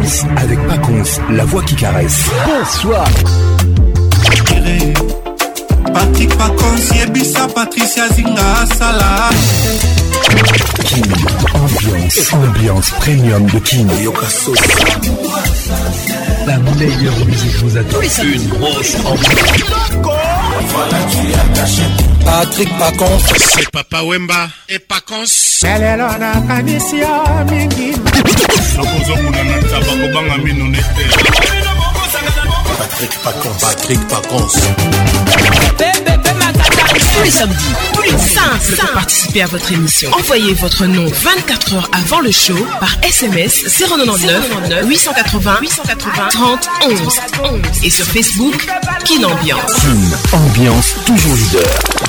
Ambiance avec Paconce, la voix qui caresse. Bonsoir. Patrick Paconce, Yebisa, Patricia Zinga, Salah. Kin, ambiance premium de Kin. La meilleure musique vous attend. Une grosse ambiance. Voilà, tu es attaché. Patrick Paconce, c'est Papa Wemba et Paconce. Melelona kanisia mingi. Sokozo munana tabako banga minonete. Patrick Paconce. Tous les samedis, simple pour participer à votre émission. Envoyez votre nom 24 heures avant le show par SMS 099 880 30 11 et sur Facebook Kin Ambiance. Kin, ambiance toujours leader.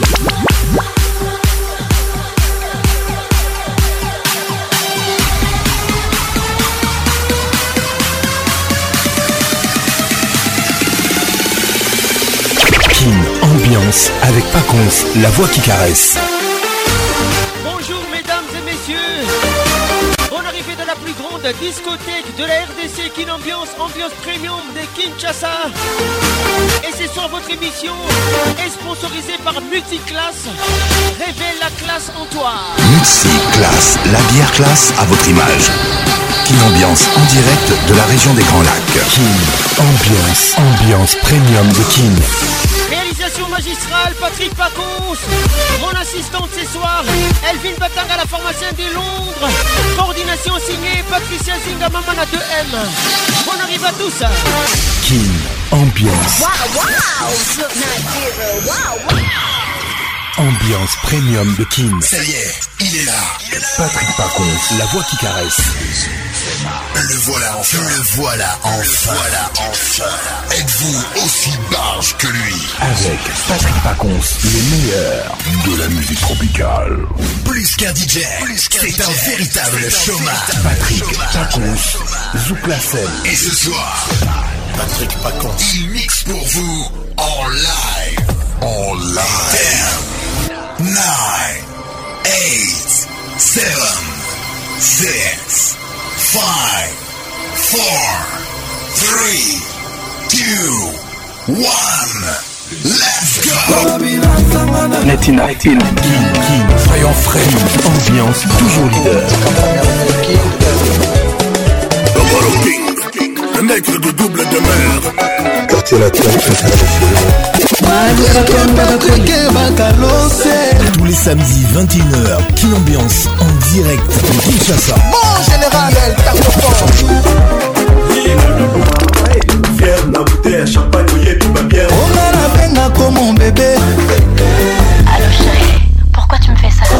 Ambiance avec Paconce, la voix qui caresse. Bonjour mesdames et messieurs. Bonne arrivée de la plus grande discothèque de la RDC, Kin Ambiance, ambiance premium de Kinshasa. Et c'est sur votre émission est sponsorisée par Multiclass. Révèle la classe en toi. Multiclass, la bière classe à votre image. Kin Ambiance en direct de la région des Grands Lacs. Kin ambiance premium de Kin. Réalisation magistrale, Patrick Paconce. Mon assistante ce soir, Elvin Batanga, la pharmacienne de Londres. Coordination signée, Patricia Zinga, Mamana 2M. On arrive à tous. Kin ambiance. Ambiance premium de Kin. Ça y est, il est là. Patrick Paconce, la voix qui caresse. Le voilà enfin. Êtes-vous aussi barge que lui? Avec Patrick Paconce, les meilleurs de la musique tropicale. Plus qu'un DJ, c'est un véritable showman. Patrick Paconce, Zouk la scène. Et ce soir, Patrick Paconce, il mixe pour vous en live. 10, 9, 8, 7, 6, 5, 4, 3, 2, 1. Let's go! Netina, Kin, soyons frais, ambiance toujours leader. Le nègre de double de mer. Quartier latin, tous les samedis 21h, Kin Ambiance en direct de Kinshasa. Mon général, Fier na bouteille, champagne, ouillé, puis ma bière. on a la peine comme mon bébé. Allô chérie, pourquoi tu me fais ça?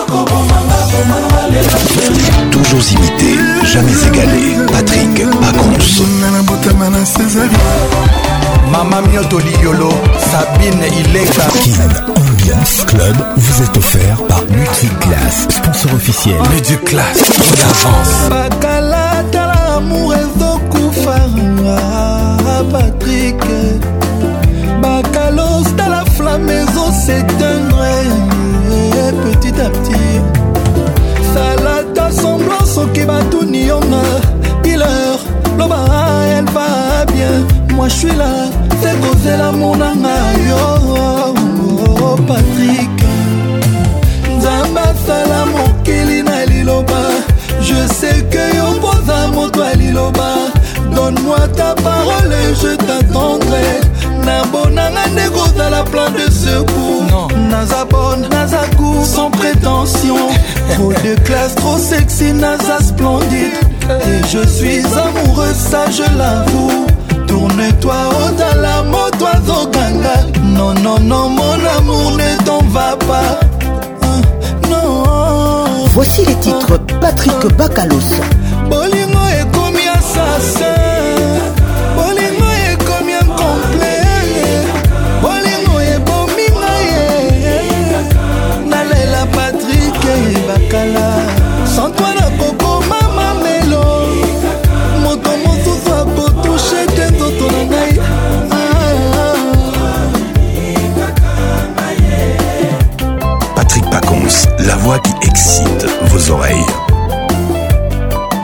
Toujours imité, jamais égalé. Patrick Paconce. Mama Mioto Liolo, Sabine Ileka. Kin Ambiance Club vous est offert par Multiclass, sponsor officiel. Multiclass, on avance. Bakalata l'amour ezokufanga Patrick. Bakalos dans la flamme s'éteindre petit à petit. Salata semblant soki batuni yonga. Pileur, loba elle va bien. Moi je suis là, c'est causer l'amour nanga yo. Patrick Nzamba sala mokili na liloba. Je sais que yo posa moto à liloba. Donne-moi ta parole et je t'attendrai. Nabonanga nego dans la plan de secours. Naza bonne, naza court sans prétention. Trop de classe, trop sexy, naza splendide. Et je suis amoureux, ça je l'avoue. Tourne-toi au dans la moto à Zoganga. Non, non, non, mon amour, ne t'en va pas. Non. Voici les titres Patrick Bakalos. Bolingo est comme assassin. Bolingo est comme un complet. Bolingo est bominga. Nalela Patrick et Bakala. Sans toi la coco mama melo. Moto moto soit pour toucher tes autres nangai. Patrick Paconce, la voix qui excite vos oreilles.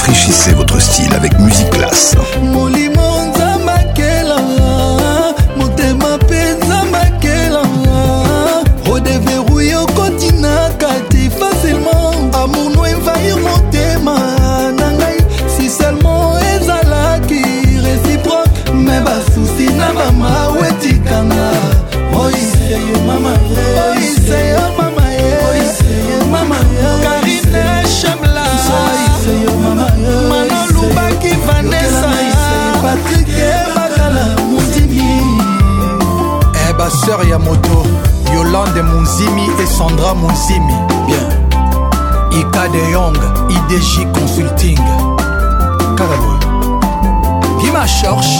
Rafraîchissez votre style avec Musique Classe. Redéverrouiller au continent, kati facilement. Amour nous envahir mon thème. Si seulement ezala qui réciproque. Mais bas souci na mama wetikanga. Oh c'est yo mama, oh c'est yo mama, oh c'est yo mama. Karine Chamla, oh c'est yo mama. Manon Lubaki Vanessa, Patrick Bakala Mouzimi. Eh bah sœur Yamoto, Yolande Mounzimi et Sandra Mounzimi. Bien. Ika de Young, IDJ Consulting. Carabo. Guima Chorch.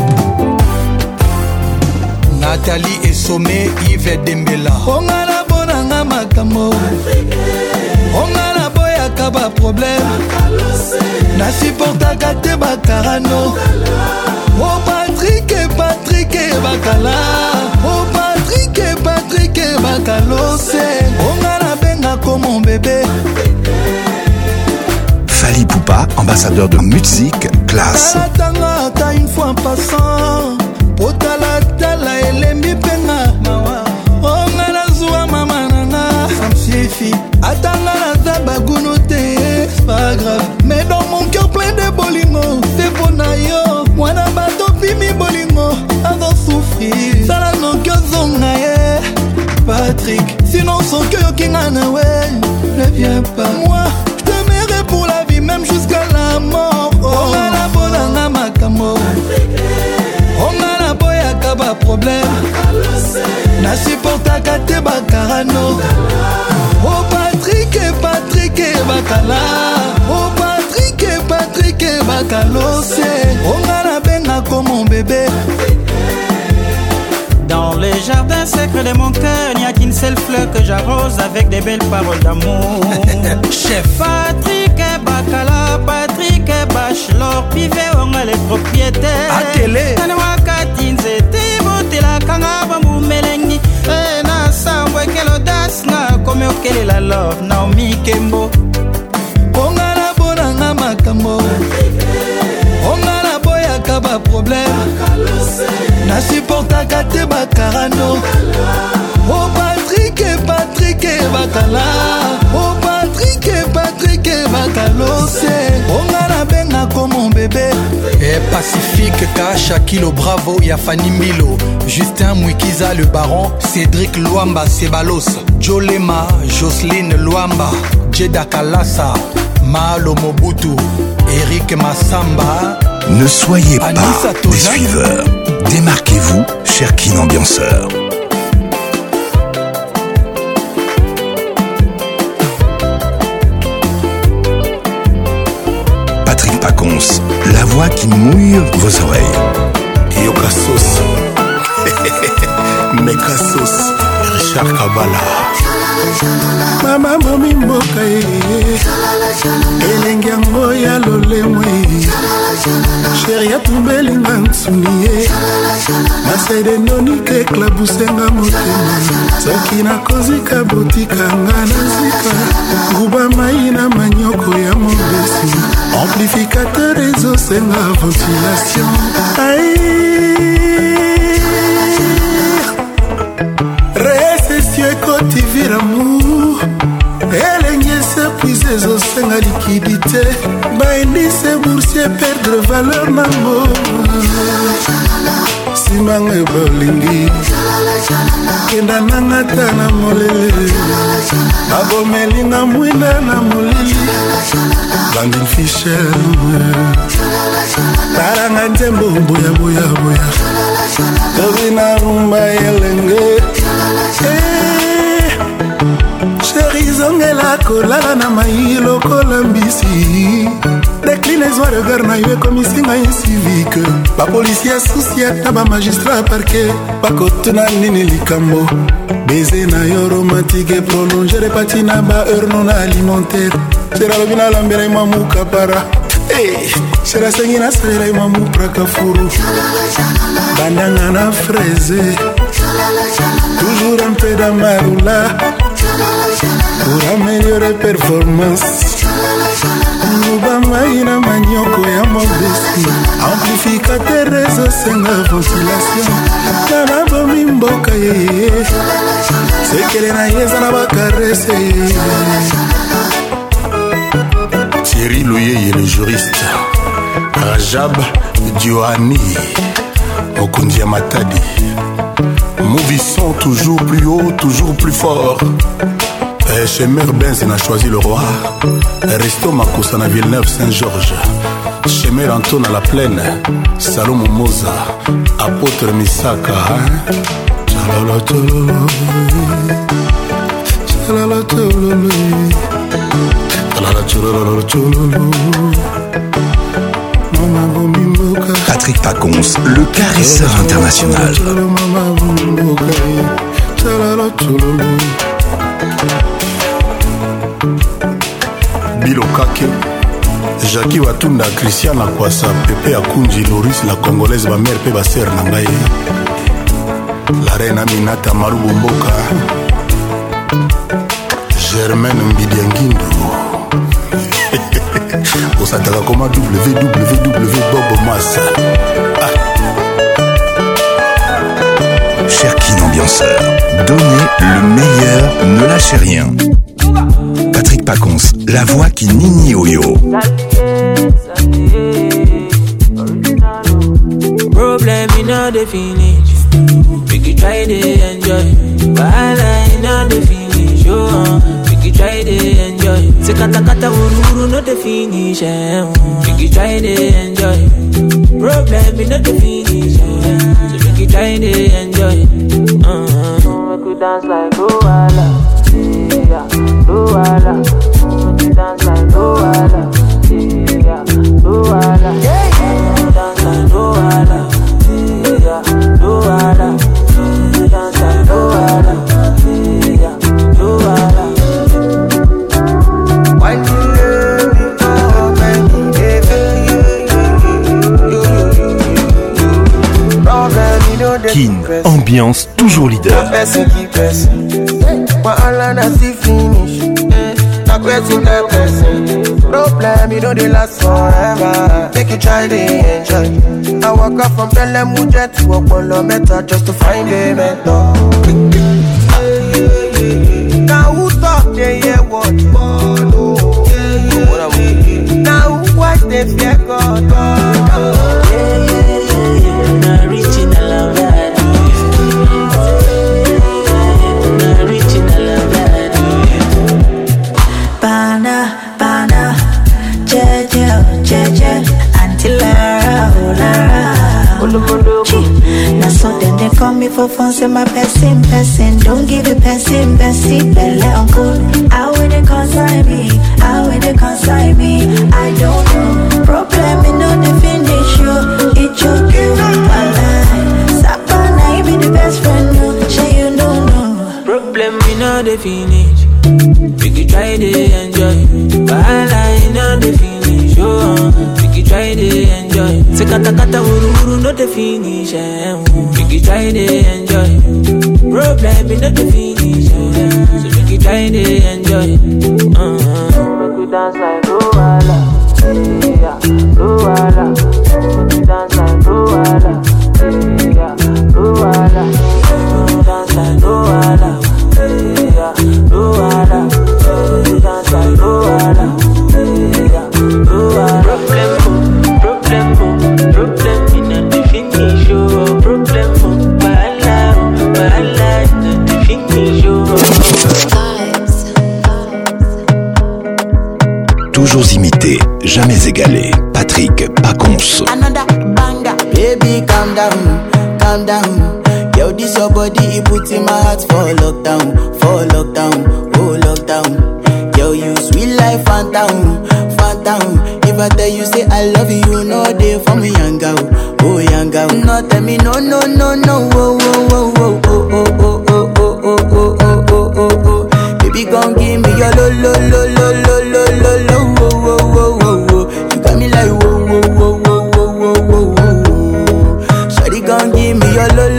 Nathalie et Sommé, Yves Dembela. Ongala bonanga makamo. Ongala boya kaba problème. Na supporta kate bakarano. Oh Patrick et Bakala. Oh Patrick et Bakalose. Ongala benga comme mon bébé. Fali Poupa, ambassadeur de musique Classe. Tala ta une fois en passant. Potala tala elembi penga. Ongala zoua mama nana. Ça me suffit. Atanga na zabaguno te. C'est pas grave. Mais dans mon cœur plein de bolingo. C'est pour nayo. Moi na bato pimi bolingo. Avant souffrir. Sala no cœur zongaye. Patrick, sinon son cœur qui n'a ouais. Ne viens pas. Moi, je t'aimerai pour la vie, même jusqu'à la mort. On a la bonne makamo. On a la boya kaba problème. Na supporta kate bakarano. Oh Patrick et Bakala. Oh Patrick et Bakalose. On a la benga comme mon bébé. Dans les jardins secrets de mon cœur, il n'y a qu'une seule fleur que j'arrose avec des belles paroles d'amour. Chef Patrick et Bakala, Patrick et Bachelor, Pivet, on a les propriétaires. À télé. Kanawakati nzete, bote la kanga, bambu melengi. Na sambwe quelle audace, na comme okele la love, Naomi Kembo. On a la bonanga makambo. On a la boya kaba problème. Na supporta kate bakarano. Oh Patrick et Bakala. Oh Patrick et Bakalose. On a la benga comme mon bébé. Et Pacifique, Kacha Kilo Bravo, Yafani Milo, Justin Mwikiza le Baron, Cédric Luamba Sebalos, Jolema, Jocelyne Luamba, Jeda Kalasa, Malo Mobutu, Eric Massamba. Ne soyez Anissa pas Tozan. des suiveurs. Démarquez-vous, cher Kin Ambianceur. Patrick Pacons, la voix qui mouille vos oreilles. Yokasos Mekasos Richard Kabala mama momi mboka elenge yango ya lolemo sheri atumbelinga nsuni ye masaide nonike eklabusenga motema soki nakozika botikanga na zika nguba mai na manyoko ya mobesi amplificateur ezosenga ventilation recession ekoti viramour elenge se puise ezosenga liquidité baindise boursier perdre valeur nango simanga ebolingi kenda nanga ta na molele abomelinga mwinda na molili Landin Fisher taranga nzembo boya tobina rumba elenge chéri zongela kolala na mai lokola mbisi déclinaison regard na yo ekomisinga incivique bapolisier susi ata bamagistrat parquet bakotuna nini likambo beze na yo romantique et prolonge repati na baheure non alimentaire sera lobi nalambela imwa mukapara sera sengi nasalela imwa mupraka furu bandanga na fraise toujours un peu d'amarula pour améliorer performance Nubamai na manioko ya mobesi amplificateur ezosenga ventilation na nabomi mboka ye sekele na ye eza na bakarese Thierry Louyeye le juriste Rajab Diohani Okundia Matadi Mouvissant toujours plus haut, toujours plus fort. Chez Mère Benz, on a choisi le roi. Resto Makosa na Villeneuve Saint-Georges. Chez Mère Anton à la Plaine. Salomon Moza. Apôtre Misaka. Chalala tololo. Chalala tololo. Chalala tololo tololo. Patrick Pacons, le caresseur international. Bilo Kake, Jackie Watunda, Christiana Kwasa, Pepe Akunji, Loris, la Congolaise, ma mère, pe baser Nangaye. La reine Aminata Marubu Mboka. Germaine Mbidiangindo. Osataka comme www.bobomas. Cher Kin ambianceur, donnez le meilleur, ne lâchez rien. Patrick Pacons, la voix qui nini oyo. Problem in all the finish. We can try to enjoy. But in all the finish, we can try to enjoy. Se kata kata wuru no the finish. We can try to enjoy. Problem in all the finish. So we can try to enjoy. We could dance like Luala, yeah, Luala. We could dance like Luala, yeah, Luala. We could dance like Luala, yeah, Luala. We could dance like Luala, yeah, Luala. Why do you love me for many days? Kin, ambiance toujours leader. Problem, you know they last forever. Make you try to enjoy. I walk up from Bellem Mujet to Okolo Meta just to find a mentor. Now who talk they hear what? Now who watch they fear God? Now so then they call me for fun, say my person. Don't give it person, belle uncle. How will they consign me? How will they consign me? I don't know. Problem in no the finish you. It's your girl, my life. Sapana, you be the best friend, no. Say you don't know. Problem in no the finish. We could try to enjoy. But I know the finish, we could try to enjoy. Se kata kata wuru no the finish, we could try to enjoy. Problem in the finish, so we could try to enjoy. We could dance like Luala, yeah, Luala. We could dance like Luala, yeah, Luala. We could dance like Luala, yeah, Luala. We could dance like Luala, yeah, Luala. Problem in the finish, problem, bala, the finish. Toujours imité, jamais égalé. Patrick Pacons. Another banger, baby, calm down, calm down. Yo, this your body, it puts in my heart for lockdown, oh lockdown. Yo, you sweet life, phantom. If I tell you say I love you, you know they for me young girl, oh young girl. No tell me no, oh, baby gon' give me your lo. You got me like whoa. Shawty gon' give me your lo.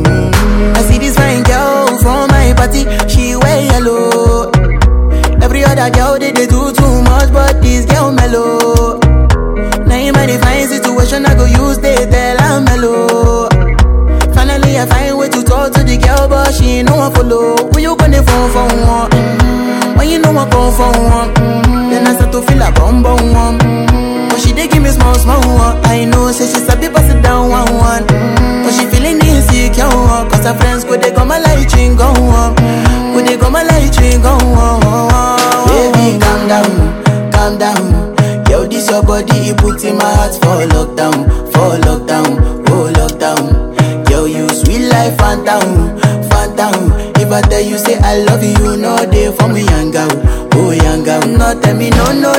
I see this fine girl from my party, she wear yellow. Every other girl they do too much, but this girl mellow. Now in my divine situation, I go use they tell I'm mellow. Finally I find way to talk to the girl, but she ain't no one follow. When you gonna phone for one? When you know I come for one, then I start to feel a bum one. But she dey give me small one. I know, say she sabi pass it down one. But she feeling insecure, cause her friends could they come a light ring go on. Could they come a light ring go on. Baby, calm down. Yo, this your body, it put in my heart for lockdown, oh lockdown. Yo, you sweet life, phantom. If I tell you say I love you, no day for me, young girl, oh young girl. No tell me no, oh.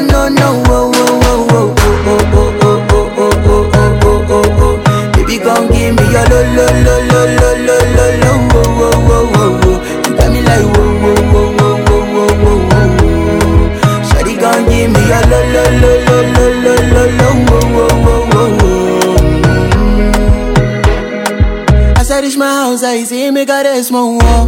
Baby, gon' give me your lo. You got me like whoa. Shawty gon' give me your lo. As I reach my house, I see me got a small wall.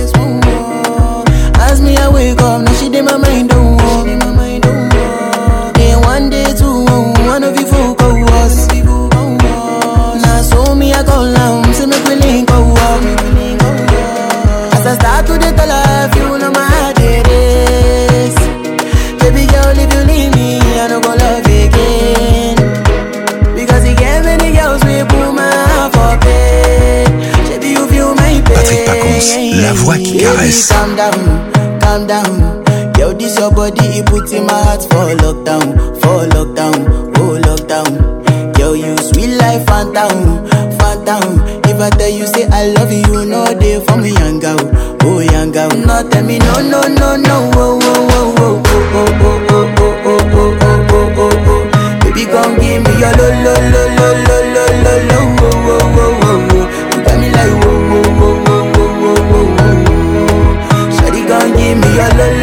As me I wake up, now she did my mind don't walk. Then one day two, one of you folk go was. Now so me I go down, see me willing go up. As I start to the tell her, you know my heart it is. Baby girl, if you leave me, I don't go love again. Because you gave many girls we put my heart for bed. Baby, you feel my pain. Patrick Pacons, la voix qui caresse. Calm down. Yo, this your body, it puts in my heart for lockdown, oh lockdown. Yo, you sweet life, phantom. If I tell you say I love you, no day for me, young girl, oh young girl. No tell me no, oh. Baby, gon' give me your lo. You got me like whoa. Shawty gon' give me your lo.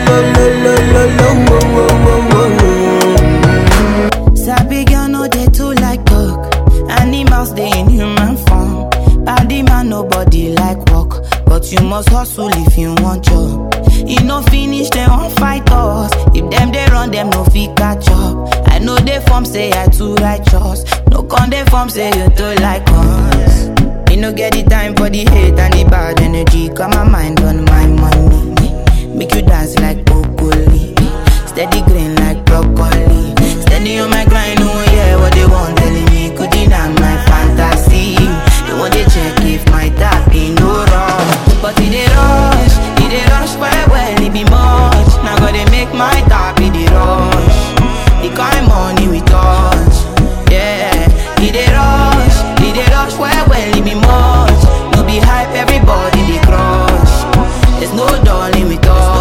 Sabi girl no dey too like talk. Animals dey in human form. Body man nobody like walk, but you must hustle if you want job. You no finish they won't fight us. If them they run them no fit catch up. I know they form say I too righteous. No con they form say you too like us. You no get the time for the hate and the bad energy. Got my mind on my money. Make you dance like broccoli. Steady green like broccoli. Steady on my grind, oh yeah, what they want telling me. Could deny my fantasy. They want to check if my tap ain't no wrong. But it they rush well, it be much. Now gotta make my tap in the rush. The kind money we touch, yeah. It they rush well, it be much. No be hype, everybody they crush. There's no darling with us.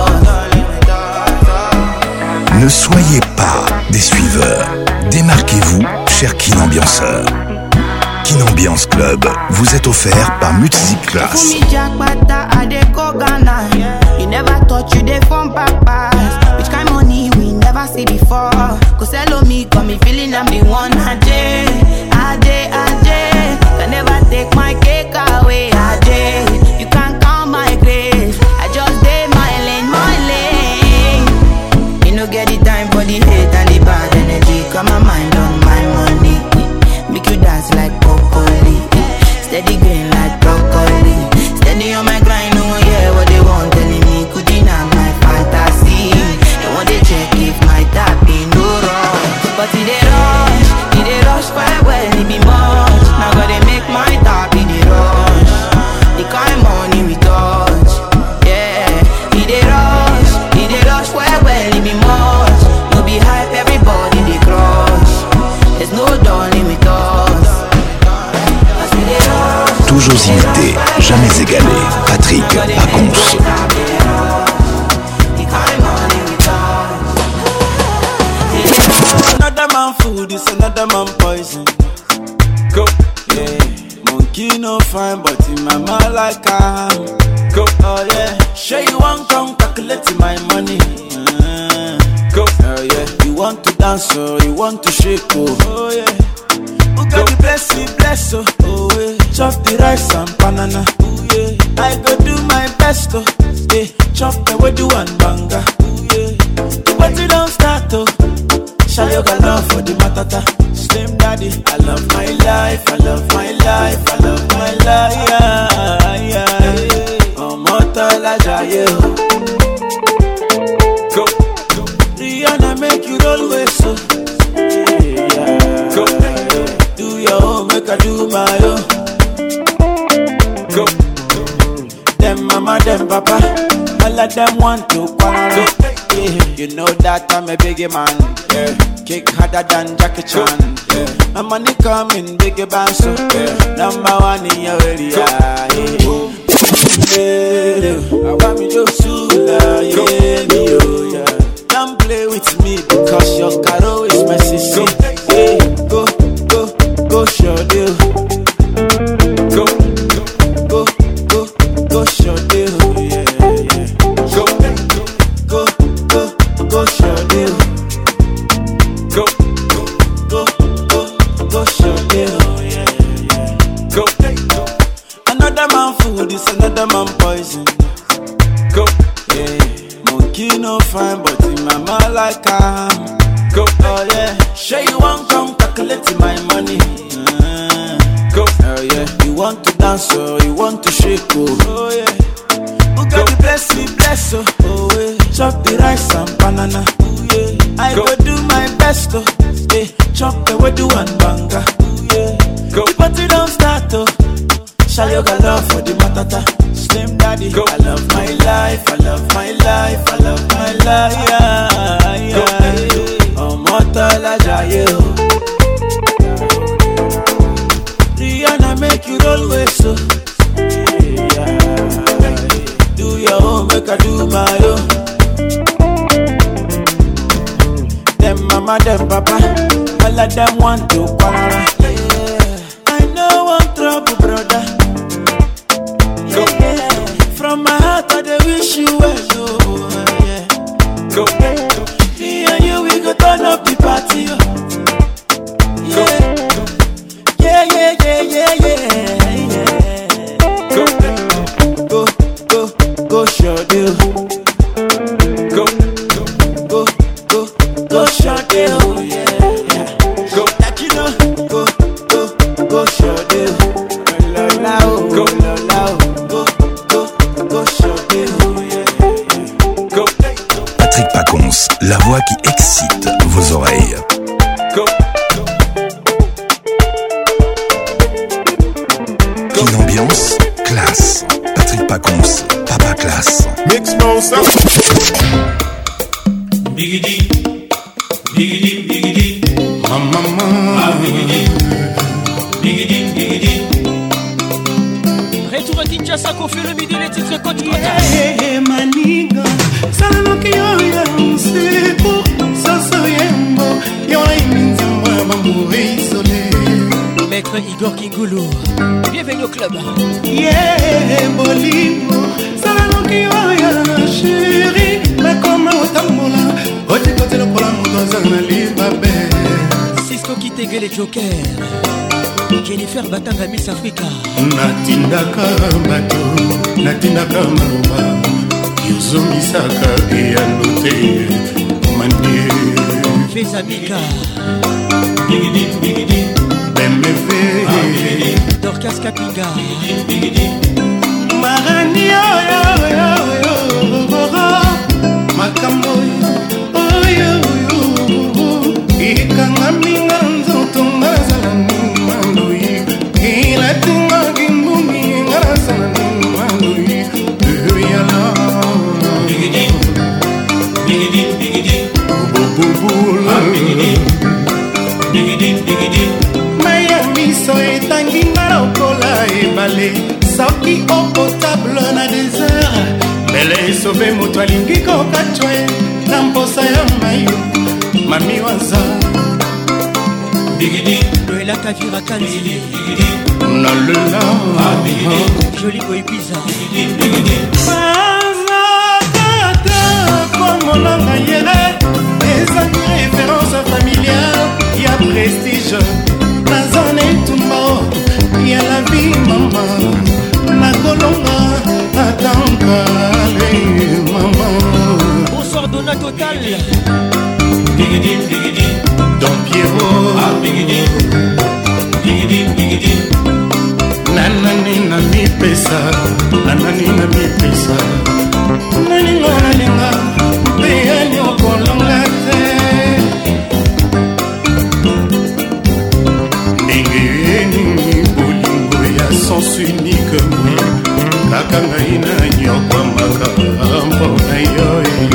Ne soyez pas des suiveurs. Démarquez-vous, cher Kin Ambianceur. Kin Ambiance Club vous est offert par Music Class. You never thought you dey from papas. Which kind money we never see before. Cause hello me, got me feeling I'm the one. Ajay. Can never take my cake away. Ajay. You can't count my grace. I just did my lane. You no get the time for the hate and the bad energy. Got my mind on my money. Make you dance like broccoli. Steady green like broccoli. Steady on my grind, oh yeah, what they want telling me. Could deny my fantasy. They want to check if my tap ain't no wrong. But it they rush well, it be much. Now gotta make my tap in the rush. The kind money we touch, yeah. It they rush well, it be much. No be hype, everybody they crush. There's no darling with us. Toujours imité, jamais égalé. Patrick Pacons. Another man food is another man poison. Go, yeah. Monkey no fine, but in my mind like I am. Go, oh yeah. Sure you want come calculate my money. Go, oh yeah. You want to dance or you want to shake, oh yeah. Who got the blessing, bless, oh yeah. Chop the rice and banana, oh yeah. I go do my best, oh yeah. Chop the way do one banga, oh yeah. Shall you got love for the matata? Slim daddy, I love my life, I love my life, I love my life, yeah. Oh, Motola Jaye. Go. Rihanna make you roll with so. Yeah. Go. Do your own, make I do my own. Go. Them mama, them papa, all of them want to quarrel. Yeah. You know that I'm a biggie man. Yeah. Kick harder than Jackie Chan. Yeah. My money coming, biggie band, so yeah. Number one in your area. Yeah. I want me to sula, yeah. Don't play with me because your caro is my sister. Yeah. Go, show deal. Go, show deal. Yeah. Go, show deal. Go, show deal. Yeah. Go. Another man food is another man poison. Go. Yeah. Monkey no fine, but in my mouth like I'm. Go. Oh yeah. Sure you want come calculate my money. Go. Oh yeah. You want to dance or you want to shake? Oh yeah. Who got the bless me, bless oh yeah. Chop the rice and banana. Oh yeah. I go do my best oh. Yeah. Chop the wedu and banga. Oh yeah. Go. The party don't start oh. Shall you got love for the matata? Slim daddy. Go. I love my life, I love my life, I love my life, yeah. Oh, Motola Jaye. Rihanna make you roll with so. Yeah. Do your own, make I do my own. Them mama, them papa, all of them want to quarrel. Yeah. I know one trouble, brother. Yeah. From my heart, I wish you well, oh, yeah. Go. Me and you, we go turn up the party, oh. Yeah. Go, show deal. Go, show deal. Yeah. Go, like you know. Go, show deal. Go, show deal. Yeah. Go. Patrick Pacons, la voix qui excite vos oreilles. Go. Une ambiance classe. Patrick Pacons, Papa Classe. Mix Mouse. Biggie, Mama. Biggie. Retour à Kinshasa, qu'on fait le midi, les titres côte côte. Maniga, salanoki yoya, c'est pour Soso Yembo. Yola iminzamba, bambouré isolé. Maître Igor Kingoulou, bienvenue au club. Yeah, Bolimo, salanoki yoya, chéri. Mais comment otambola, oti kote lo pola mudoza na libabe. Cisco qui t'égueule les jokers. Jennifer Batanga Miss Africa. Natindaka bato, natindaka maloba. Yozongisaka eyanote manie. Fezamika. Biggie. BMW. Dorcas Kapinga. Marani yo. Makambo yo. Ikanga minga nzoto ngazala nimandoi. Ilatinga gimbumi ngazala nimandoi. Yala. Biggie. Bubula. Biggie. Miami so etangi ngalokola ebale. Sauki au potable na désert. Bele sauve moto alingi kokachwe. Na mposa ya mayo. Mami waza. Biggie. Noëlla Kavira Kanzi. Nalela. Joli boy bizarre. Bazakata comme on a yele. Des références familiales. Y'a prestige. La zone est tout mort. Y'a la vie maman. La colonga. Attends, maman. Bonsoir Donna Total. Don Pierrot nanani na mipesa nalinga peyani okolonga te ndenge yenini bolingo ya sens unique kaka ngai na nyokwamaka mpona yo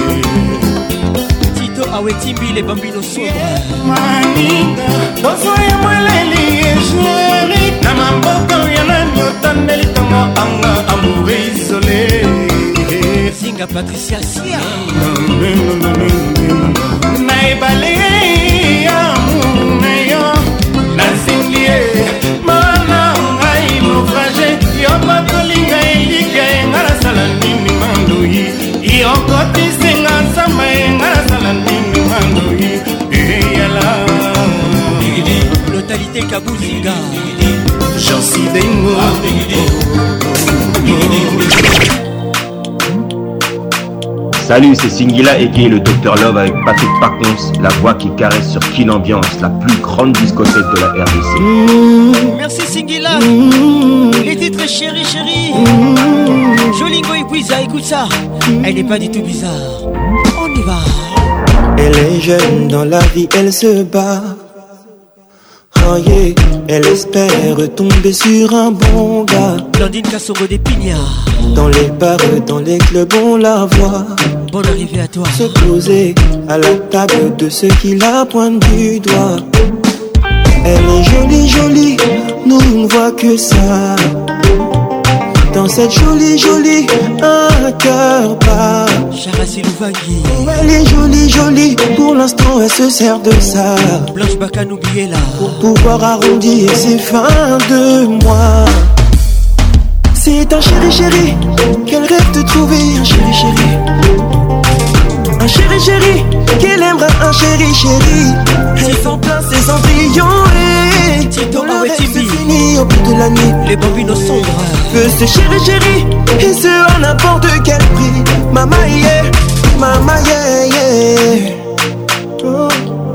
Tito awetimbi les bambinos sobres maninga bozoya mweleli ejeri na mamboko ya nanyotandeli tongo anga amour isolé Zinga Patricia Sia na ebale ya muneyo nazingie mana ngai naufrage yo bakolinga elika enga nasala nini mandoi yokotisinga nsama enga nasala nini mandoi eyala Notalité Kabouzinga Jansi Dengo Salut, c'est Singila Eke, le Dr Love avec Patrick Pacons, la voix qui caresse sur Kin Ambiance, la plus grande discothèque de la RDC. Merci Singila. Les titres chéri. Jolingo Ipuiza, écoute ça. Elle n'est pas du tout bizarre. On y va. Elle est jeune dans la vie, elle se bat. Oh yeah, elle espère tomber sur un bon gars. Blandine Kassongo des Pignards. Dans les bars, dans les clubs, on la voit. Bonne arrivée à toi. Se poser à la table de ceux qui la pointent du doigt. Elle est jolie, nous on ne voit que ça. Dans cette jolie, un cœur bat. Charassi Louvagui. Oh, elle est jolie, pour l'instant elle se sert de ça. Blanche Bacan, oubliez-la. Pour pouvoir arrondir ses fins de mois. C'est un chéri, qu'elle rêve de trouver un chéri. Un chéri, qu'elle aimera un chéri. Elle s'en place ses cendrillons et Tito le rêve se finit au bout de la nuit. Les bambinos sombres. Veut ce chéri, et ce à n'importe quel prix. Mama yeah. Oh.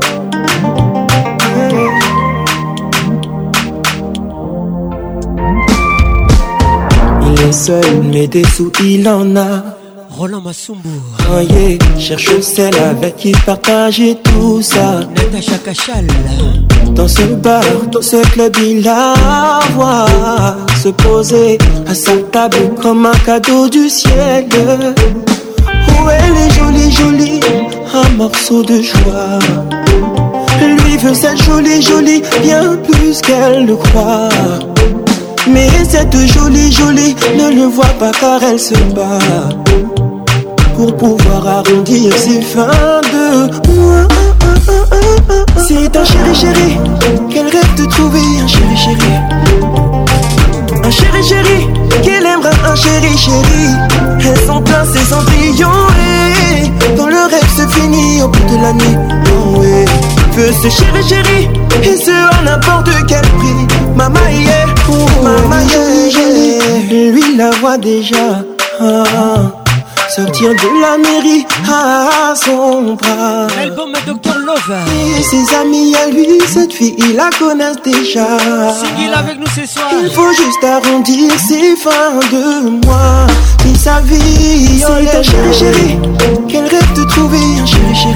Il est seul, mais des sous il en a. Roland Massumbo. Oh yeah, cherche celle avec qui partager tout ça. Natacha Kachal. Dans ce bar, dans ce club, il la voit se poser à sa table comme un cadeau du ciel. Oh, elle est jolie, un morceau de joie. Lui veut cette jolie, bien plus qu'elle le croit. Mais cette jolie ne le voit pas car elle se bat pour pouvoir arrondir ses fins de mois. C'est un chéri, qu'elle rêve de trouver un chéri. Un chéri, qu'elle aimera un chéri. Elle s'en place ses cendrillons et dans le rêve se finit au bout de la nuit. Oh ouais, veut ce chéri, et ce à n'importe quel prix. Mama yeah, mama yeah. Lui la voit déjà. Sortir de la mairie à son bras. L'album Dr Love. Et ses amis à lui, cette fille, ils la connaissent déjà. Singil avec nous ce soir. Il faut juste arrondir ses fins de mois. Et sa vie, c'est un chéri, qu'elle rêve de trouver un chéri.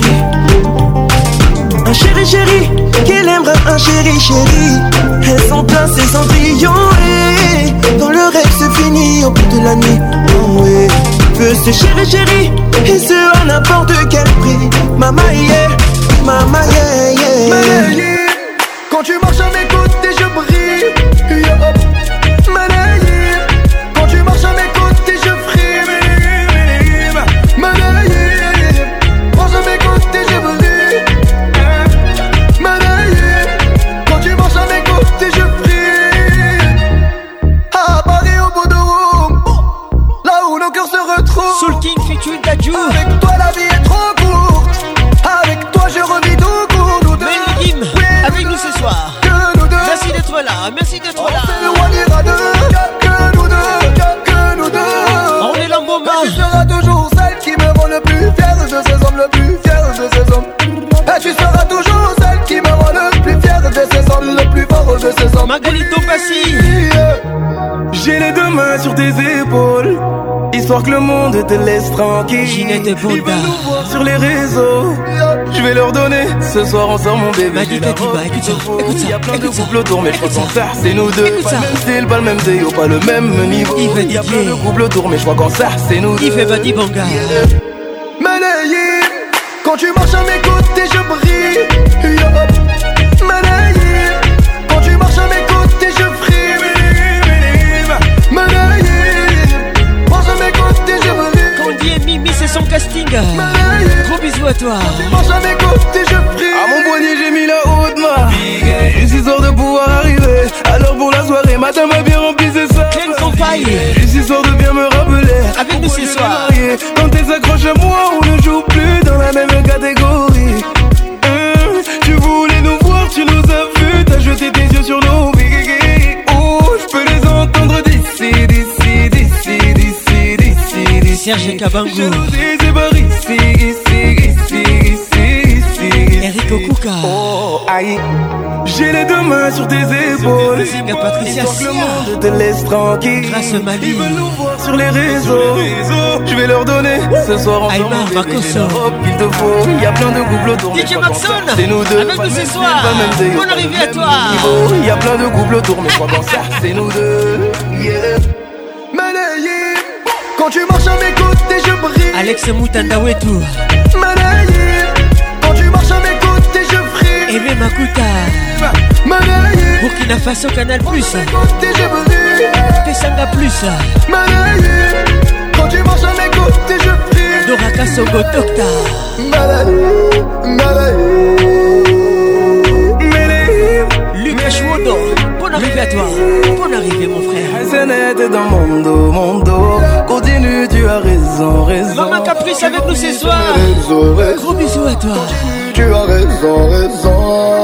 Un chéri, qu'elle aimera un chéri. Elle s'en place ses cendrillons et dans le rêve se finit au bout de la nuit. Oh ouais. Veut ce chéri, et ce à n'importe quel prix. Mama yeah. Quand tu marches à mes côtés, je brille. Malayé. Quand tu marches à mes côtés, je frime. Malayé. Marche à mes côtés, je brille. Malayé. Quand tu marches à mes côtés, je brille. À Paris au bout de Rome, là où nos cœurs se retrouvent. Soul King featuring Dadju. Avec toi la vie est trop courte. Avec toi je revis tout court. Nous deux. Avec nous ce soir. Merci d'être là, merci d'être là. Que nous deux. On est l'emboma. Tu seras toujours celle qui me rend le plus fier de ces hommes, le plus fier de ces hommes. Et tu Magali Topassi. J'ai les deux mains sur tes épaules, histoire que le monde te laisse tranquille. Ginette Ils veulent nous voir sur les réseaux. Je vais leur donner, ce soir on sort mon bébé. Madi Katiba, écoute ça. Il y a plein de couples autour, mais je crois qu'en ça c'est nous deux. Pas le même style, pas le même déo, pas le même niveau. Il y a plein de couples autour, mais je crois qu'en ça c'est nous deux. Il fait Badi Banga. Malayé, quand tu marches à mes côtés je brille. Malayé, quand tu marches à mes côtés je frime. Malayé, marche à mes côtés je brille. Candy et Mimi c'est son casting. Gros bisous à toi. Quand tu marches à mes côtés je frime. À mon poignet j'ai mis la haute main. Juste histoire de pouvoir arriver. Alors pour la soirée matin m'a bien rempli c'est ça. Pleine campagne. Juste histoire de bien me rappeler. Avec nous ce soir. Quand t'es accroché à moi on ne joue plus dans la même catégorie. Tu voulais nous voir, tu nous as vus, t'as jeté tes yeux sur nos vies. Oh, je peux les entendre d'ici. Serge Kabango. Je nous dis c'est par ici. Eric Okuka. Oh, aïe. J'ai les deux mains sur tes épaules. Patricia Histoire que le monde te laisse tranquille. Grâce Mali. Ils veulent nous voir sur les réseaux. Je vais leur donner ce soir ensemble. Aymar Makoso. Il te faut. Il y a plein de couples autour. DJ Maxon. C'est nous deux. Avec nous ce soir. Bonne arrivée à toi. Il y a plein de couples autour, mais je crois qu'en ça c'est nous deux. Yeah. Malayé, quand tu marches à mes côtés je brille. Alex Moutanda Wetou. Malayé, quand tu marches à mes côtés je frime. Aimé Makuta. Malayé, Burkina Faso Canal Plus. côtés je brille. Tesanga Plus. Malayé, quand tu marches à mes côtés je frime. Doraka Sogo Docta. Malayé. Lucas Chouodo. Bonne arrivée à toi. Bonne arrivée mon frère. C'est net dans mon dos. Continue, tu as raison. Maman Caprice avec nous ce soir. Gros bisous à toi. Tu as raison.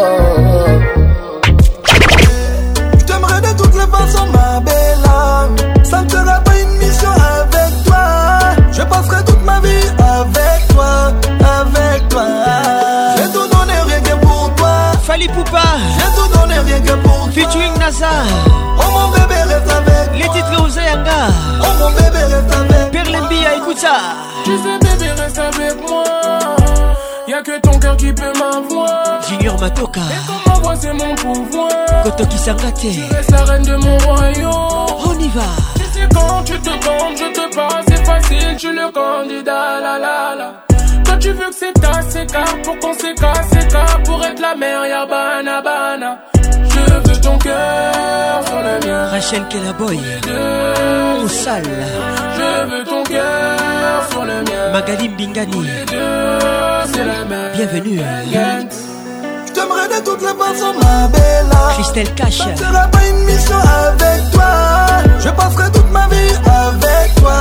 Je t'aimerais de toutes les façons, ma belle âme. Ça ne sera pas une mission avec toi. Je passerai toute ma vie avec toi. Je vais tout donner rien que pour toi. Fali Poupa. Je vais tout donner rien que pour toi. Featuring NASA. Oh mon bébé reste avec les titres Ouzayanga. Oh mon bébé reste avec Perlembia, écoute ça. Tu sais bébé reste avec moi. Y'a que ton cœur qui peut m'avoir. Junior Matoka. Et comme ma voix c'est mon pouvoir. Kotoki Sangate. Tu restes la reine de mon royaume. On y va. Tu sais quand tu te comptes, je te passe, c'est facile, tu le candidat, la. Toi tu veux que c'est ta séca, pour qu'on séca, pour être la mère, y'a bana. Je veux ton cœur sur le mien. Rachel Kellaboy. Au sale. Je veux ton cœur sur le mien. Magali Bingani. C'est la même. Bienvenue. Je t'aimerais de toutes les façons, ma belle. Christelle Cash. Ça ne sera pas une mission avec toi. Je passerai toute ma vie avec toi.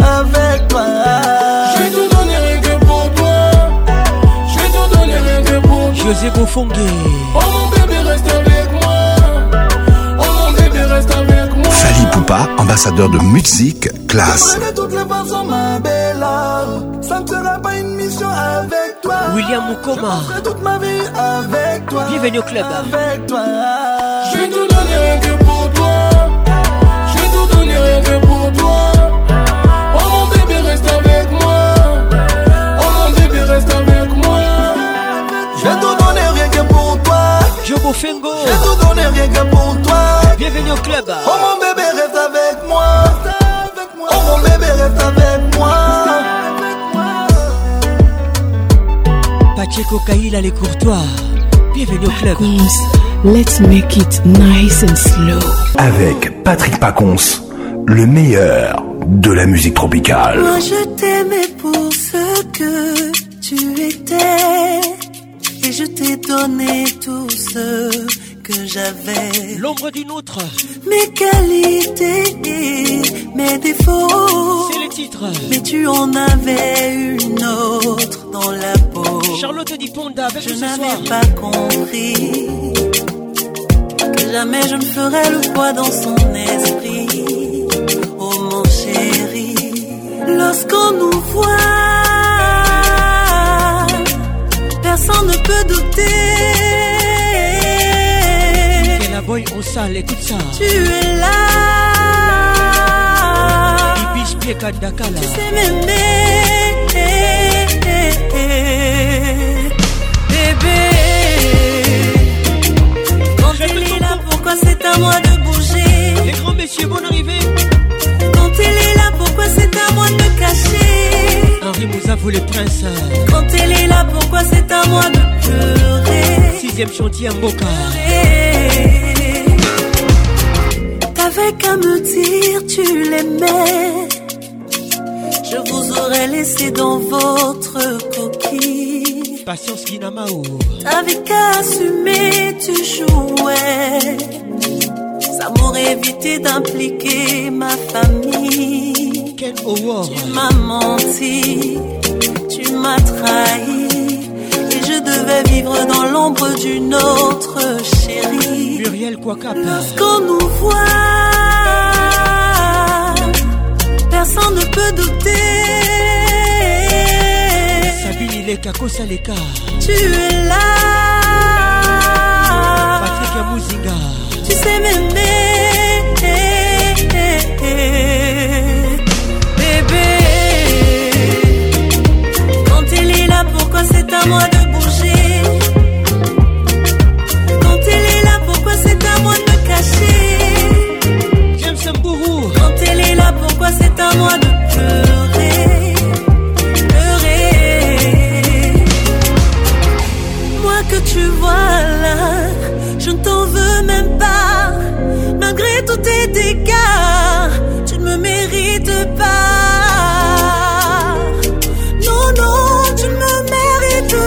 Je vais tout donner rien que pour toi. Je vais tout donner rien que pour toi. José Bofongue. Oh mon bébé reste avec moi. Oh mon bébé reste avec moi. Fali Poupa, ambassadeur de musique classe. De toutes les façons, ma belle. Ça ne sera pas une mission avec toi. William Mukoma. Je passerai toute ma vie avec toi. Bienvenue au club. Avec toi. Je vais tout donner rien que pour toi. Je vais tout donner rien que pour toi. Oh mon bébé reste avec moi. Oh mon bébé reste avec moi. Je vais tout donner rien que pour toi. Jobo Fengo. Je vais tout donner rien que pour toi. Bienvenue au club. Oh mon bébé reste avec moi. Oh mon bébé reste avec moi. Pacheco Kaila les courtois. Bienvenue au club. Let's make it nice and slow. Avec Patrick Pacons, le meilleur de la musique tropicale. Moi je t'aimais pour ce que tu étais. Et je t'ai donné tout ce que j'avais. L'ombre d'une autre. Mes qualités et mes défauts. C'est le titre. Mais tu en avais une autre dans la peau. Charlotte Diponda avec je nous ce soir. Je n'avais pas compris que jamais je ne ferais le poids dans son esprit. Oh mon chéri, lorsqu'on nous voit, personne ne peut douter. Et la boy au Sale, écoute ça. Tu es là. Ibish Pieka Dakala. Tu sais m'aimer, bébé. Quand il est là, pourquoi c'est à moi de bouger? Les grands messieurs, bonne arrivée. Quand il est là, pourquoi c'est à moi de me cacher? Henri Mouzavou, les princes. Quand il est là, pourquoi c'est à moi de pleurer? 6e chantier à Mboka. T'avais qu'à me dire tu l'aimais, je vous aurais laissé dans votre coquille. Patience Guinamao. T'avais qu'à assumer, tu jouais. Ça m'aurait évité d'impliquer ma famille. Quel horreur. Tu m'as menti, tu m'as trahi, et je devais vivre dans l'ombre d'une autre chérie. Muriel Kouakap. Lorsqu'on nous voit, personne ne peut douter. Sabine Ileka Kosaleka. Tu es là. Patrick Mouzinga. Tu sais m'aimer, bébé. Quand il est là, pourquoi c'est à moi de bouger? Quand il est là, pourquoi c'est à moi de me cacher? James Mbourou. Quand il est là, pourquoi c'est à moi de pleurer? Pleurer. Moi que tu vois là, je ne t'en veux même pas. Malgré tous tes dégâts, tu ne me mérites pas. Non, non, tu ne me mérites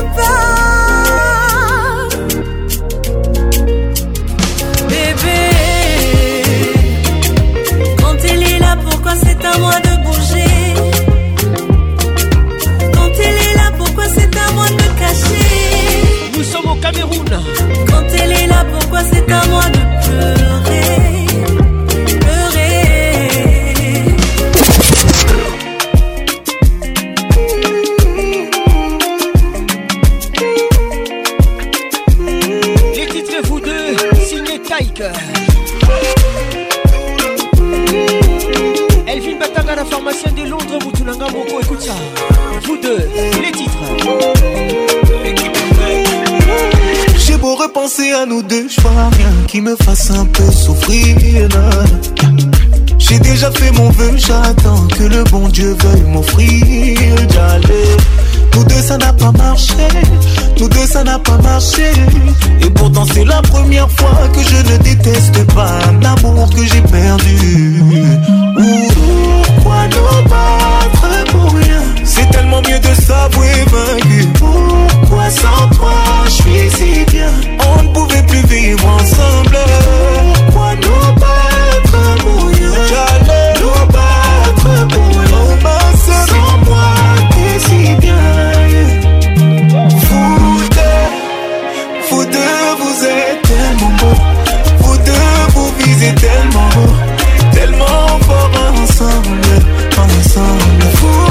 pas. Bébé, quand il est là, pourquoi c'est à moi de bouger? Quand il est là, pourquoi c'est à moi de me cacher? Nous sommes au Cameroun. Quand il est là, pourquoi c'est à moi de pleurer? Les titres vous deux, signé Taïk. Elvin Batanga, la pharmacienne de Londres, Moutoulanga Moko, écoute ça. Vous deux, les titres. J'ai beau repenser à nous deux, je vois rien qui me fasse un peu souffrir. J'ai déjà fait mon vœu, j'attends que le bon Dieu veuille m'offrir. J'allais. Nous deux ça n'a pas marché, nous deux ça n'a pas marché. Et pourtant c'est la première fois que je ne déteste pas un amour que j'ai perdu. Pourquoi nous battre pour rien? C'est tellement mieux de s'avouer vaincu. Pourquoi sans toi je suis si bien? On ne pouvait plus vivre ensemble. Pourquoi nous battre pour rien? J'allais nous battre pour rien. Sans moi t'es si bien. Vous deux, vous êtes tellement beaux. Vous deux, vous visez tellement haut, tellement fort ensemble, ensemble.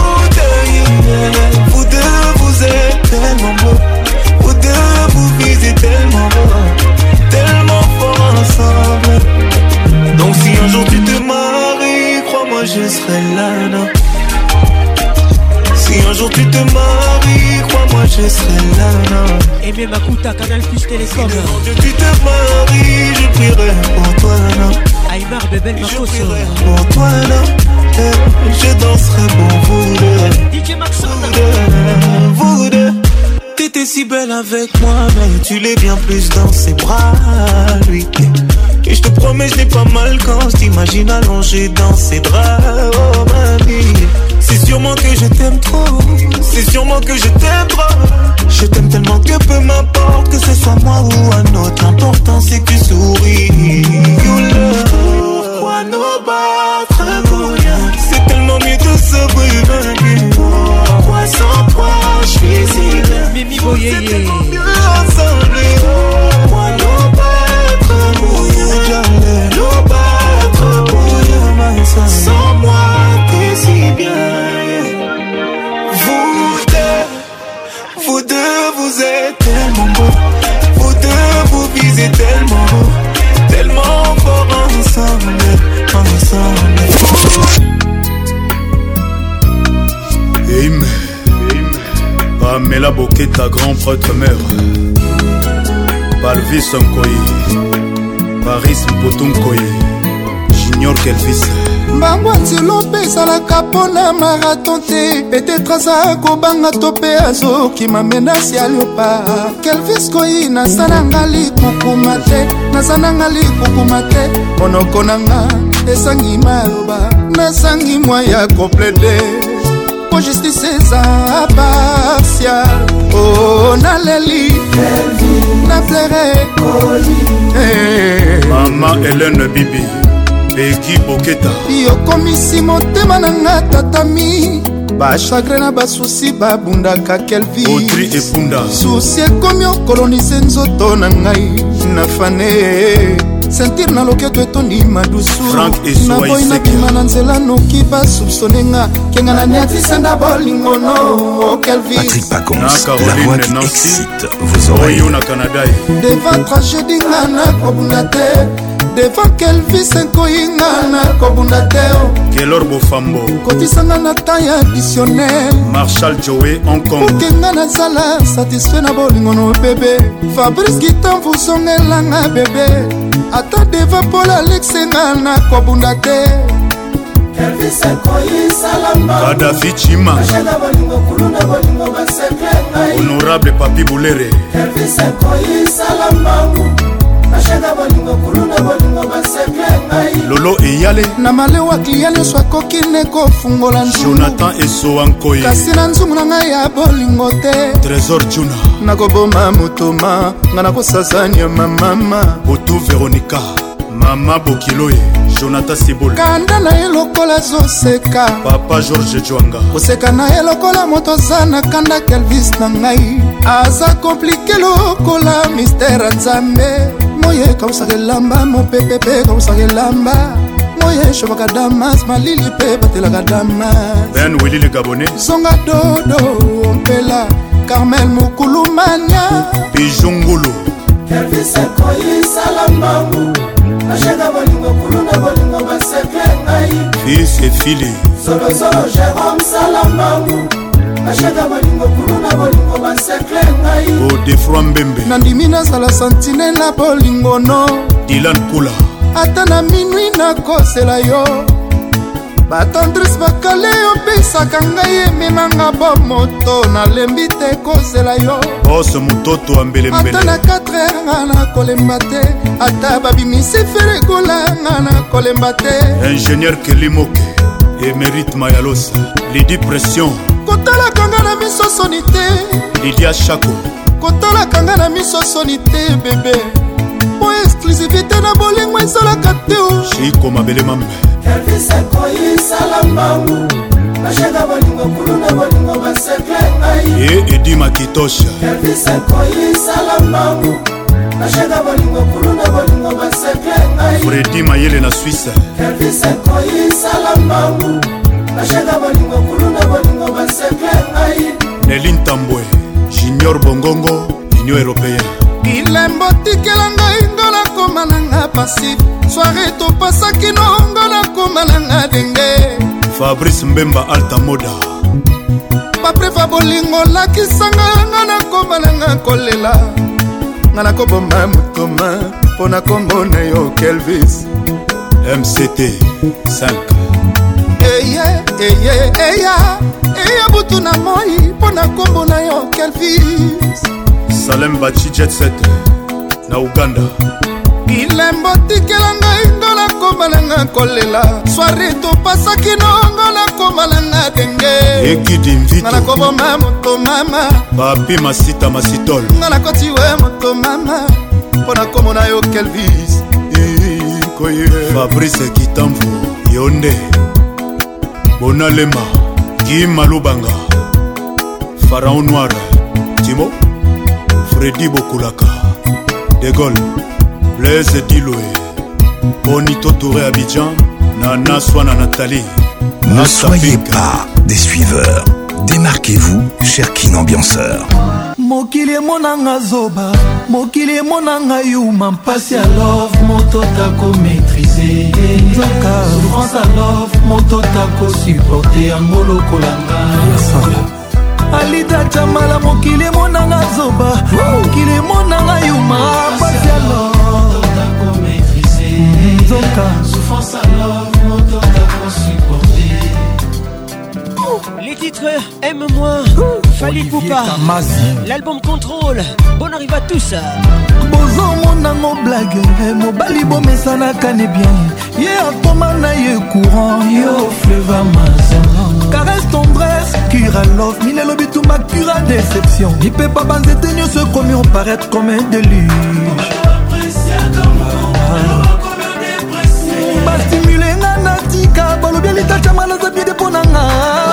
Vous deux, vous êtes tellement beaux. Vous deux, vous visez tellement haut, tellement fort ensemble. Donc si un jour tu te maries, crois-moi je serai là, non. Si un jour tu te maries, crois-moi je serai là, non. Et même Akuta, Canal Plus Télécom. Si un jour tu te maries, je prierai pour toi, non. Aymar Bebel Makoso. Je prierai pour toi, non. Je danserai pour vous deux. DJ Maxon. Vous deux. T'étais si belle avec moi, mais tu l'es bien plus dans ses bras, lui. Et je te promets, je n'ai pas mal quand je t'imagine allongé dans ses draps, oh mamie. C'est sûrement que je t'aime trop, c'est sûrement que je t'aime trop. Je t'aime tellement que peu m'importe que ce soit moi ou un autre. L'important c'est que tu souris. You love, pourquoi nous battre pour rien? C'est tellement mieux de se vaincu. Pourquoi sans toi je suis si bien? Mimi Boyeye. C'est tellement mieux ensemble. Pourquoi nous battre pour rien? J'allais nous battre pour rien. Sans moi t'es si bien. Vous deux, vous êtes tellement beaux. Vous deux, vous visez tellement haut, tellement fort ensemble, ensemble. Eime, Pamela Boketa, grand prêtre mère. Palvis Nkoyi, Paris Mpotunkoyi, Junior Kelvis. Mbangwa nzelo mpe ezalaka mpona marathon te. Petetre aza kobanga to mpe azokima menasi ya liopa. Kelvis Koyi naza nanga likukuma te, naza nanga likukuma te. Monoko nanga esangi maloba, nasangi mwa ya komplede. Po justice eza partial. Oh naleli na plere Mama Hélène Bibi Beki Boketa yokomisi motema nanga tatami. Bachagre na basusi babundaka Kelvis Audrey Epunda susi ekomi okolonise nzoto na ngai na fane. Sentir na loketo etondi madusu naboyi nabima na nzela noki basupsonenga kenga na niatisenda bolingono Kelvis. Patrick Pacons, la voix qui excite vos oreilles. Devant tragédie nga na kobunda te, devant Kelvis Nkoyi nga na kobunda te. Kelor Bofambo kotisanga na temps ya additionnel. Marshall Joey Hong Kong okenga nazala satisfait na bolingono bebe. Fabrice Gitan vuzongelanga bebe. Ata deva Paul Alexenga na kobunda te. Kelvis Nkoyi salamba Kadhafi Chima Honorable Papi Boulere. Kelvis Nkoyi salamba Lolo Eyale na malewa kliya nyonso akoki ne kofungola nzungu. Jonathan Esoa Nkoyi kasi na nzungu na ngai ya bolingo te. Trésor Juna nakoboma motoma nga nakosazania mamama. Boto Veronica Mama Bokiloye Jonathan Sibol kanda na ye lokola zoseka. Papa George Jwanga koseka na ye lokola moto aza na kanda. Kelvis na ngai aza komplike lokola mistere nzambe. Moye kausaka elamba mopepepe kausaka elamba. Moye shobaka damas malili pe batelaka damas. Ben Willy le Gabonais zonga dodo ompela Carmel Mukulumania Bijungulu. Kelvis Nkoyi salambangu ashega bolingo kuluna bolingo basekle ngai. Fils et fili Zolo Jérôme salambangu ashega bolingo kuluna bolingo basekle ngai. Godefroy Mbembe nandimi nazala santine na bolingo no. Dylan Kula ata na minui nakosela yo. batendrise bakale opesaka ngai ememanga bomoto. nalembi te kozela yo. Boss Mutoto Ambelembele ata na 4 heures nga na kolemba te. ata babimisi feregola nga na kolemba te. Ingénieur Kelimoke Émérite Mayalos Lady Pression kotalaka nga na miso soni te. Lydia Chako kotalaka nga na miso soni te bebe. po exclusivité na bolingo ezalaka te o. Chiko Mabele Mambe Kelvis Nkoyi salambangu ashega bolingo kuluna bolingo basekle ngai. et Edi Makitosha Kelvis Nkoyi salambangu ashega bolingo kuluna bolingo basekle ngai. Freddy Mayele na Suisse Kelvis Nkoyi salambangu ashega bolingo kuluna bolingo basekle ngai. Nelly Ntambwe Junior Bongongo Union Européenne. ilembo tikela ngai ngo nakoma nanga pasi. soare topasaki nongo nakoma nanga denge. Fabrice Mbemba Alta Moda baprefa bolingo lakisanga nga nakoma nanga kolela. nga nakoboma motoma mpo na kombo na yo Kelvis. MCT 5 eya butu na moi mpo na kombo na yo Kelvis. Salem Bachi Jet Set na Uganda. ilembo tikela ngai ngo nakoma nanga kolela. soare topasaki nongo nakoma nanga denge. Ekidi Mvito nga nakoboma moto mama. Papi Masita Masitol nga nakoti we moto mama mpo na kombo na yo Kelvis. Fabrice Kitamvu Yonde Bonalema Guy Malubanga Pharaon Noir Timo Freddy Bokulaka De Gaulle Blaise Diloé Bonito Touré Abidjan Nana Swana Nathalie. Ne soyez pas des suiveurs. Démarquez-vous, cher Kin Ambianceur. mokili emonanga zoba, mokili emonanga yuma, mpasi ya love moto tako maîtriser, nzoka souffrance ya love moto tako supporter yango lokolanga. Alita chamala mokili emonanga zoba, mokili emonanga yuma, mpasi ya love moto tako maîtriser, nzoka souffrance ya love moto tako supporter. Les titres Aime-moi, Fali Poupa, l'album Contrôle, bonne arrive à tous. Bozo monango blague, mobali bomesana kane bien. Ye akoma na ye courant, yo fleuve Amazon. Caresse tendresse, cura love, mine lobituma cura déception. Il peut pas banzete nyo se commis on paraître comme un déluge. Ba stimuler ngana tika, balobia lita chamala za bien deponanga.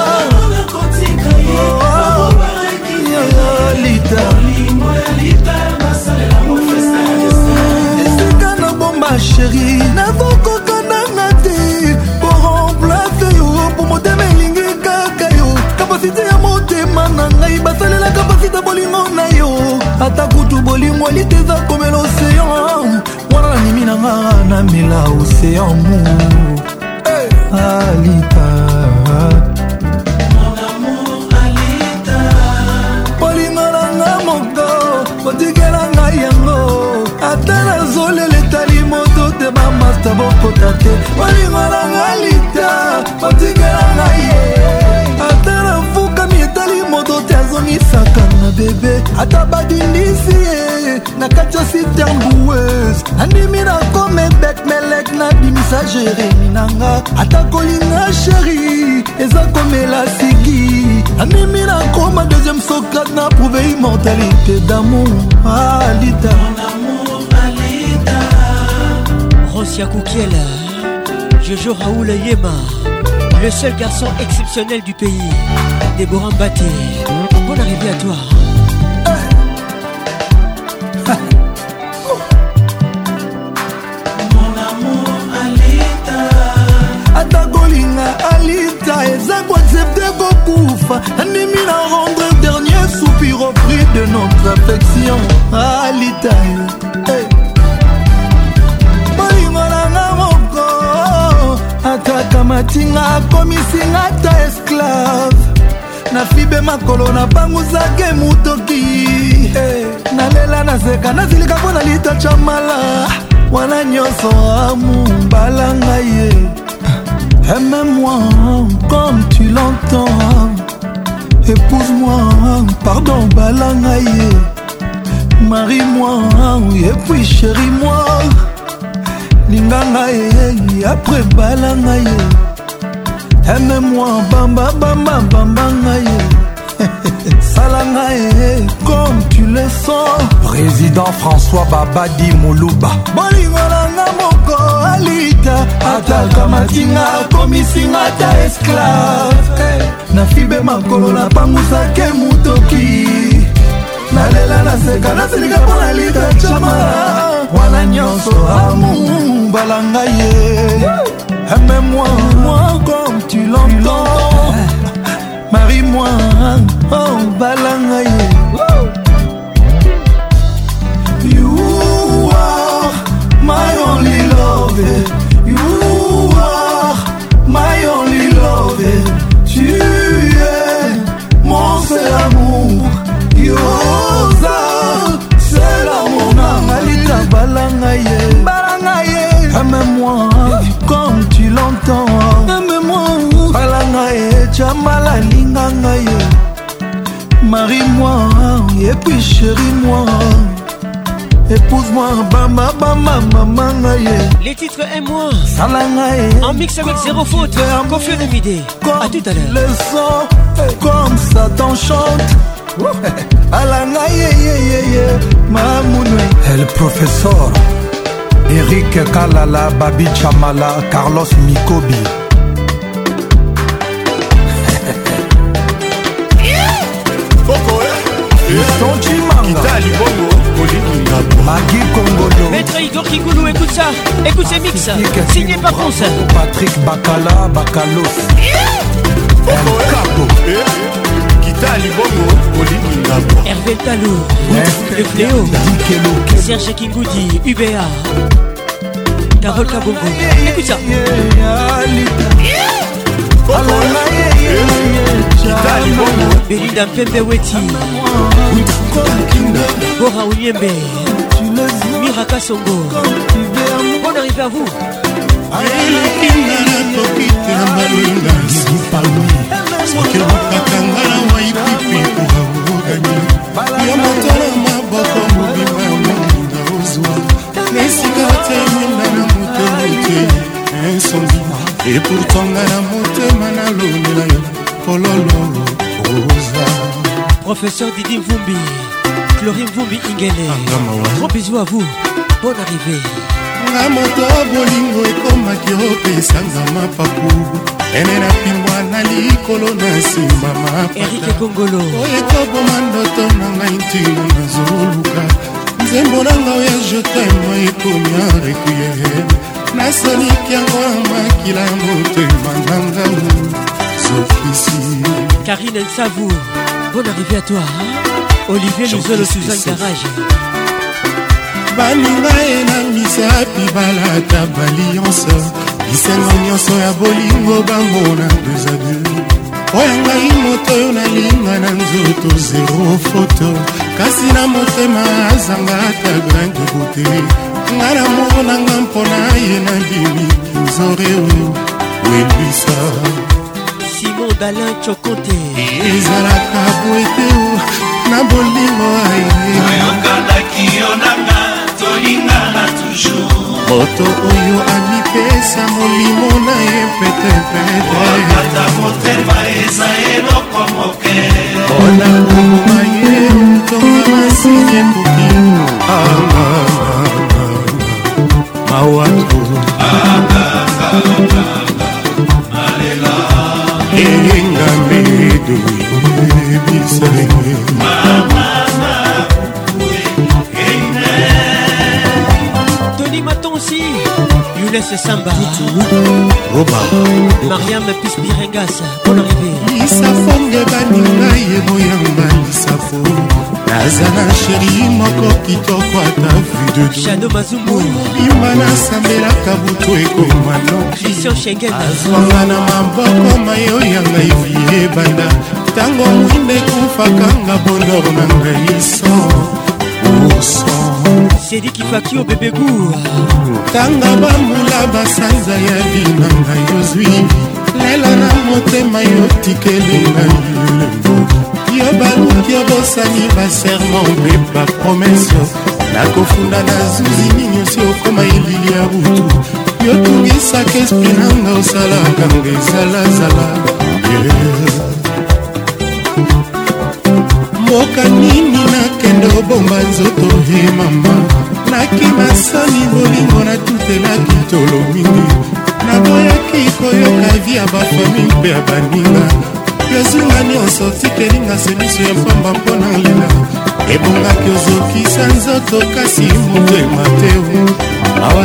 Esika na bomba chéri, nazokoka nanga te po remplace yo, po motema elingi kaka yo. Kapasite ya motema na ngai basalela kapasite bolingo na yo. Ata kutu bolingo liteza comme l'océan, wana na nimi nanga na mela océan mu. Alita otikelanga yango ata nazolela etali moto te bamasta bokota te olingolanga lita otikelanga ye ata nafukami etali moto te azongisaka na bebe ata badindisi ye na kati ya sitemboueuse nandimi nakome bek melek nabimisa jeremi nanga ata kolinga sheri eza komela sigi nandimi nakoma deuxième Socrate na prouve immortalité d'amour. Alita, mon amour, Alita. Rosia Koukiel, Jojo Raoul Yema, le seul garçon exceptionnel du pays, Déborah Mbaté. Bonne arrivée à toi. Mon amour, Alita. Atagolinga Alita, ezako accepté kokufa. Nandimi na rendre dernier soupir au prix de notre affection. Alita, balingolanga moko ataka matinga komisinga ta esclave na fibe makolo na banguzake mutoki nalela naseka nazilika mpo na lita chamala wana nyonso amumbalanga ye. Aime-moi comme tu l'entends, épouse-moi, pardon, balangaye. Marie-moi, et puis chéris-moi. Lingangaye, après balangaye. Aime-moi, bamba, bamba, bambangaye. Salangaye, comme tu le sens. Président François Babadi Moulouba. Bolingolanga moko alita. Ataka matinga, komisinga ta esclave. Na fibe makolo na pangusake mutoki. Nalela naseka nasilika pona lita chamala wana nyonso amu balangaye. Aime-moi, moi comme tu l'entends. Marie-moi, oh balangaye. You are my only love. You are my only love. Tu es mon seul amour. Yoza, c'est l'amour. Alita balangaye, balangaye. Aime-moi comme tu l'entends. Aime-moi, balangaye, chamala lingangaye. Marie-moi et puis chéris-moi. Épouse-moi, bamba, bamba, mamangaye. Les titres Aime-moi Salangaye. en mix avec Zéro Faute, Kofi Olomide. À tout à l'heure. Le son, comme ça t'enchante. Alangaye, mamounou. El professeur Eric Kalala, Babi Chamala, Carlos Mikobi. Magui Kongolo. Maître Igor Kikoulou, écoute ça. Écoute ces mix. Signé par France. Patrick Bakala, Bakalos. Kita Libongo, Olivia. Hervé Talou, le Fléau, Serge Kingoudi, UBA, Carole Kabongo. Écoute ça. Belinda Mpembe Weti, Bora Ouliembe, Miraka Songo. Bonne arrivée à vous. Et pourtant la motema na lonela yo pololo rosa. Professeur Didi Mvumbi, Chlorine Mvumbi Ingele. Gros bisous à vous. Bonne arrivée. Nga moto bolingo ekomaki opesanga mapapu ene na pingwa na likolo na nsima mapata Eric Kongolo oyo ekoboma ndoto na ngai ntino nazoluka nzembo na nga oya jotema ekomi arequiere nasoliki yango ya makila motema na ngangu zofisi. Karine Nsavou, bonne arrivée à toi. Olivier Luzolo Suzanne Garage. Baninga ena misapi balata balianse lisengo nyonso ya bolingo bamona deux à deux. Oya ngai moto oyo nalinga na nzoto zero foto kasi na motema azanga ata grain de beauté. Nga na moko na nga mpona ye na bimi nzore oyo welwisa. Simon Dalin Chokote ezalaka boete o na bolingo aye oyokandaki yo nanga tolingana toujours moto oyo amipesa molimo na ye petepete motema eza eloko moke ona koboma ye tonga masini ekoki mawatu engambedo ebisenge Tony Matonsi, Younes Samba, Roba, Mariam Pispirengas, bonne arrivée. Isafonge baninga yeboyanga isafo nazana sheri moko kitoko ata vu de Shadow Mazumbu mobimba nasambelaka butu ekoma no Christian Schengen azwanga na maboko mayo yanga ivie banda tango mwinde kufakanga bonor na ngai Sedi Kifakio bébé goût tanga bamula basanza ya binanga yozwi lela na motema yo tikelenga yo baluki obosani baserment mpe bapromese nakofunda na zuzi nini osi okoma elili ya butu yo tungisaka esprit nanga osalaka nga ezalazala mboka nini nakende obomba nzoto he mama nakimasani bolingo natutelaki tolo mingi naboyaki koyoka vi ya bafami mpe ya baninga yozunga nyonso tikelinga semiso ya pamba mpo na lela ebongaki ozokisa nzoto kasi motema te awa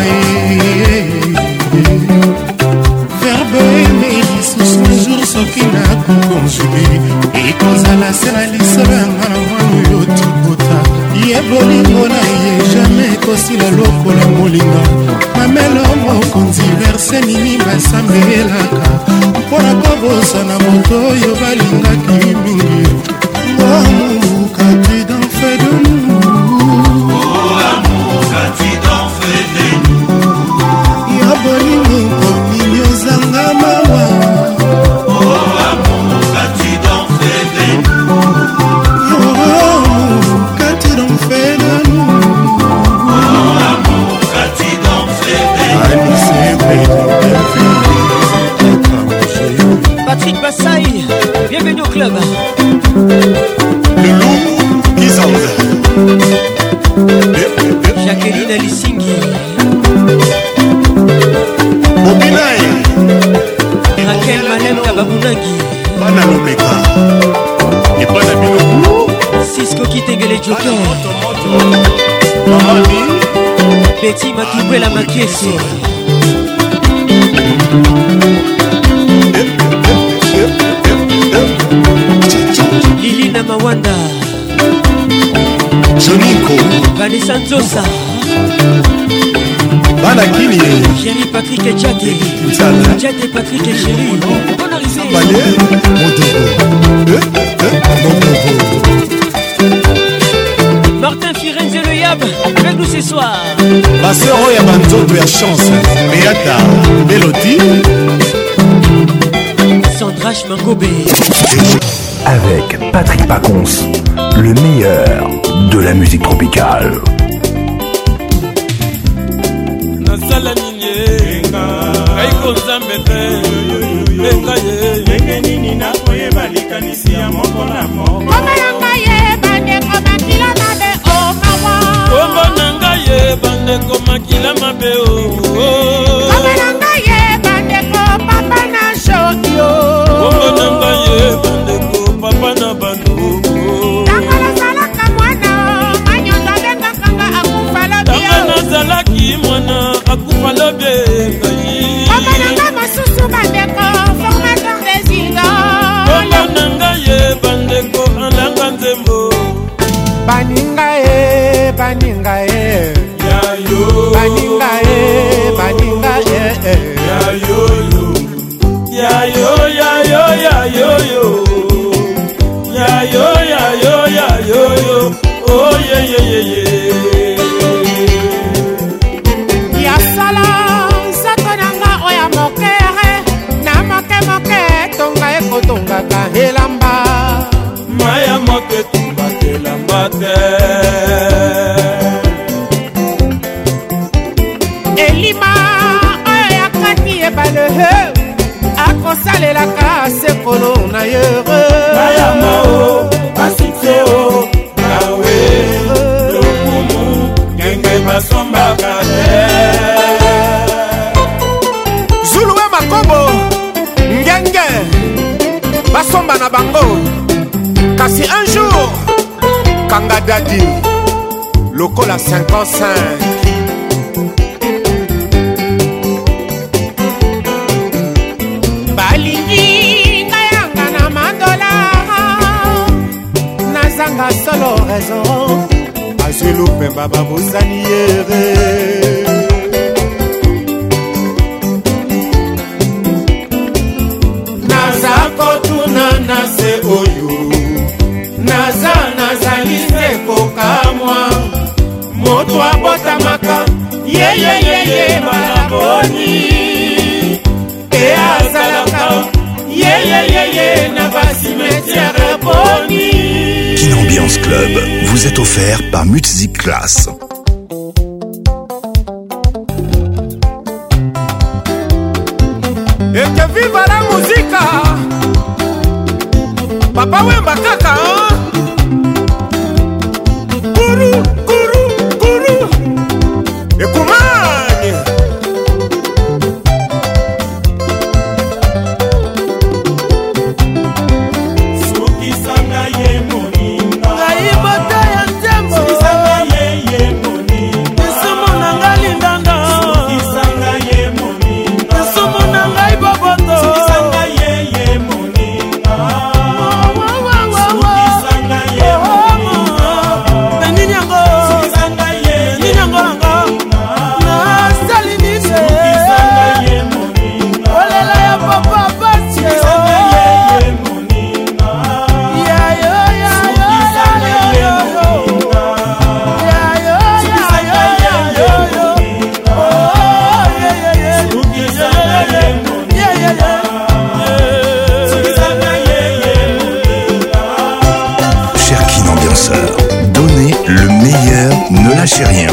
verbe eme lisusu jour soki nakokonjuge ekozala se na lisolo yanga na mwana oyo tibota ye bolingo na ye jamai ekosila lokola molinga mamelo mokonzi verse nini basambelaka mpona kobosana moto oyo balingaki mingi ngoamuka tu d'en fait de nous ya bolingo mponi ozanga mawa Patrick Bassaï, bienvenue au club. Le loup qui s'enlève. Jacqueline Alissingi, Bobinaï, Raquel Malem Kababunangi, Bana Lomeka, et Bana Bilou, Cisco Kitengele Joker, Mamadi, Betty Matoubé la Makiesi, Lili Namawanda, Joninko Vanessa Nzosa Bana Kini Chéri Patrick et Djad et Patrick et Chéri Bonne arrivée Balé Martin Firenze le Yab avec nous ce soir. Ma sœur Oya Banzoto ya chance Beata Melody Sandrache Mangobe Avec Patrick Pacons, le meilleur de la musique tropicale. Nasala nini Kaiko nzambe te Lenga ye Lenge nini na koye balikanisi ya moko na moko Koma yanga ye bande koma kila mabe o mawa Koma nanga ye bande koma kila mabe o Koma nanga ye bande ko papa na shoki o Koma nanga ye bande ko papa na bandu Tangala salaka mwana Manyonda benga kanga akufala biyo Tangala salaki mwana akufala benga Koma nanga masusu bandeko Formateur des idoles Koma nanga ye bandeko Alanga nzembo Baninga e Yayo Baninga e Yayo Yayo Yayo Yayo Yayo Yayo Yayo Oh yeah yeah yeah yeah Yasala Sakonanga oya mokere Na moke Tonga eko tonga ka helamba Maya moke tonga helamba te Elima oyo ya kati ebale akosalelaka sekolo na yere Maya mao basiteo Nawe lokumu Genge basombaka te Zuluwe Makobo Ngenge Basomba na bango Kasi un jour Kanga Dadi Lokola 55 Balingi Ngayanga na mandola Nazanga solo raison Azulu Pemba babosani yere Kotuna na se oyo Nazali se kokamwa Moto abotamaka Ye malaboni E azalaka Ye na basimetiere boni Kin Ambiance Club vous est offert par Music Class. Et que viva la musique Papa Wemba kaka Kuru Ekumani Suki sanga ye moninga Aibota ya ntembo Suki sanga ye moninga Nisumu nanga lindanga Suki sanga ye moninga Nisumu nanga iboboto Suki sanga ye moninga Suki sanga ye moninga Benini yango Suki sanga ye moninga Nasali nise Suki sanga ye moninga Olela ya papa bati Suki sanga ye moninga Yayo Suki sanga ye moninga Yayo Suki sanga ye moninga Suki sanga ye moninga Cher Kin Ambianceur, donnez le meilleur, ne lâchez rien.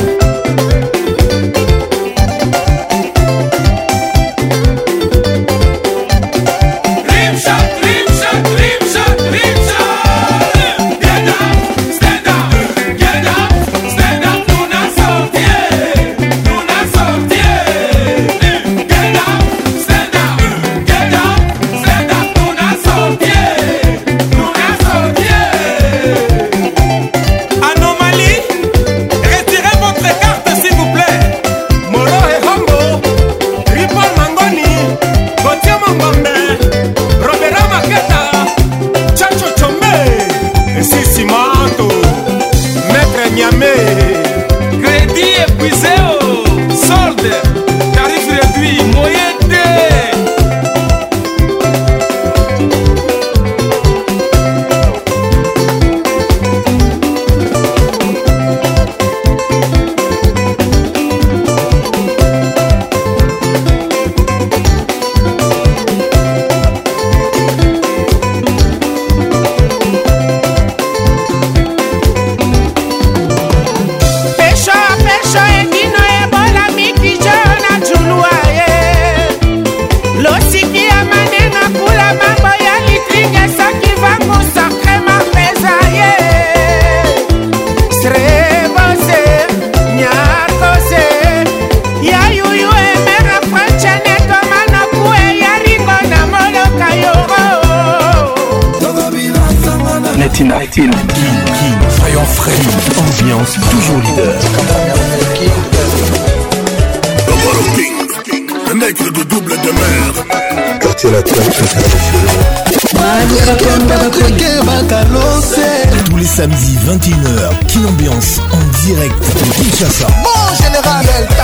Anomalie, retirez votre carte s'il vous Tina, King, soyons frais, ambiance toujours leader. Un nègre de double demeure. Quartier latin Tous les samedis 21h, Kin Ambiance en direct de Kinshasa. Bon général,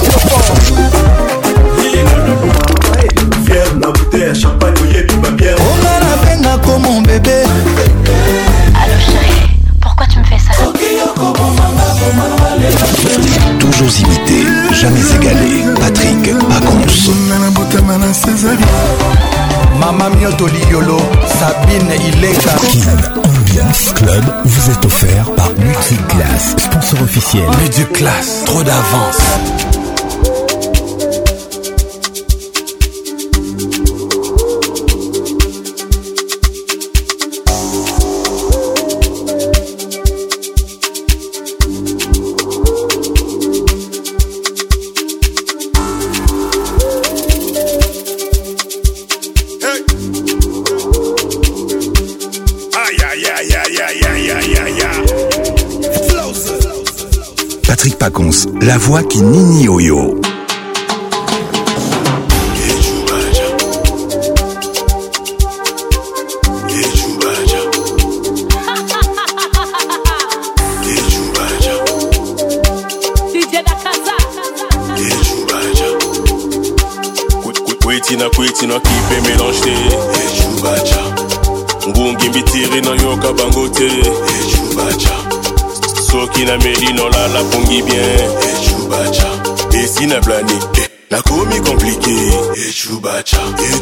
fier na bouteille, champagne, oyebi ma bière. On a la peine comme mon bébé. Allô chérie, pourquoi tu me fais ça? Toujours imité, jamais égalé. Patrick Pacons. Mama Mioto Liolo, Sabine Ileka. Kin Ambiance Club vous est offert par Multiclass, sponsor officiel. Mais du classe, trop d'avance. Patrick Pacons, la voix qui nini yo-yo. Kwetina kipe mélange Ngungi mbitiri na yoka bangote Soki na meri non la pongi bien Et si na plané la komi compliqué Et chubacha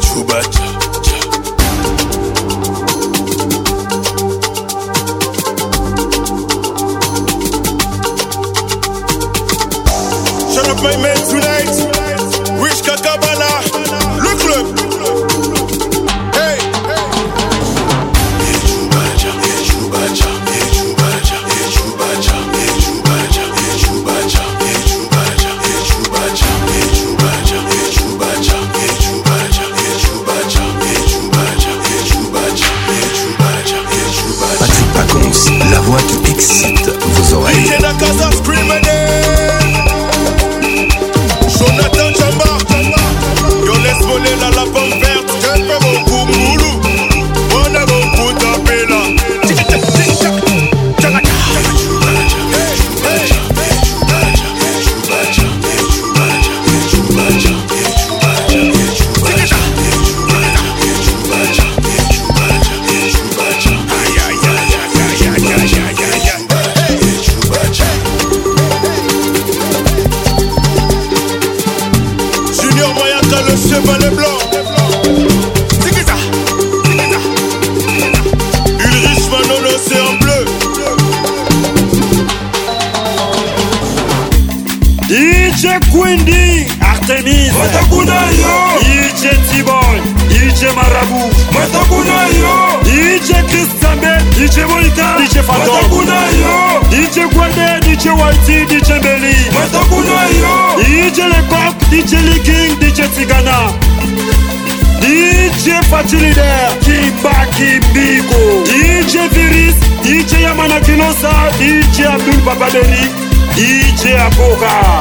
Shut up my man tonight Wish Kakabala Le club Hey Patrick Pacons, la voix qui excite vos oreilles. Jonathan Chamba, yo laisse voler la pomme verte. Je fais mon coup moulou, on a mon coup d'apéla. Junior Mayaka, le chevalet blanc. Ulrich Manon, l'océan bleu. DJ Quindi, Artemis, Matakunayo, DJ T-Boy, DJ Marabout, Matakunayo, DJ Chris Sambe, DJ Monica, DJ Faton, Matakunayo, DJ Guade, DJ Whitey, DJ Belly, Matakunayo, DJ Lecoq, DJ Licking, DJ Tigana, DJ Fatih Leader, Kimba Kimbiko, DJ Viris, DJ Yamana Kilosa, DJ Abdul Babaderi, DJ Akoka.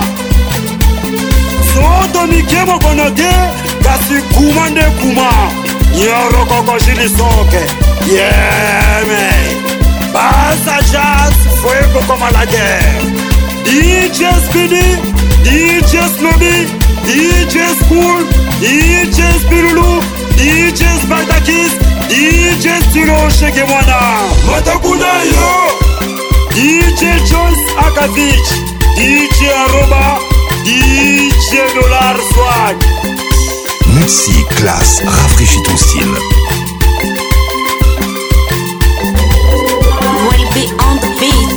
Soto Mikemo Konote, Kasi Kumande Kuma, Nyoro Koko Jilisoke, yeah man, Basa Jazz, Fuego como la guerre, DJ Speedy, DJ Snobby, DJ School, DJ Spirulu, DJ Spartakis, DJ Stilo Shegemwana, Matakunayo, DJ Jones Akavich, DJ Aroba, DJ Dollar Swag. Multiclass, rafraîchis ton style. Will be on the beat.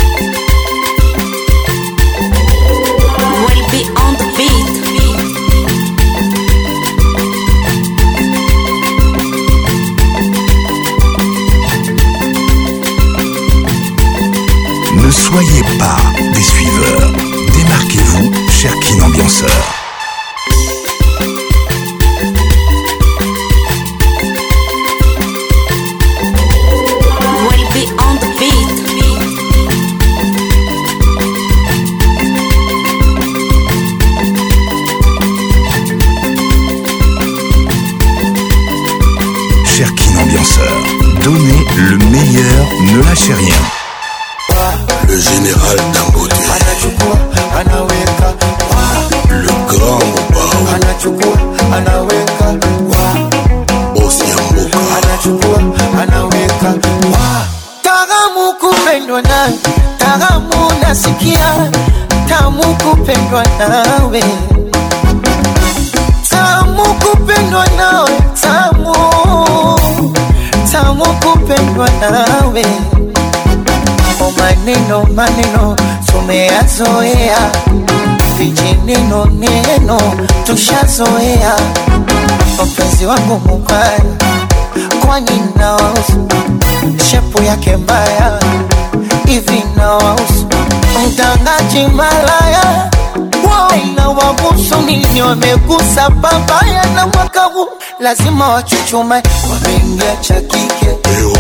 Will be on the beat. cher Kin ambianceur. Will be on the beat. Cher Kin ambianceur, donnez le meilleur, ne lâchez rien. Le général Dangote, le grand Mobao, Boss Yamboka, Taramu kupendwa nawe, taramu nasikia, tamu kupendwa nawe, tamu kupendwa nawe, tamu kupendwa nawe. O maneno tumeyazoea, vijineno tushazoea. Mpenzi wangu mubaya, kwani nawahusu? Shepu yake mbaya, hivi nawahusu? Mtangaji malaya, inawahusu nini? Wamegusa babaya na mwaka huu lazima wachuchume. Wameingia cha kike,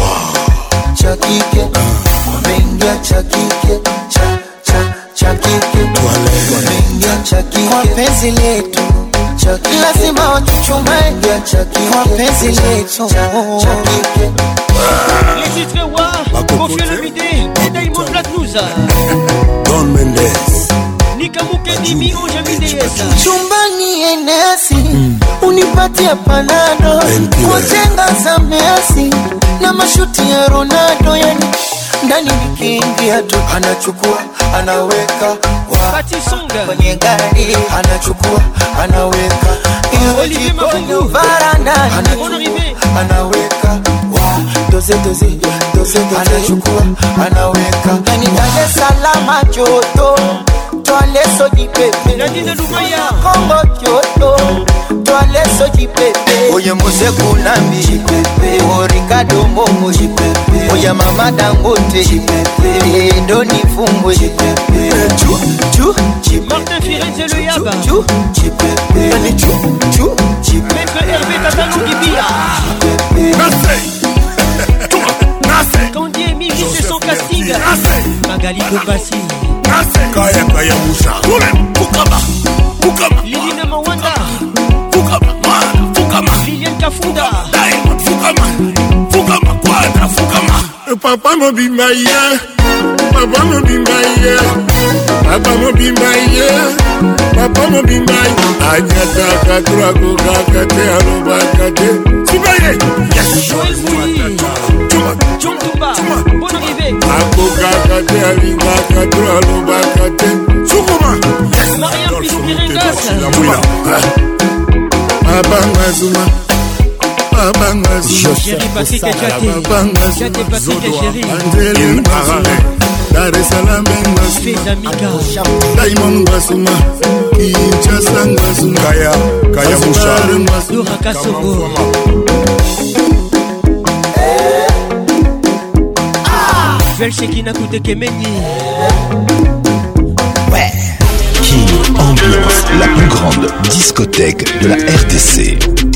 wameingia cha kike, cha kike, wameingia cha kike. Kwa penzi letu lazima wachuchume, kwa penzi letu cha kike. Les titres wa Kofi Olomide et Diamond Platnumz, Don Mendes, Nikamuke Dimi Ojamideyesa. Chumbani enesi unipatia panado, wajenga za Messi na mashuti ya Ronaldo, yani ndani nikiingia tu anachukua anaweka kwenye gari, anachukua anaweka Olivier Mafungu varanda, anaweka doze anachukua anaweka ndani Dar es Salaam joto toale soji pepe Nadine Lumaya Kongo joto toale soji pepe oye Mose Kunambi pepe o Ricardo Momo pepe oye Mama Dangote pepe Doni Fumbo pepe chu Martin Firenze le Yaba pepe ani chu Maître Hervé Tatalou Gibia Kandi Emile c'est son casting Magali Kombassi Kaya Moussa, Fukama, Lilina Mawanda Fukama, Liliane Kafunda Diamond, Fukama, Quadra, Fukama. Papa Mobimbaye, Papa Mobimbaye, Papa Mobimbaye, Papa Mobimbaye, Agnata Katrago Kakate Alobakate, Sibaye, yes, Joël Mouli John Toumba, bonne arrivée Ako Kakate Alinga Katro Alobakate, Sukuma, yes, Mariam Pilou Piringas Abanga Zuma, Abanga Zuma, Chéri Patrick et Jate Patrick et Chéri Angeli Marare, Dar es Salaam Ngasuma, Feza Mika Diamond Ngasuma, Kinshasa Ngasuma, Kaya Moussa, Dora Kassongo Joël Shekina Koute Kemenyi Kin Ambiance, la plus grande discothèque de la RDC.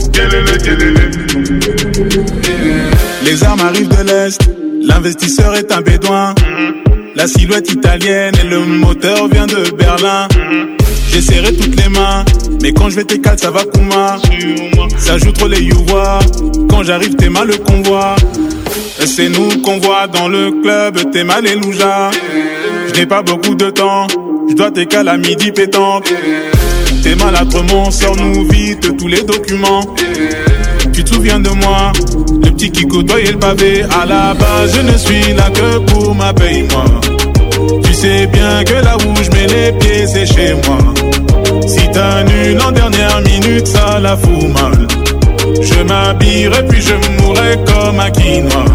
Les armes arrivent de l'Est, l'investisseur est un bédouin. La silhouette italienne et le moteur vient de Berlin. J'ai serré toutes les mains, mais quand je vais t'écaler ça va Kuma. Ça joue trop les youvois, quand j'arrive t'es mal le convoi. C'est nous qu'on voit dans le club, t'es mal et louja. Je n'ai pas beaucoup de temps, je dois t'écaler à midi pétante. T'es maladrement, sors-nous vite tous les documents. Tu te souviens de moi, le petit qui côtoyait le pavé. À la base, je ne suis là que pour ma paye-moi. Tu sais bien que là où je mets les pieds, c'est chez moi. Si t'annules en dernière minute, ça la fout mal. Je m'habillerai puis je mourrai comme un quinoa.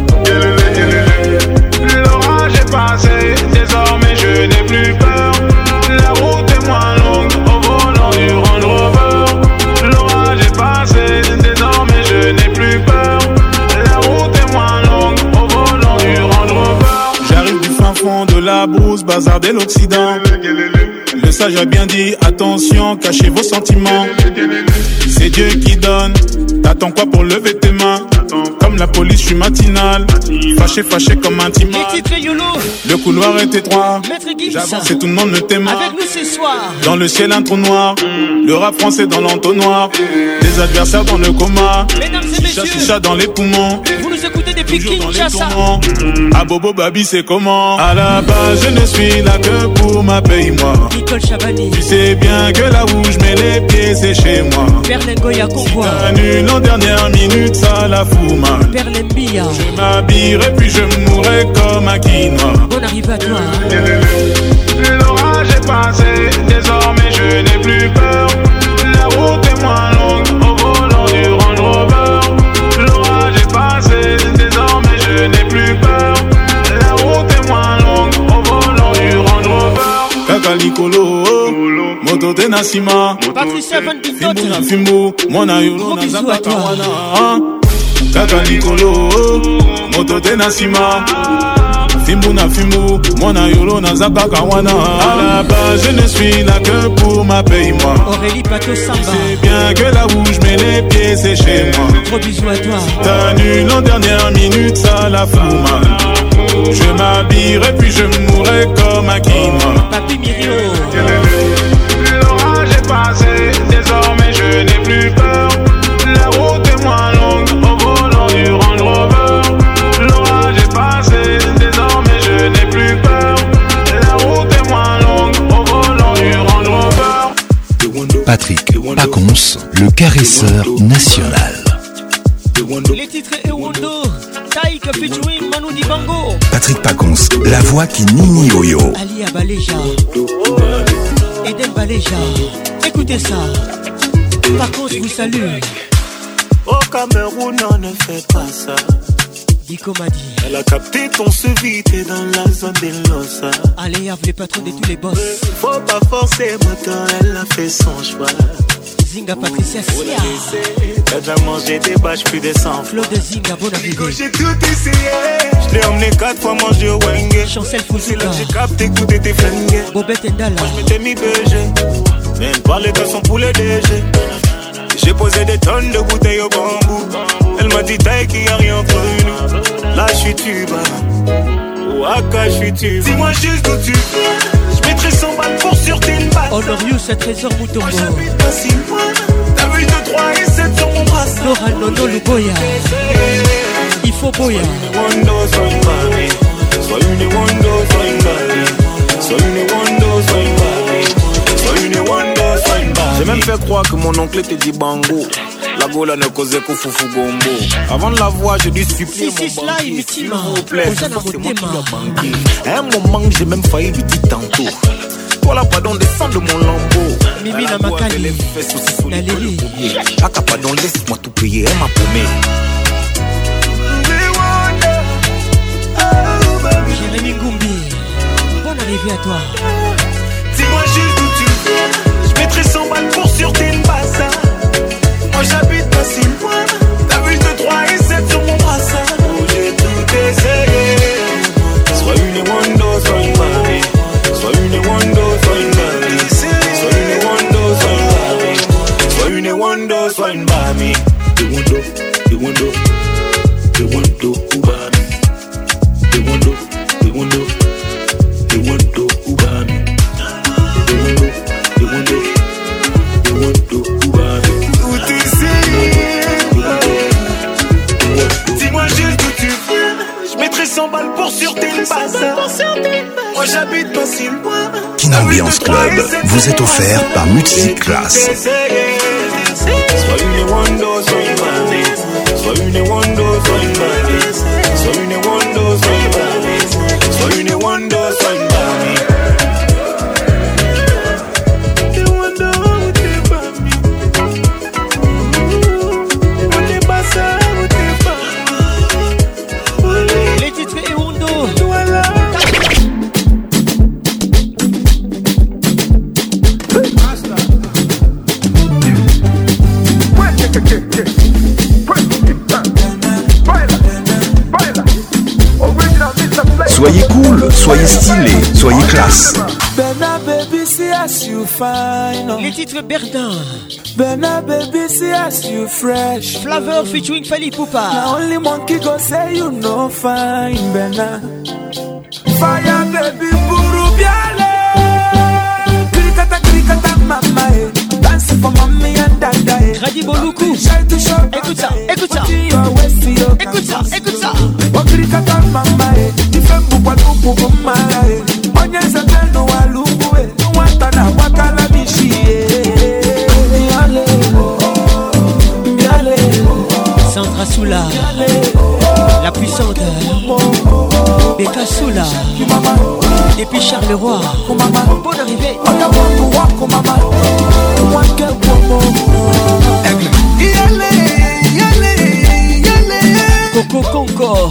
L'orage est passé, désormais je n'ai plus peur. La route est moins longue au volant du Range Rover. L'orage est passé, désormais je n'ai plus peur. La route est moins longue au volant du Range Rover. J'arrive du fin fond de la la brousse, bazar de l'Occident. Le sage a bien dit, attention, cachez vos sentiments. C'est Dieu qui donne, t'attends quoi pour lever tes mains? Comme la police, je suis matinal, fâché comme un timon. Le couloir est étroit, j'avance et tout le monde me témoin. Avec nous ce soir, dans le ciel un trou noir, le rap français dans l'entonnoir. Des adversaires dans le coma, mesdames et messieurs, chicha dans les poumons. Vous nous écoutez depuis Kinshasa. À Bobo Babi c'est comment? À la base je ne suis là que pour ma paye-moi. Nicole Chabani, tu sais bien que là où je mets les pieds c'est chez moi. Berlingoya Convoy, si t'annules en dernière minute ça la fout mal. Berlembia, je m'habillerai puis je mourrai comme un quinoa. Bonne arrivée à toi. L'orage est passé, désormais je n'ai plus peur. La route est moins longue au volant du Range Rover. L'orage est passé, désormais je n'ai plus peur. La route est moins longue au volant du Range Rover. Kaka Nicolo, Moto Tenasima, Patricia Van Bintot, Fimbo, Mona Yolo, Nazaka Kawana. Kaka Nicolo, Moto Tenasima, Fimbo na Fimbo, Mona Yolo, Nazaka Kawana. À la base, je ne suis là que pour ma paye-moi. Aurélie Pato Samba, c'est bien que là où je mets les pieds, c'est chez moi. Gros bisous à toi. T'annules en dernière minute, ça la fout mal. Je m'habillerai puis je mourrai comme un quinoa. Papi Mirio, l'orage est passé, désormais je n'ai plus peur. La route est moins longue au volant du Range Rover. L'orage est passé, désormais je n'ai plus peur. La route est moins longue au volant du Range Rover. Patrick Pacons, le caresseur national. Les titres Ewondo, Taïk featuring Manu Dibango. Patrick Pacons, la voix qui nini oyo. Ali Abaleja, Eden Baleja, écoutez ça. Pacons vous salue. Au Cameroun, on ne fait pas ça. Dico m'a dit. Elle a capté ton suivi, t'es dans la zone des Losa. Allez, les patrons de tous les boss. Faut pas forcer, moteur, elle a fait son choix. Zinga Patricia Sia. T'as déjà mangé des bâches plus de 100. Flo de Zinga, bonne arrivée. J'ai tout essayé. Je l'ai emmené 4 fois manger au Wenge. Chancel Foussika. J'ai capté que tout était flingué. Bobette Ndala. Moi je m'étais mis BG. Même pas les gars sont pour le DG. J'ai posé des tonnes de bouteilles au bambou. Elle m'a dit taille qu'il n'y a rien entre nous. Là je suis tuba. Ouaka je suis tuba. Dis-moi juste d'où tu viens. Je mettrai 100 balles pour sur tes balles. Honorius, c'est trésor Moutombo. Moi j'habite pas si loin. T'as vu 2, 3 et 7 sur mon brassard. Laura Nono Luboya. Il faut Boya. Sois une Wando, sois une Bali. Sois une Wando, sois une Bali. Sois une Wando, sois une Bali. J'ai même fait croire que mon oncle était dit bango. La gola ne causait qu'au foufou gombo. Avant de la voir, j'ai dû supplier mon banquier. S'il vous plaît, c'est moi qui dois banquer. À un moment, j'ai même failli lui dire tantôt. Toi là, pardon, descends de mon lambeau. Mimi na Makali. La Lili. Aka, pardon, laisse-moi tout payer. Elle m'a promis. Jérémy Ngoumbi, bonne arrivée à toi. Dis-moi juste d'où tu viens. Je mettrai 100 balles pour sur tes bassins. Moi j'habite pas si loin. T'as vu 2, 3 et 7 sur mon brassard. Oh, j'ai tout essayé. Sois une Wando, sois une Bali. Sois une Wando, sois une Bali. Sois une Wando, sois une Bali. Sois une Wando, sois une Bali. The Wando, the Wando, the Wando, Ubami. The Wando, the Wando, the Wando, Ubami. The Wando, the Wando, the Wando, Ubami. Tout essayé. Dis-moi juste d'où tu viens. Je mettrai 100 balles pour sur tes bassins. Moi j'habite pas si loin. Kin Ambiance Club vous est offert par Music Class. Sois une Wando, sois une Bali. Sois une Wando, sois une Bali. Sois une Wando, sois une Bali. Sois une Wando, sois une Bali. Les titres Ewondo. Soyez cool, soyez stylé, soyez classe. Bernard baby, see as you fine. Les titres Berdin. Bernard baby, see as you fresh. Flavor featuring Fali Poupa. Now only monkey go say you no fine, Bernard. Fire baby, buru biale. Krikata mama eh. Dance for mommy and dada eh. Radi Boluku. Écoute ça, écoute ça. Écoute ça, écoute ça. Krikata mama eh. Ifembu kwa lupu kumara eh. Onyeza teno walungu eh. Nwata na wakala mishi eh. Biale. Sandra Soula. La puissante. Beka Soula. Et puis Charles Roy. Bonne arrivée. Coco Conco.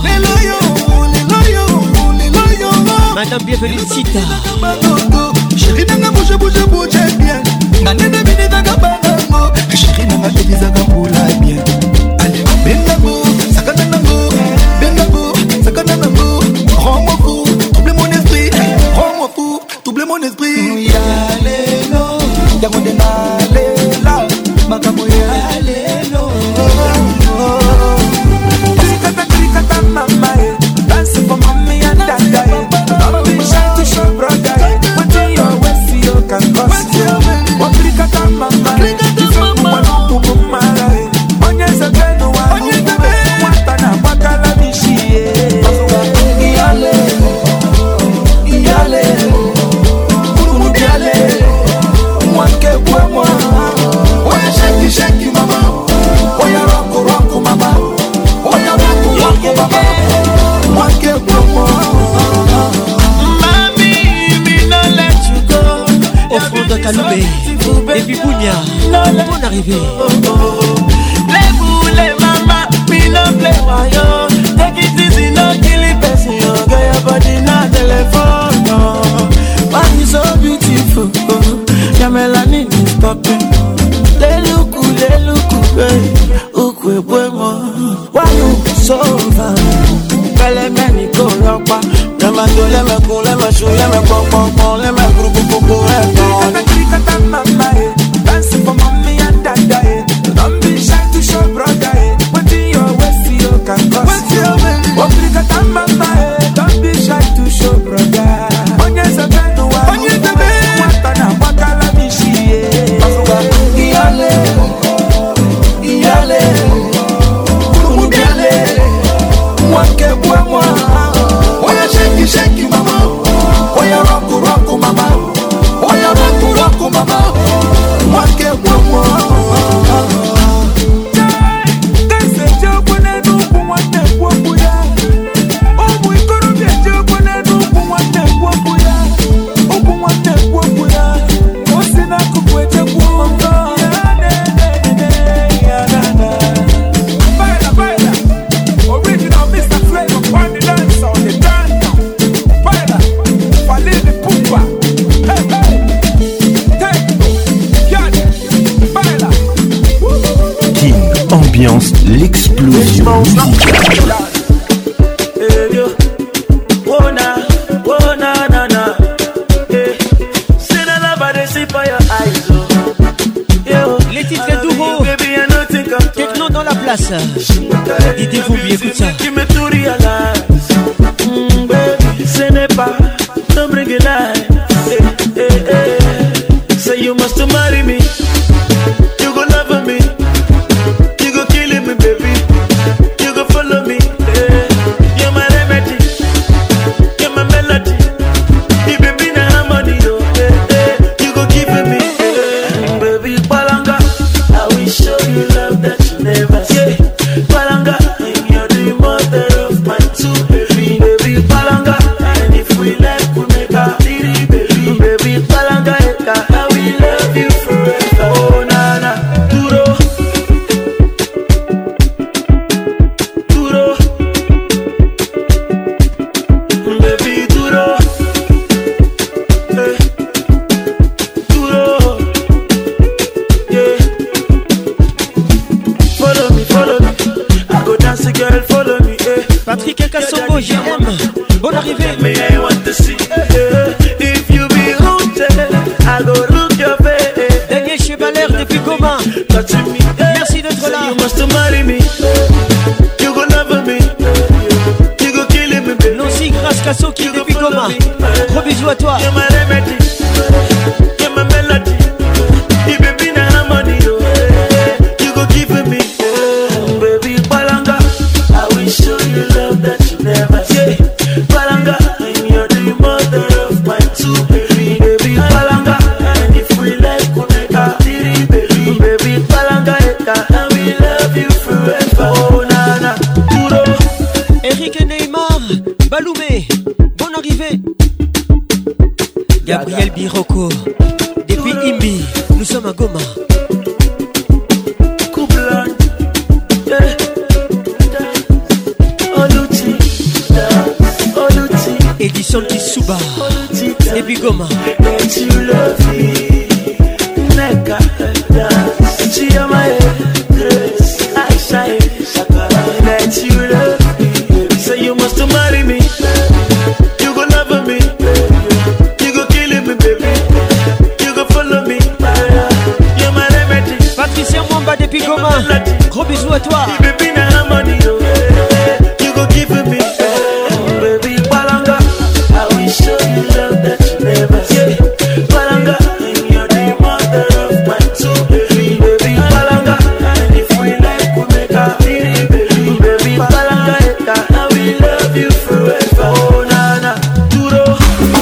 Madame bienvenue Sita. Chérie nanga bouge bien. Nanene bini daga banango. Chérie nanga elizaga boula bien. Allez benango, sakana nango. Benango, sakana nango. Rends-moi fou, double mon esprit. Rends-moi fou, double mon esprit. Yalelo, yagonde nalela. Makambo yalelo. Krikata mama eh. Dance for mommy and dada eh. Don't be shy to show brother eh. What do you always see you can cause you. What krikata mama eh. Ifembu walupu kumara eh. Onyeza teno walupu eh. Mwata na wakala mishi eh. Iyale, iyale. Kurumu biale. Mwanke kwa mwa. Oya shaki mama. Oya roko mama. Oya roko mama. Mwanke kwa mwa. Mami, me no let you go. Au fond de Kaloubé. Et puis Bounia. Bonne arrivée. Les boules mama. Me no play wayo. Take it easy, no kill it person. Get your body na telephone. Why you so beautiful? Your melanin is popping. They look hey. Ukwe bueno. Why you so fine? Pele meni ko ropa. Lema do lema kun lema shu lema pon lema kuku Krikata mama eh. Dance for mommy and dada eh. Don't be shy to show brother eh. What do you always see you can cause. Krikata mama eh. Don't be shy to show brother. Onyeza teno wa. Mwata na wakala mishi eh. Iyale. Iyale. Kurumu biale. Mwanke kwa mwa. Oya shaki mama. Oya roko mama. Oya roko mama. Mwanke kwa mwa. Kase jobo na nuku mwate kwa buya. Omu ikoro bia jobo na nuku mwate kwa buya. Omu mwate kwa buya. Osina kukweche kwa mama. Baila. Original Mr. Flavor on the dance on the dance. Baila. Falili Poupa. Hey. Techno. Yale. Baila. King Ambiance, l'explosion musicale. Les titres d'Ouro. Techno dans la place. Dites-vous bien, écoute ça. Ce n'est pas, don't bring it life. Say you must marry me. You go love me. You go kill me, baby. You go follow me. You're my remedy. You're my melody. You baby na harmony, yo. You go give me, baby Palanga. I will show you love that you never see. Palanga, you're the mother of my two baby Palanga. And if we like, we make a little baby Palanga. I will love you forever. Oh nana, duro, baby duro, duro, yeah. Follow me. I go dance, girl, follow me. Patrick Kassongo, j'aime. Bonne arrivée. Me, I want to see. If you be rooted, I go root your face. Daniel Chevaler depuis Goma. Merci d'être là. You must marry me. You go love me. You go kill me, baby. Nancy Grasse Casso qui est depuis Goma. Gros bisous à toi. You're my remedy. You're my melody. You baby na harmony. You go give me. Baby Palanga, I will show you love that you never see. Palanga, and you're the mother of my two baby. Baby Palanga, and if we like, we'll make a titty baby. Baby Palanga, and we love you forever. Oh nana, Turo. Eric Neymar, Baloumé, bonne arrivée. Gabriel Biroko, depuis Imbi, nous sommes à Goma. Edison Kisuba, depuis Goma. Say you must marry me. You go love me. You go kill me, baby. You go follow me. You're my remedy. Patricia Mwamba depuis Goma. Gros bisous à toi. Baby na harmony. You go give me. Baby Palanga, I will show you love that you never see. Palanga, and you're the mother of my two baby. Baby Palanga, and if we like, we'll make a baby. Baby Palanga, I will love you forever. Oh nana, Turo.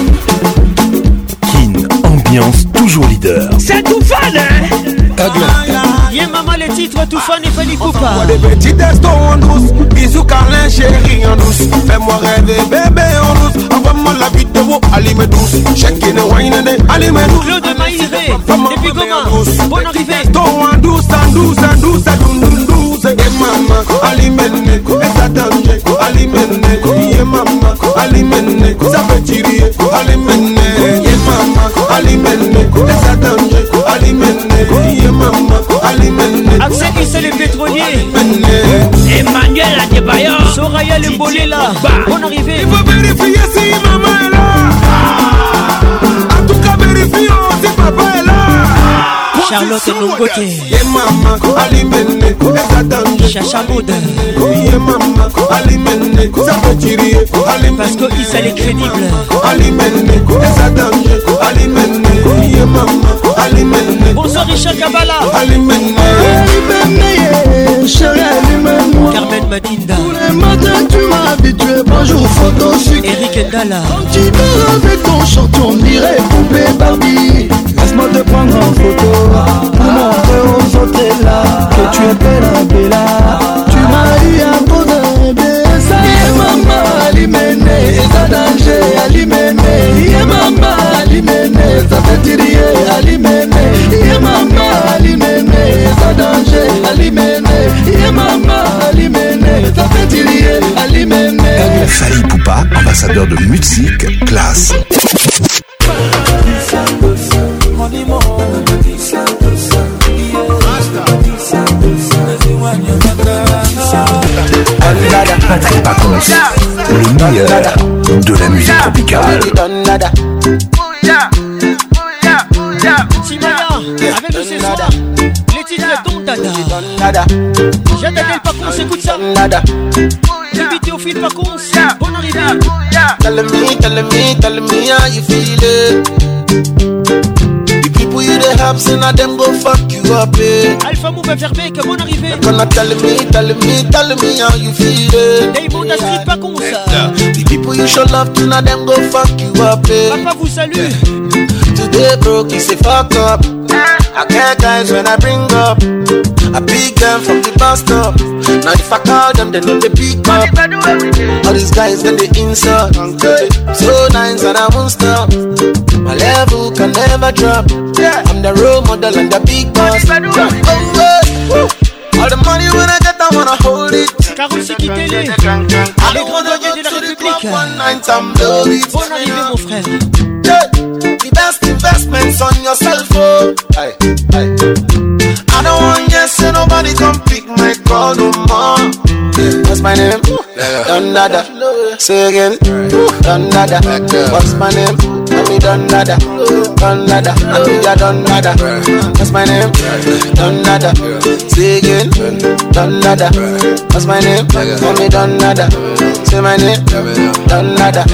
Kin, ambiance toujours leader. C'est tout fan, hein? Viens maman les titres tout fan et Fanny Poupa. Des petits testos en douce, bisous câlin chérie en douce. Fais-moi rêver bébé en douce. Envoie-moi la vidéo, allumez douce. Check-in wine and allumez douce. Claude Maïré, depuis Goma. Bonne arrivée. Testo en douce, en douce, en douce, en douce. Et maman, allumez et ça danger, allumez et maman, allumez ça fait tirer, allumez et maman, allumez et ça danger, allumez et maman, allumez. Accès Issa les pétroliers. Emmanuel Adebayo. Soraya le Bolela. Bonne arrivée. Il faut vérifier si maman est là. En tout cas, vérifions si papa est là. Charlotte Nongote. Et maman, allumez et ça danger. Chacha Maud. Et maman, allumez ça fait tirer, allumez. Parce que Issa les crédibles. Allumez et ça danger, allumez. Et maman, allumez. Bonsoir Richard Kabala. Allumez. Carmen Madinda. Tous les matins tu m'as habitué, bonjour photo sucre. Eric Ndala. Quand tu dors avec ton short, on dirait poupée Barbie. Laisse-moi te prendre en photo pour montrer aux autres là que tu es bella, bella. Tu m'as eu à cause d'un baiser. Yeah maman, alimene, ça danger, alimene. Yeah maman, alimene, ça fait tirer, alimene. Yeah maman, alimene, ça danger, alimene. Yeah maman, alimene, ça fait tirer, alimene. Fally Poupa, ambassadeur de musique classe. Patrick Pacons, le meilleur de la musique tropicale. Simaya, avec nous ce soir, les titres Don Dada. J'attendais le Pacons, écoute ça. Baby Théophile Pacons, bonne arrivée. Tell me how you feel it. The people you dey have, say na them go fuck you up, eh. Alpha Move Verbeek, bonne arrivée. Gonna tell me how you feel it. Daybond à Street Pacons. The people you show love to, na them go fuck you up, eh. Papa vous salue. Today broke, he say fuck up. I get guys when I bring up. I pick them from the bus stop. Now if I call them, they know they pick up. All these guys get the insult. So nice and I won't stop. My level can never drop. I'm the role model and the big boss. All the money when I get, I wanna hold it. Caroussi qui télé. Les grands douaniers de la République. Bonne arrivée mon frère. The best investments on yourself, oh. Aye, aye. I don't want yes, so nobody come pick my call no more. Cause my name? Don Dada. Say again. Don Dada. What's my name? Me Don Dada. Don Dada. Yeah, Don Dada. What's my name? Don Dada. Say again. Don Dada. What's my name? Me Don Dada. Say my name. Don Dada.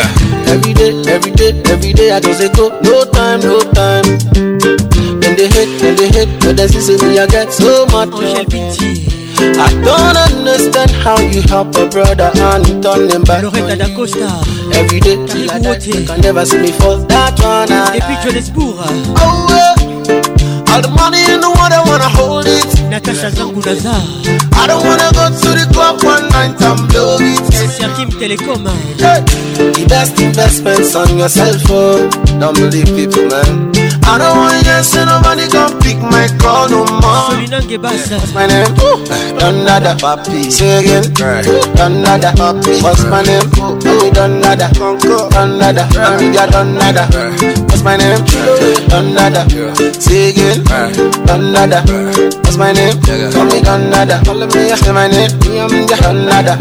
Every day I just say go. No time. When they hate, but they see me I get so much. I don't understand how you help a brother and you turn them back. Loretta da Costa. Every day till I die, you can never see me fall. That one. Et puis Johannesburg. All the money in the world, I wanna hold it. Natasha Zangunaza. I don't wanna go to the club one night and blow it. Serkim Telecom. The best investments on yourself, oh. Don't believe people, man. I don't want to say nobody can pick my call no more. What's my name? Don Dada. Papi. Say again. Don Dada. Papi. What's my name? Don Dada. Don Dada. Don Dada. What's my name? Don Dada. Say again. Don Dada. What's my name? Don Dada. Say my name. Don Dada.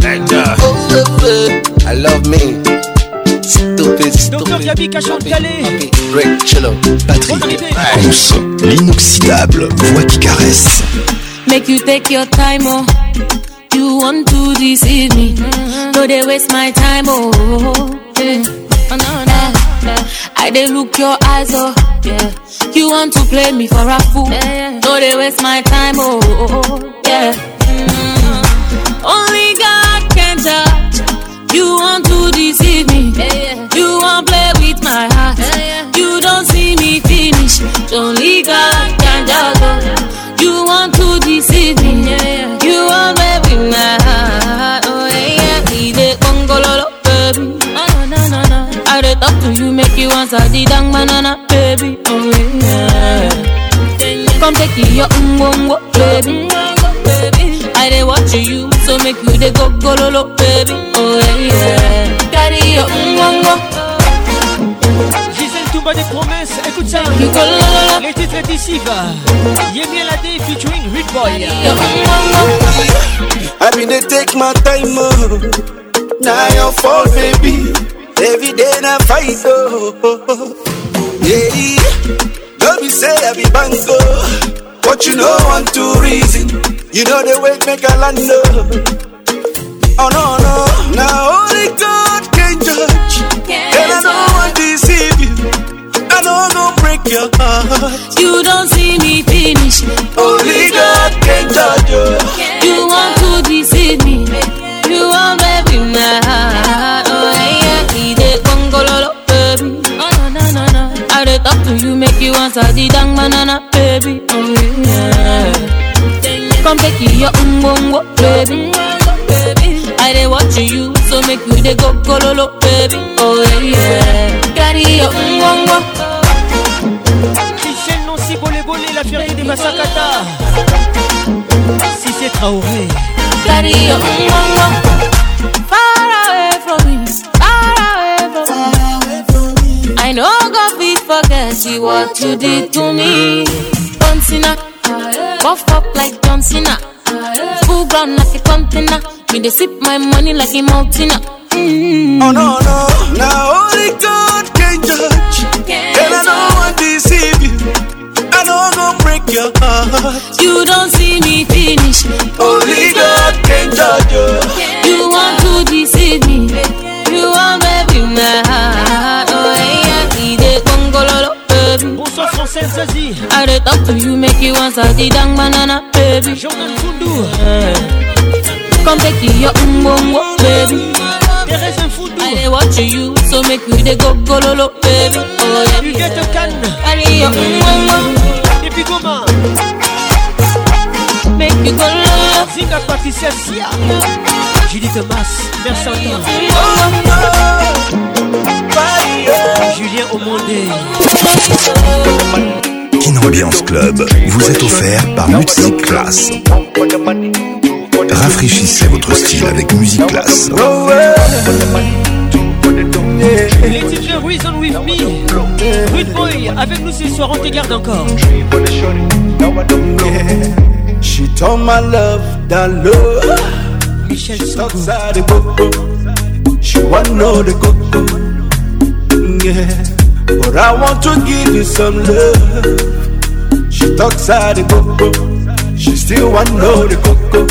I love me. Stupid. Docteur Gabi Cachon Calais. Rick, Chillo, Patrick. Ponce, l'inoxydable voix qui caresse. Make you take your time, oh. You want to deceive me. No, they waste my time, oh. Yeah. Oh, no. I they look your eyes, oh. Yeah. You want to play me for a fool. No, they waste my time, oh. Yeah. Only God can judge. You want to deceive me. You want play with my heart. You don't see me finish. Only God can judge. You want to deceive me. You want play with my heart. Oh yeah, we dey gongololo, baby. I dey talk to you, make you answer the dang banana, baby. Oh yeah. Come take your ungongo, baby. I dey watch you, so make you dey go gololo, baby. Oh yeah. Carry your ungongo. Gisèle Toumba des promesses, écoute ça. Les titres est ici, va. Yemi Alade featuring Rude Boy. I mean they take my time, oh. Now your fault, baby. Every day I fight, oh. Yeah. Don't be say I be bango, but you know one two reason. You know the way make a land, oh no. Now only God can judge. And I don't want to deceive you. I don't go break your heart. You don't see me finish. Only God can judge you. You want to deceive me. You want baby my heart. Oh yeah, he dey gongololo, baby. Oh no. I dey talk to you, make you answer the dang banana, baby. Oh yeah. Come take your umbongo, baby. I dey watch you, so make you dey go gololo, baby. Oh yeah. Carry your umbongo. Michel Nancy Bolé, la fierté des Massakata. Si c'est Traoré. Carry your umbongo. Far away from me. I know God will forget you what you did to me. John Cena, buff up like John Cena. Full ground like a container. Me they sip my money like a mountain. Oh no. Now only God can judge. And I don't want to deceive you. I don't go break your heart. You don't see me finish. Only God can judge you. You want to deceive me. You want baby my heart. Oh yeah, he dey gongololo, baby. Bonsoir Française Zazie. I dey talk to you, make you answer the dang banana, baby. Jordan Foundou. Come take your umbongo, baby. Thérèse Foundou. I dey watch you, so make you dey go gololo, baby. Oh yeah. You get a can. Carry your umbongo. Et puis comment? Make you go low. Zinga Patricia Sia. Julie Thomas, Mersantin. Julien Aumondé. Kin Ambiance Club vous est offert par Music Class. Rafraîchissez votre style avec Music Class. Les titres Reason With Me. Rude Boy, avec nous ce soir, on te garde encore. She told my love that love Michel Sogo. She want know the coco. Yeah, but I want to give you some love. She talks out the coco. She still want know the coco.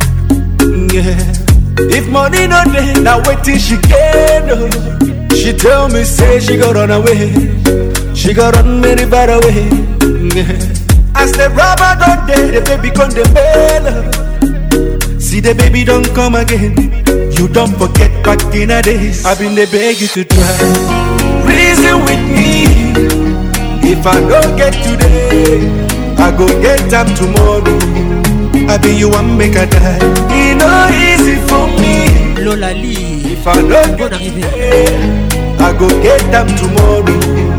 Yeah, if money no dey, now wait till she get. She tell me say she got run away. She got run very far away. Yeah. As the rubber don't dey, the baby come the bell. See the baby don't come again. You don't forget back in the days. I've been the beg you to try. Reason with me. If I don't get today, I go get them tomorrow. I be you and make a die. It no easy for me. Lola Lee. If I don't get today, I go get them tomorrow.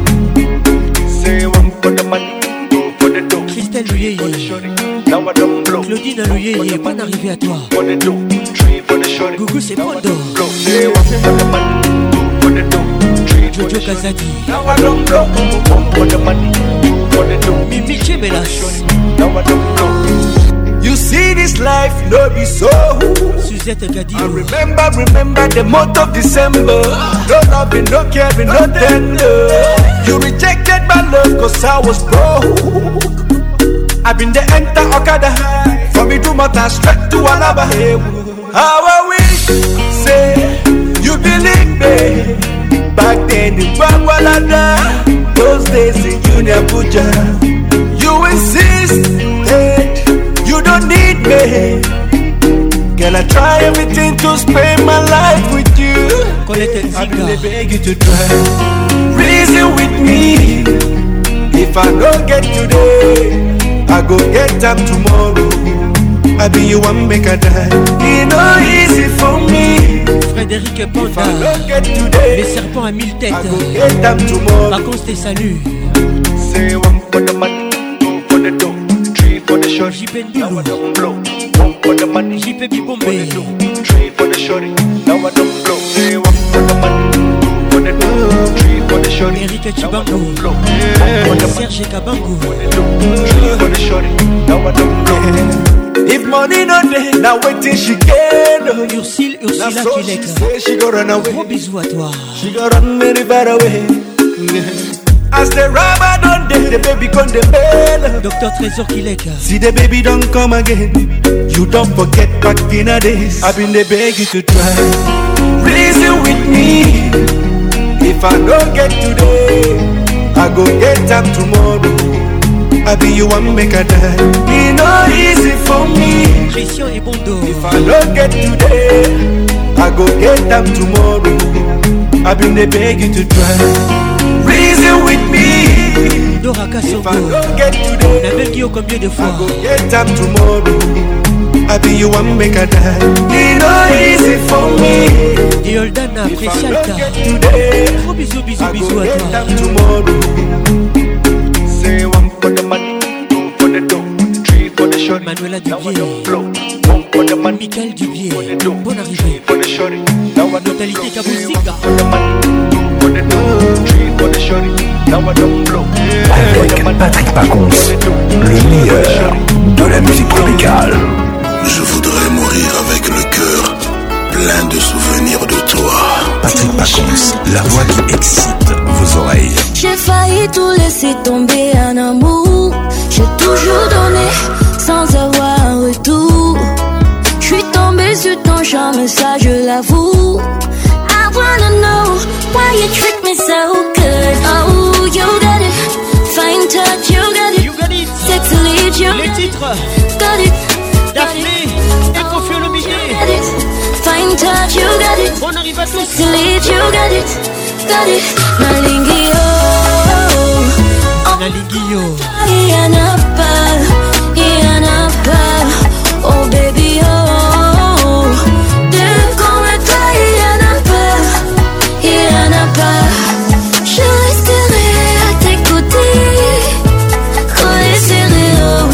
Say one for the money, two for the dough. Christelle Luyeye. Now I don't blow. Claudine Luyeye, bonne arrivée à toi. For the dough, three for the shorty. Gougou c'est Pondo. Say one for the money, two for the dough. Jojo Kazadi. Now I don't blow. One for the money, two for the dough. Mimi Chemelas. Now I don't blow. You see this life, no be so. Suzette Gadi. I remember the month of December. No loving, no caring, no tender. You rejected my love cause I was broke. I've been the enter Okada high. From me to Mata straight to Alaba. How I wish, say, you believe me. Back then in Bangwalada, those days in Junior Puja. You insisted. You don't need me. Girl, I try everything to spend my life with you. I really beg you to try. Reason with me. If I don't get today, I go get them tomorrow. I be you and make a die. It's not easy for me. Frédéric Panda. If I don't get today, les serpents à mille têtes. I go get them tomorrow. Vacances tes saluts. Say one for the money, two for the dough. For the shorty, JP Ndulu, one for the money, JP Bibombe, three for the shorty, now I don't blow. Say one for the money, two for the dough, three for the shorty, Eric Chibango, Serge Kabango, three for the shorty, now I don't blow. If money not there, now wait till she get. Ursula Kilek, she go run away. Gros bisous à toi. She go run very far away. As the rubber don't dead, the baby come the bell. Dr. Trésor Kilek. See the baby don't come again. You don't forget back in the days. I've been the beg you to try. Reason with me. If I don't get today, I go get them tomorrow. I be you and make a die. It's not easy for me. Christian et Bondo. If I don't get today, I go get them tomorrow. I've been the beg you to try. Reason with me. Dora Kassongo. If I don't get today, la belle Guillaume combien de fois? I go get them tomorrow. I be you and make a die. It's not easy for me. Yoldana, If I don't Precialta. get today, Gros bisous, bisous, I go bisous à get toi. them tomorrow. Say one for the money, two for the dough, three for the shorty. Manuela Now I Dubier. don't blow. One for the money, Michael Dubier. for the dough, Bonne arrivée. three for the shorty. Now I don't Totalité blow. Kaboussika. For the money, two for the dough, three for the shorty. Now I don't blow. Avec Patrick Pacons, le meilleur de la musique tropicale. Je voudrais mourir avec le cœur plein de souvenirs de toi. Patrick Pacons, la voix qui excite vos oreilles. J'ai failli tout laisser tomber en amour. J'ai toujours donné sans avoir un retour. J'suis tombée sur ton charme, ça je l'avoue. I wanna know why you treat me so good. Oh, you got it. Fine touch, you got it. You got it. Sexy lead, you Les titres. got it. Daphné et Kofi Olomide. Got it. Fine touch, you got it. On arrive à tous. Sexy lead, you got it. Got it. Malingi, oh. Naligio. Yanapa. Oh baby, oh. T'es comme toi, Yanapa. Je resterai à tes côtés. Collé serré, oh.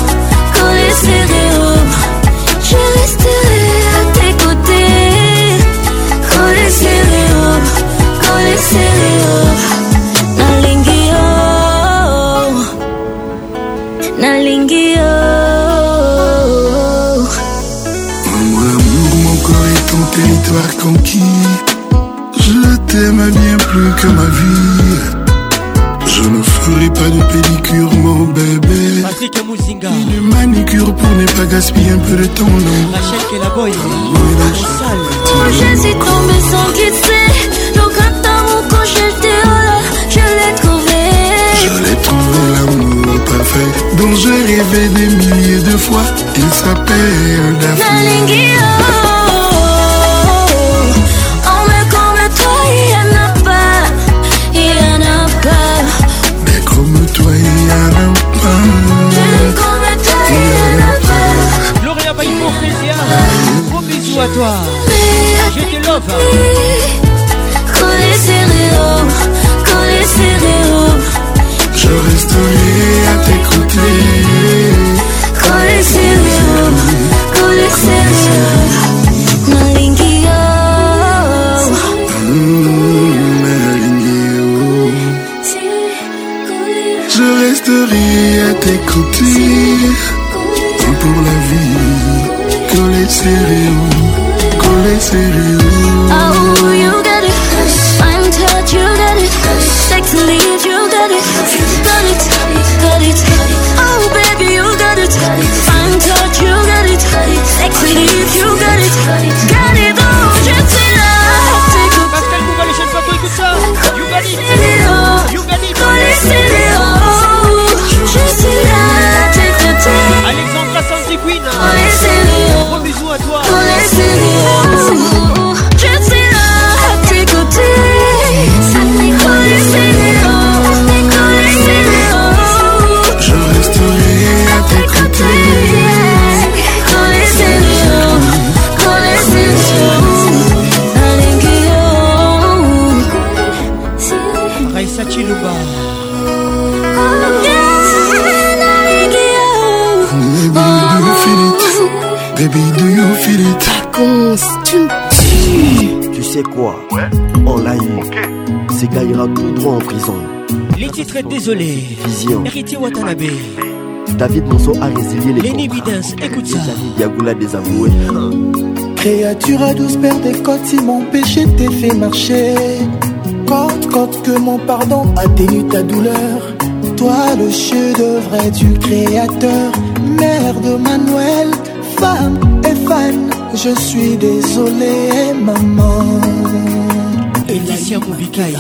Je resterai à tes côtés. Collé serré, oh. Nalingi, oh. t'aime bien plus que ma vie. Je ne ferai pas de pédicure, mon bébé. Patrick Mouzinga. Une manicure pour ne pas gaspiller un peu de temps, non. Rachel Kelaboy. Je suis tombée sans glisser. Donc attends mon coche, je l'ai trouvé. Je l'ai trouvé, l'amour parfait dont j'ai rêvé des milliers de fois. Il s'appelle Daphné. Oh mais comme toi, il y en a pas. Il y en a pas. Mais comme toi, il y en a pas. Comme toi, il y en a pas. Gloria Baïmo Frésia. Gros bisous à toi. Je te love. Collé serré, collé serré. Je resterai à tes côtés. Collé serré, collé serré. Malingio. Je resterai à tes côtés pour la vie. Collé serré, collé serré. Oh, you got it. Fine touch, you got it. Sexy leave, you got it. Got it, got it. Oh, baby, you got it. Fine touch, you got it. Sexy leave, you got it. Got it, oh, je suis là. Pascal Bouba, les chaînes photos, écoute ça. You got it. You got it. Je suis là, tes côtés. Alexandra Santi Queen. Gros bisous à toi. Je suis là, à tes côtés. Je resterai à tes côtés. Raissa Chiluba. Baby, do you feel it? Tu me tues. Tu sais quoi? On l'a eu. Ce gars ira tout droit en prison. Les titres désolé. Vision. Héritier Watanabe. David Monceau a résilié les L'évidence, écoute ça. Yagoula désavoué. Créature à 12 paires de côtes, si mon péché t'est fait marcher. Côte que mon pardon atténue ta douleur. Toi le chef-d'œuvre du créateur. Mère de Manuel, femme et fan. Je suis désolé, maman. Elicia Moubikaï.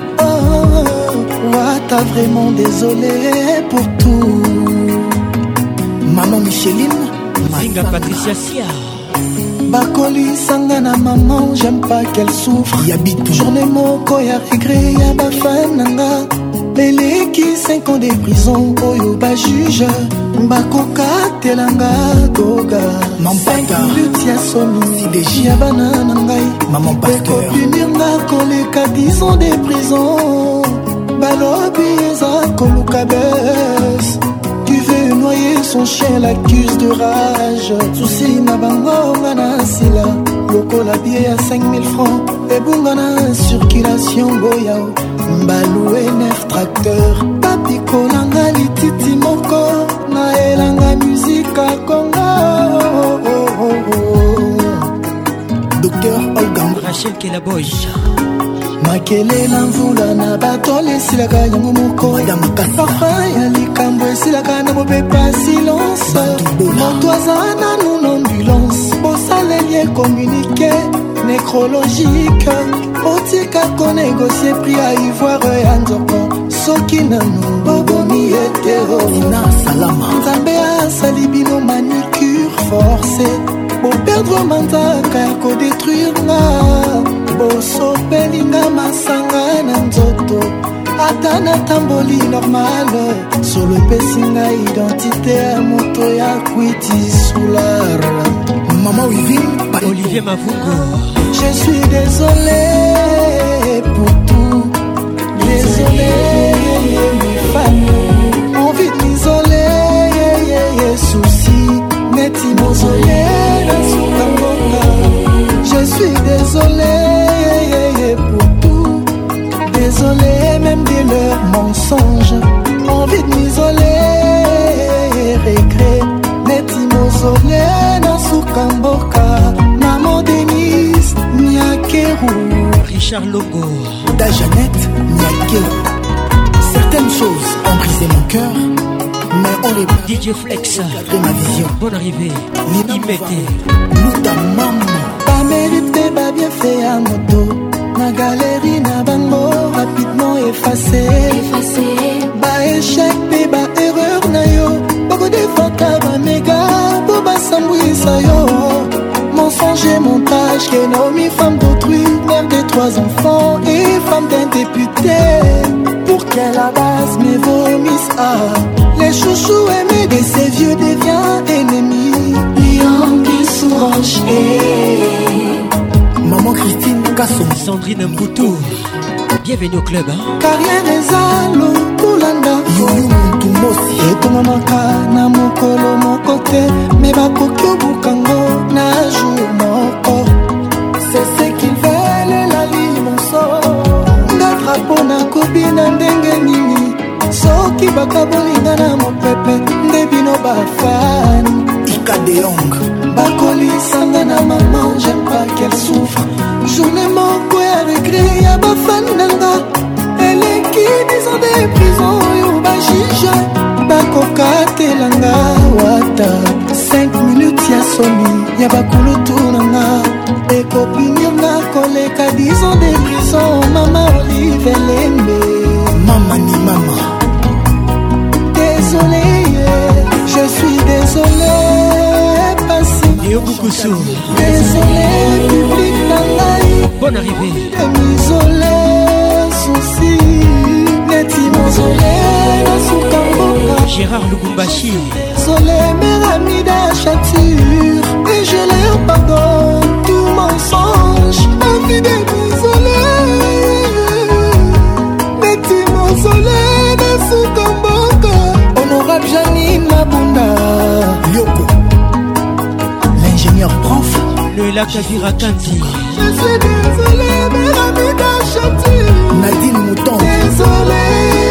T'as vraiment désolé pour tout. Maman Micheline, Zinga Patricia Sia. Bakoli Sangana maman, j'aime pas qu'elle souffre. Journée moko ya regret ya bafananga. Beleki 5 ans de prison, oyo ba juge. Bakoka telanga goga. Mampaka lutia somi, deji ya banana ngai. Maman pasteur. Punirnga koleka 10 ans de prison. Balobi eza koluka bes. Tu veux noyer son chien, l'accuse de rage. Souci na bango ngana sila. Loko la billet à 5000 francs. Et bungana circulation boyao. Mbaloué 9 tracteurs. Papi kolanga lititi moko. Na elanga musique à Congo. Docteur Olgang. Rachel Kelaboy. Makele na mvula na batole esilaka yango moko parfum ya likambo esilaka na mopepa silence moto aza nanu na ambulance bosaleli ecommunike nécrologique otika konégocie prix ya ivoire ya nzoko soki nanu bobomi etero na salama nzambe asali bino manicure forcé boperdre manzaka ya kodétruire nga bosopelinga masanga na nzoto ata natamboli normal solo epesinga identité ya moto ya kwiti soulard Maman Wivine Olivier Mavungo. Je suis désolé pour tout. Désolé, mes fans. Envie de m'isoler, souci. Neti mausolé, je suis désolé pour tout. Désolé même de leurs mensonges. Envie de m'isoler, regret. Neti mausolé, Sukamboka, Maman Denise, Nyakeru. Richard Longo. Da Jeannette Niaké. Certaines choses ont brisé mon cœur, mais on les DJ Flex de ma vision. Bonne arrivée. Imité. Nous ta maman. Pas mérité, pas bien fait à moto. Ma galerie n'a bango rapidement effacé. Ba échec, ba erreur na yo. Beaucoup de fautes ba méga, pour ba sambouissa yo. Mensonge et montage, Kenomi, femme d'autrui, mère de 3 enfants et femme d'un député. Pour qu'elle la base me vomisse, les chouchous aimés de ces vieux deviennent ennemis. Lion qui s'orange. Maman Christine Kasson. Sandrine Mboutou. Bienvenue au club. Carrière ezalo kulanda. Yoyo muntu mosi. Et ton maman na mokolo mokote. Mais bakoki obukango na jour moko. C'est ce qu'ils veulent la ligne mon sort. Nga drapeau na kobi na ndenge nini. Soki bakabolinga na mopepe. Ndebino bafan. Ika de Hong. Bakoli sanga na maman, j'aime pas qu'elle souffre. Journée moko ya regret ya bafan nanga. Elle est qui 10 ans de prison yo ba juge. Bakoka telanga wata. 5 minutes ya soni ya bakulu tunanga. Et copine na koleka 10 ans de prison. Mama Olive Lembe. Mama ni mama. Désolé, je suis désolé. Désolé, public d'Angaï. Bonne arrivée. Désolé, souci. Neti mausolé, dans son camboka. Gérard Lubumbashi. Désolé, mes amis d'achature. Et je leur pardonne tout mensonge. Ma vie désolé. Neti mausolé, dans son camboka. Honorable Janine Mabunda. Yoko. L'ingénieur prof. Le lac Avira Kanti. Je suis désolé, mes amis d'achature. Nadine Mouton. Désolé.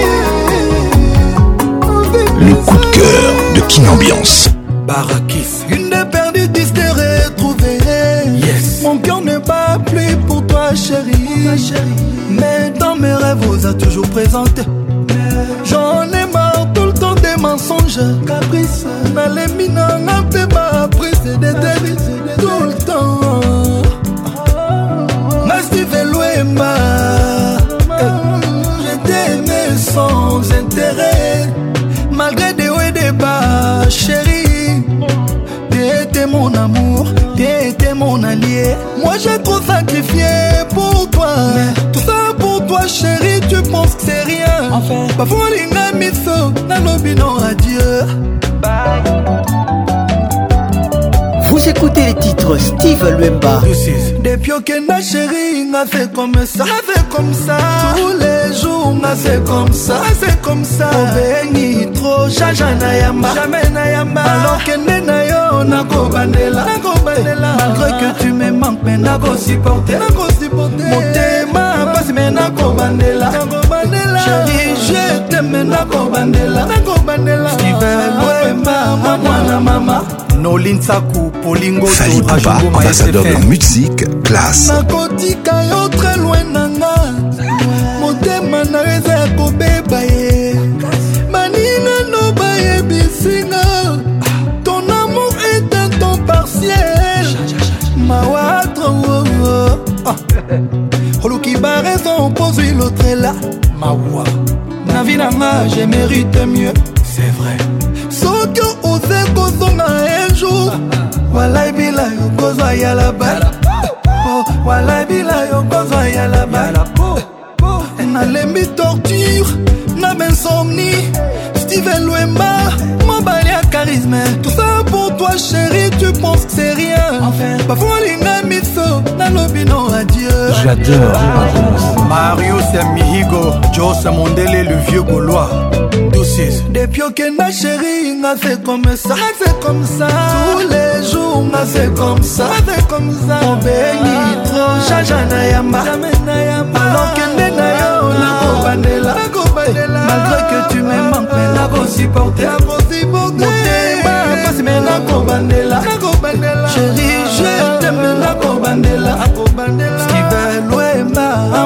Le coup de cœur de Kin Ambiance. Barakis. Une de perdue, 10 de retrouvée. Yes. Mon cœur ne bat plus pour toi, chérie. Mais dans mes rêves, vous a toujours présenté. J'en ai marre tout le temps des mensonges. Caprice. Dans les mines, on a fait ma prise de tête. Tout le temps. Steve Louemba. Je t'aimais sans intérêt. Malgré des hauts et des bas, chérie. T'étais mon amour, t'étais mon allié. Moi j'ai trop sacrifié pour toi. Tout ça pour toi, chérie, tu penses que c'est rien. Enfin, parfois l'inga miso, nalobi non adieu. Bye. Vous écoutez les titres Steve Luemba. Depuis que ma chérie m'a fait comme ça, tous les jours m'a fait comme ça, Oh béni trop, jaja yamba, jamais yamba. Alors que nena yo nako bandela, malgré que tu me manques, mais nako supporter. Mon thème passe mais nako bandela, chérie je t'aime nako bandela. Steve Luemba, mama. Nolin Sakou, Polingo, Fali Poupa, ambassadeur de musique, classe. Nakotika yo très loin nanga. Motema na reza ya kobeba ye. Manina no baye bisinga. Ton amour est un temps partiel. Mawatro. Oluki ba raison, pose l'autre est là. Mawa. Na vie nanga, je mérite mieux. C'est vrai. Sokyo ose kozonga un jour. Walai bila yo kozwa ya la bala. Walai bila yo kozwa ya la bala. Na lembi torture, na bensomnie. Steven Luemba, mon balai à charisme. Tout ça pour toi chérie, tu penses que c'est rien. Enfin, parfois l'inga miso, na lobino adieu. J'adore. Mario Semihigo, Joss Mondele, le vieux Gaulois. Depuis que ma chérie m'a fait comme ça, tous les jours m'a fait comme ça, Oh béni trop, jaja na yamba, alors que nena yo nako bandela, malgré que tu me manques, mais nako supporter. Mon thème passe mais nako bandela, chérie je t'aime nako bandela. Steve Luemba,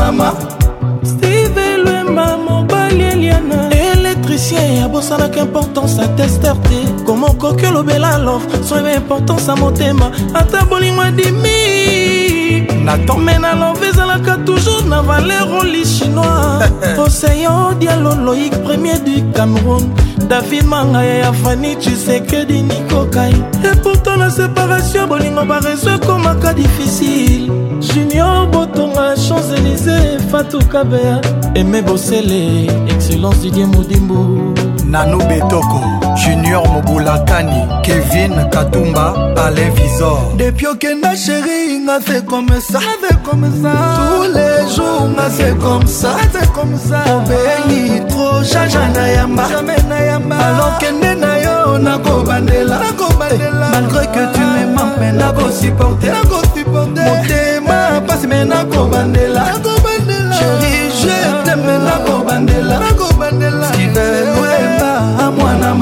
mama. Steve Lwemba mobali Eliana électricien abosalaka importance à testeur te comment koki olobela love soyeba importance à motema ata bolingo adimi natome na love ezalaka toujours na valeur oli chinois Océan Diallo Loïc premier du Cameroun David Mangaya ya Fanny Tshisekedi Nico Kai et pourtant la séparation bolingo barezo komaka difficile Junior Botonga Champs-Élysées Fatou Kabea Aimé Bossele excellence Didier Moudimbo Nano Betoko Junior Mobulakani Kevin Katumba Alain Visor depuis Okenda chérie n'a fait comme ça tous les jours n'a fait comme ça Obéi trop jaja na yamba alors kende na yo na kobandela malgré que tu m'aimes mais na ko supporter motema passe mais na kobandela chérie je t'aime na kobandela Steven Lwemba mwana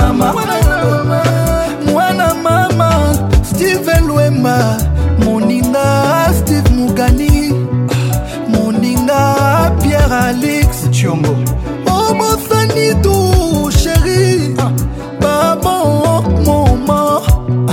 mama Steven Lwemba moninga Steve Mugani moninga Pierre Alex Chiongo Obosani tout chéri Babon moment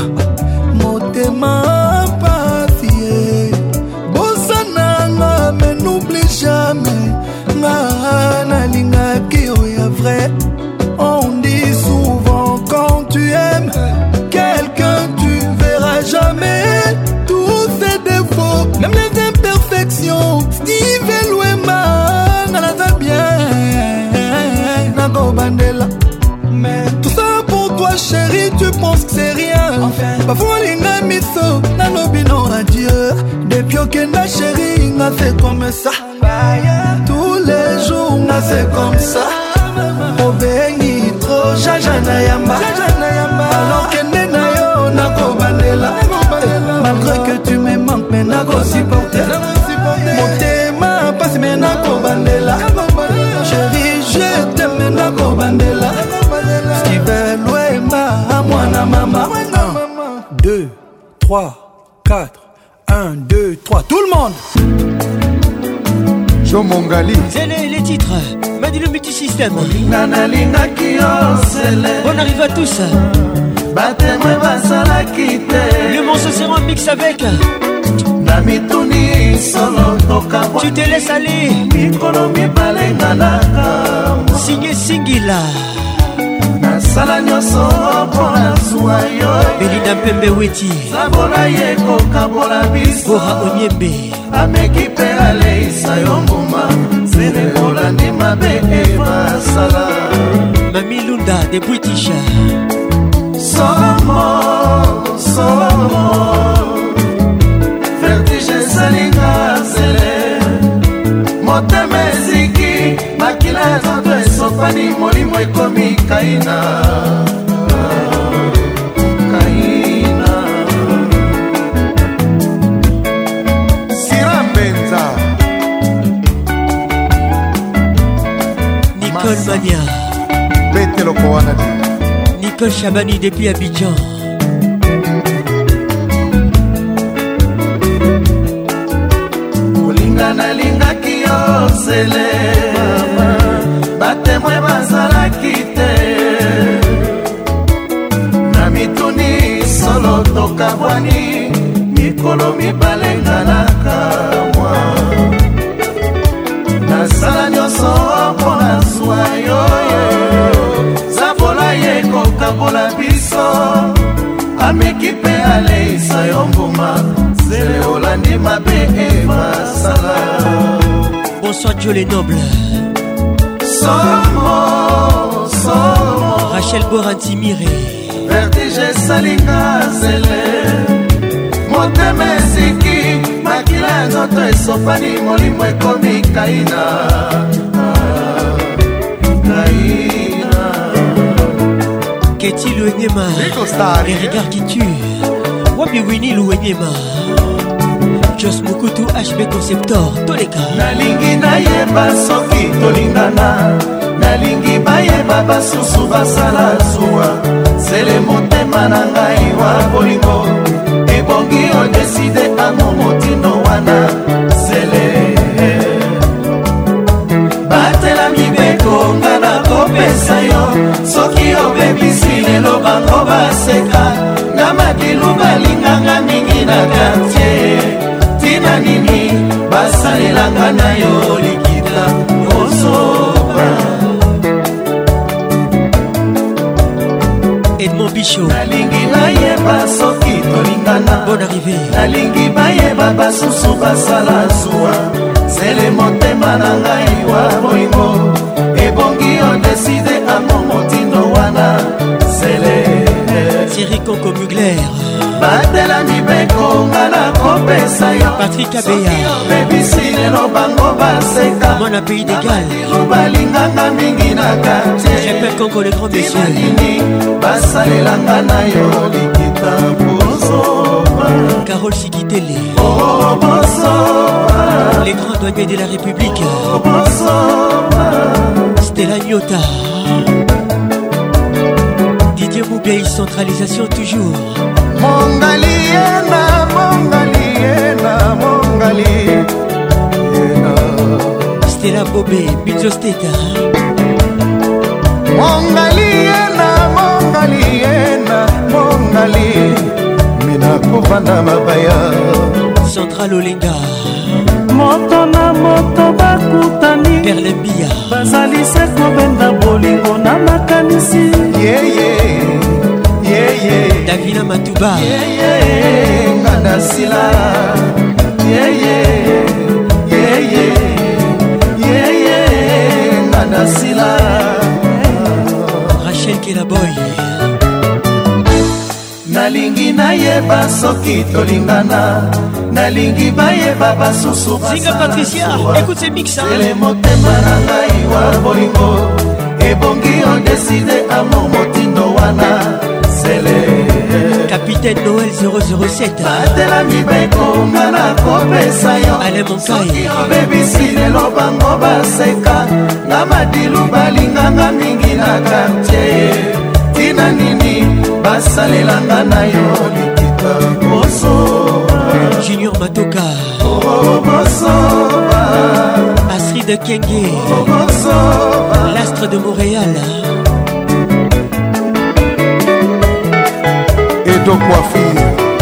Motema papier Bosananga mais n'oublie jamais Nga linga ki oya vrai On dit souvent quand tu aimes quelqu'un tu verras jamais tous ses défauts même les imperfections Steve Lwemba n'en va bien Nago Bandela mais tout ça pour toi chérie tu penses que c'est rien enfin Bafualinga miso Nanobino adieu depuis Okenda chérie n'a fait comme ça tous les jours n'a fait comme ça Obéi trop jaja na yamba alors kende na yo na kobandela malgré que tu me manques mais na ko supporter motema passe mais na kobandela chérie je t'aime na kobandela Steven Lwemba mwana mama 2 3 4 1 2 3 tout le monde Joe Mongali c'est les titres Madi le multisystème On arrive à tous Le morceau sera en mix avec Tu te laisses aller Signé Singila Sala nyoso pona zuwa yo Belinda Mpembe Weti Sabola ye kokabola biso Ora Onyembe Ameki pe aleisa yo mbuma Sene kola ni mabe eva sala Mami Lunda de British Somo Vertige salinga zele Motemeziki Makila zoto esopani molimo ekomi kaina Sira Mbenza Nicole Mania Betelo Kowanadi Nicole Chabani depuis Abidjan Olinga na linga kiyo sele Batemwe bazalaki te Na mituni solo tokabwani Mikolo mibalenganaka mwa Nasala nyoso pona zuwa yoyo Zabola ye kokabola biso Ameki pe aleisa yo mbuma Zele olandi mabe eva sala Bonsoir Joe les nobles Somo Rachel Borantimire Vertige salinga zele Motemeziki Makila nzoto esopani molimo ekomi kaina Keti Louenyema Les regards qui tuent Wabi Winnie Louenyema Jos Mukutu HB Conceptor Toleka Nalingi nayeba soki tolingana Nalingi bayeba basusu basala zuwa Sele motema na ngai wa bolingo Ebongi odeside amo motindo wana Sele bango baseka na madilu balinganga mingi na quartier tina nini basalelanga na yo likita osoba Edmond Bichot nalingi nayeba soki tolingana bonne arrivée nalingi bayeba basusu basala zuwa zele motema na ngai wa bolingo ebongi odeside amo motindo wana zele Thierry Conco Mugler batela mibeko nga na kopesa yo Patrick Abeya bebisi lelo bango baseka Mona Pays d'Égal balinganga mingi na quartier J'appelle Conco le grand monsieur basalelanga na yo likita bozoma Carole Sikitele les grands douaniers de la République Stella Nyota Didier Moubiaï centralisation toujours Mongali yena, mongali yena, mongali yena Stella Bobé, Bizzo Steta Mongali yena, mongali yena, mongali Mina kovanda mabaya Central Olinga Moto na moto bakutani Perlembia Bazali se kobenda bolingo na makanisi Davina Matuba Nganda sila Nganda sila Rachel Kelaboy nalingi nayeba soki tolingana nalingi bayeba basusu Zinga Patricia écoute ces mix ele motema na ngai wa bolingo ebongi odeside amo motindo wana Capitaine Noël 007 batela mibeko nga na kopesa yo Ale Monkai obebisi lelo bango baseka na madilu balinganga mingi na quartier tina nini basalelanga na yo likita boso Junior Matoka Astrid Kenge l'astre de Montréal Edo Coiffure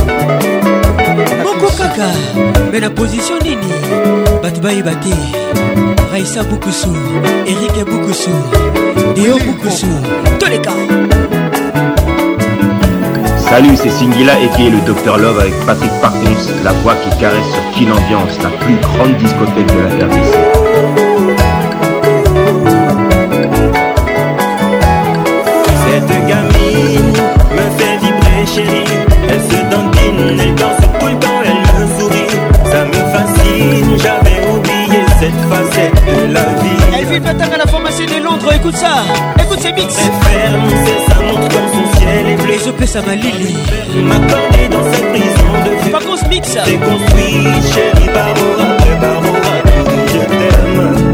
Moko Kaka mais la position nini Batubaye Bate Raissa Boukoussou Eric Boukoussou Déo Boukoussou tous les cas. Salut, c'est Singila et qui est le Dr Love avec Patrick Parkins, la voix qui caresse sur Kin Ambiance, la plus grande discothèque de la RDC. Cette gamine me fait vibrer chérie, elle se dandine, elle danse tout le temps, elle me sourit, ça me fascine, j'avais oublié cette facette de la vie. Elle vit Patang à la formation de Londres, écoute ça, écoute ces mix. Elle ferme, c'est sa montre comme son ciel est bleu. Les OP ça m'a Lili. M'accorder dans cette prison de vie. Pas qu'on se mixe. C'est construit, chérie Barbara, je t'aime.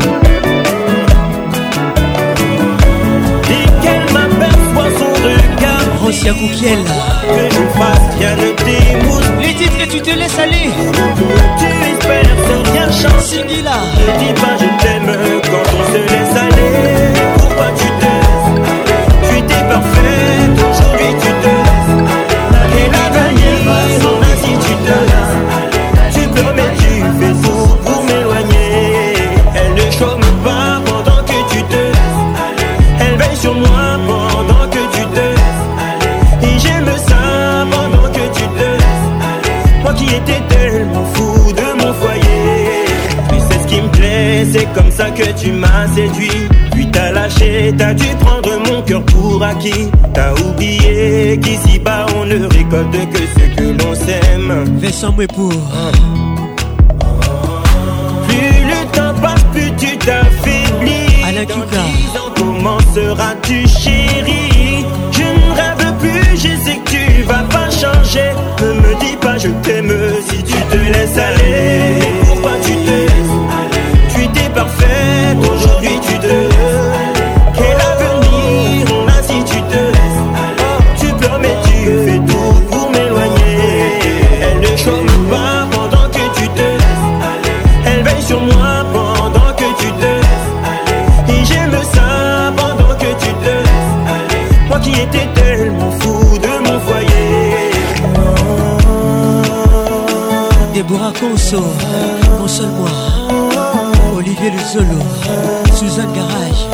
Dès qu'elle m'aperçoit son regard, Rosia Koukiel. Que je fasse, rien ne t'émouse. Les titres que tu te laisses aller. Tu espères sans rien changer. Singila. Ne dis pas je t'aime quand on se laisse aller. Pourquoi tu te laisses? Tu étais parfaite, aujourd'hui tu te laisses. Et l'avenir, son ainsi tu te laisses. Tu peux mais tu fais tout pour m'éloigner. Elle ne chôme pas pendant que tu te laisses. Elle veille sur moi pendant que tu te laisses. Et j'aime ça pendant que tu te laisses. Moi qui étais tellement fou de mon foyer. Tu sais ce qui me plaît, c'est comme ça que tu m'as séduit. Puis t'as lâché, t'as dû prendre mon cœur pour acquis. T'as oublié qu'ici-bas on ne récolte que ce que l'on sème. Vincent Mouepour. Plus le temps passe, plus tu t'affaiblis. Alain Kika. Comment seras-tu chérie? Je ne rêve plus, je sais que tu vas pas changer. Ne me dis pas je t'aime si tu te laisses aller. Pourquoi tu te laisses aller? Tu étais parfaite, aujourd'hui tu te laisses. Quel avenir on a si tu te laisses? Tu pleures mais tu fais tout pour m'éloigner. Elle ne chôme pas pendant que tu te laisses. Elle veille sur moi pendant que tu te laisses. Et j'aime ça pendant que tu te laisses. Calypso, mon seul moi, Olivier Luzolo, Suzanne Garage.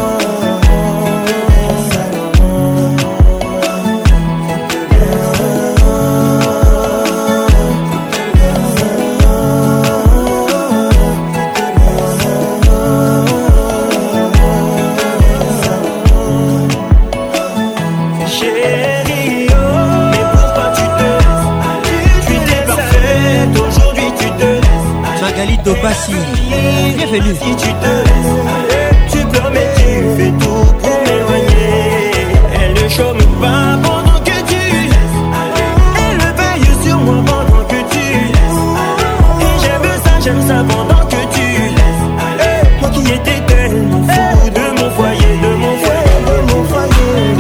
Bassi, bienvenue. Si tu te laisses, tu peux mais tu fais tout pour m'éloigner. Elle ne chôme pas pendant que tu laisses. Elle veille sur moi pendant que tu laisses. Et j'aime ça pendant que tu laisses. Moi qui étais tellement fou de mon foyer, de mon foyer, de mon foyer.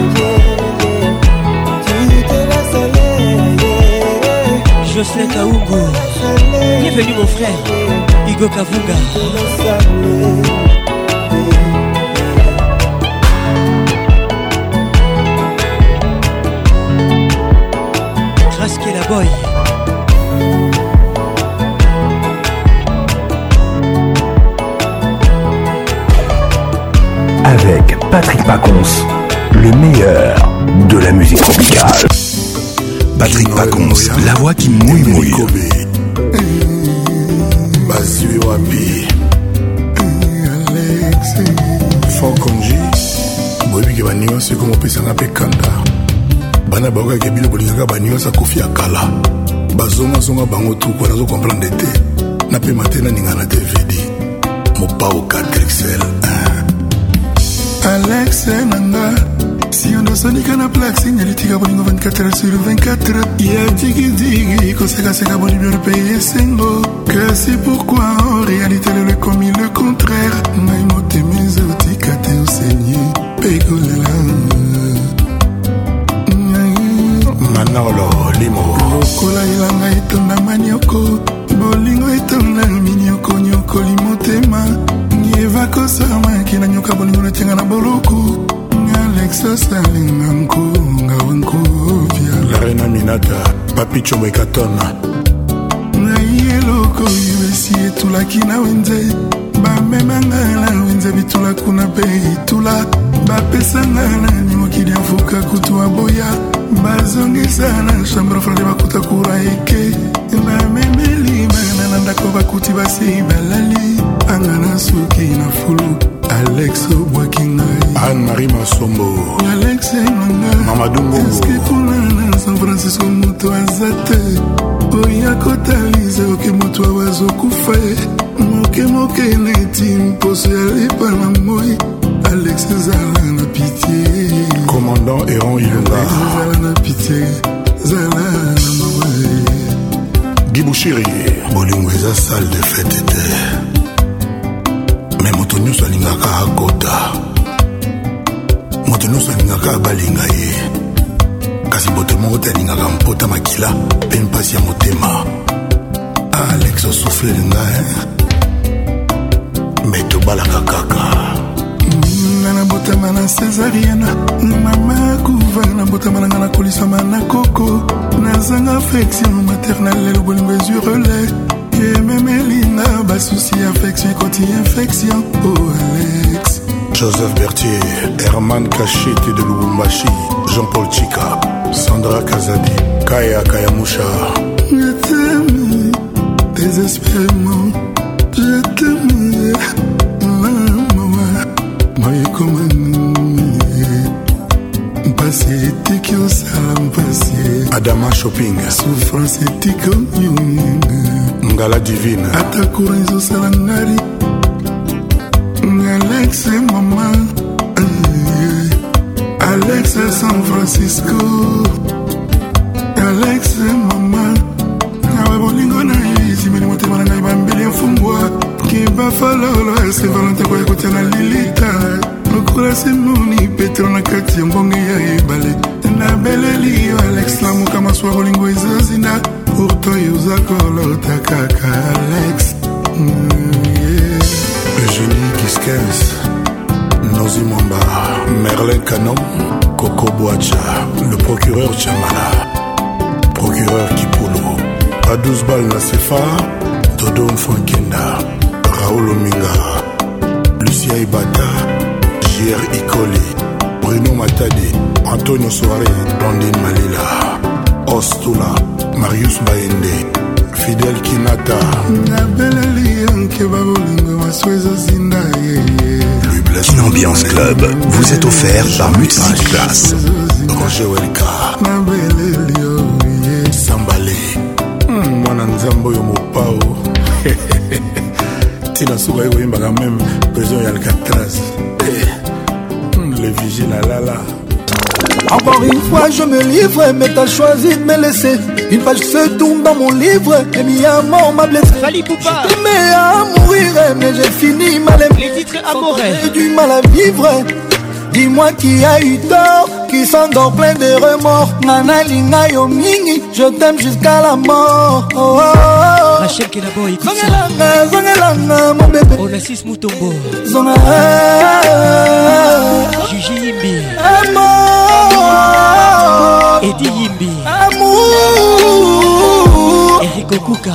Tu te laisses aller. Jocelyn Kaoungo, bienvenue mon frère. Igo Kavuga. Kraski la boy. Avec Patrick Pacons, le meilleur de la musique tropicale. Patrick Pacons, la voix qui mouille. Basui wapi Alex Fokonji boyebi baniwa seko mopesanga mpe kanda bana bakokaki bilo bolingaka baniwa sa kofi ya kala bazongazonga bango tukwa nazo komprendre te napema te naninga na DVD mopao 4XL Alex nanga si on dosonika na plaque signalitika bolingo 24h sur 24 ya digi koseka bonibio le pays sengo que c'est pourquoi en réalité le commis le contraire naimote mes otika te enseigné pegolela manolo limo lokola ilanga etonda manioko bolingo etonda minioko nyoko limotema nieva kosama kina nyoka bolingo netenga na boloko Alexa salinga nkunga wankovya la reina minata papi chombo ekatona na yeloko yuesi etulaki na wenze bamemanga na wenze bitula kuna pe itula bapesanga na nyimokili afuka kutu aboya bazongisa na chambre frade bakuta kura eke bamemeli bana na ndako bakuti basi balali angana suki na fulu Alex Obwakingai Anne-Marie Masombo Alex Nanga Mamadou Mbongo Eske kuna San Francisco mutu azate Oya kotalize oke mutu awazo kufa Moke neti mpose alipa na moi Alex zala na pitié Commandant Héron Ilunga Alex zala na pitié Zala na mawae Gibouchiri Bolingo eza salle de fête te mais moto nyonso alingaka akota moto nyonso alingaka abalinga ye kasi boto moko te alingaka mpota makila mpe mpasi ya motema Alex osufle linga me tobalaka kaka nga nabotama na césarienne mama kuva nabotama nanga nakolisama na koko nazanga affection maternelle lelo bolingo ezwi relais et même Elina bas souci affection quand il infection oh Alex Joseph Berthier Herman Kachete de Lubumbashi Jean-Paul Chika Sandra Kazadi Kaya Kayamusha je t'aime désespérément je t'aime maman comme passé tiki au salam passé Adama Shopping souffrance tiki Ngala divine Atakura izo salangari Alex et maman Alex et San Francisco Alex et maman Awe bolingo na isi meni mote mana ngai bambeli mfungwa Kiba falolo ese valente kwa kote na lilita Nukula simuni petro na kati ya mbonge ya ibale Na beleli Alex la muka maswa bolingo izo zinda Pourtant Yuzakolo Takaka Alex Eugénie Kiskens Nozi Mwamba Merlin Canon Coco Boacha Le procureur Chamala Procureur Kipolo à 12 balles la CFA Todo Mfankenda, Raoul Ominga, Lucia Ibata, J.R. Ikoli, Bruno Matadi, Antonio Soare, Blandine Malila, Ostula, Marius Baende, Fidel Kinata. Kin Ambiance Club vous est offert par Music Class. Roger Welka, Sambale, Mwana Nzambo Yomopao, Tina Souga Yoyimbaga même, Président Yalcatraz, le vigile à Lala. Encore une fois je me livre, mais t'as choisi de me laisser. Une page se tourne dans mon livre, et mi amour m'a blessé. Fali Poupa. Je t'aimais à mourir, mais j'ai fini mal aimé. Les titres amoureux. J'ai du mal à vivre. Dis-moi qui a eu tort, qui s'endort plein de remords. Nana Lina Yomingi, je t'aime jusqu'à la mort. Oh, oh, oh. Rachel Kenabo, écoute ça. Zongelanga, mon bébé. Onassis Mutombo. Zona. Gigi Yimbi. Amour. Eddie Yimbi. Amour. Eric Okuka.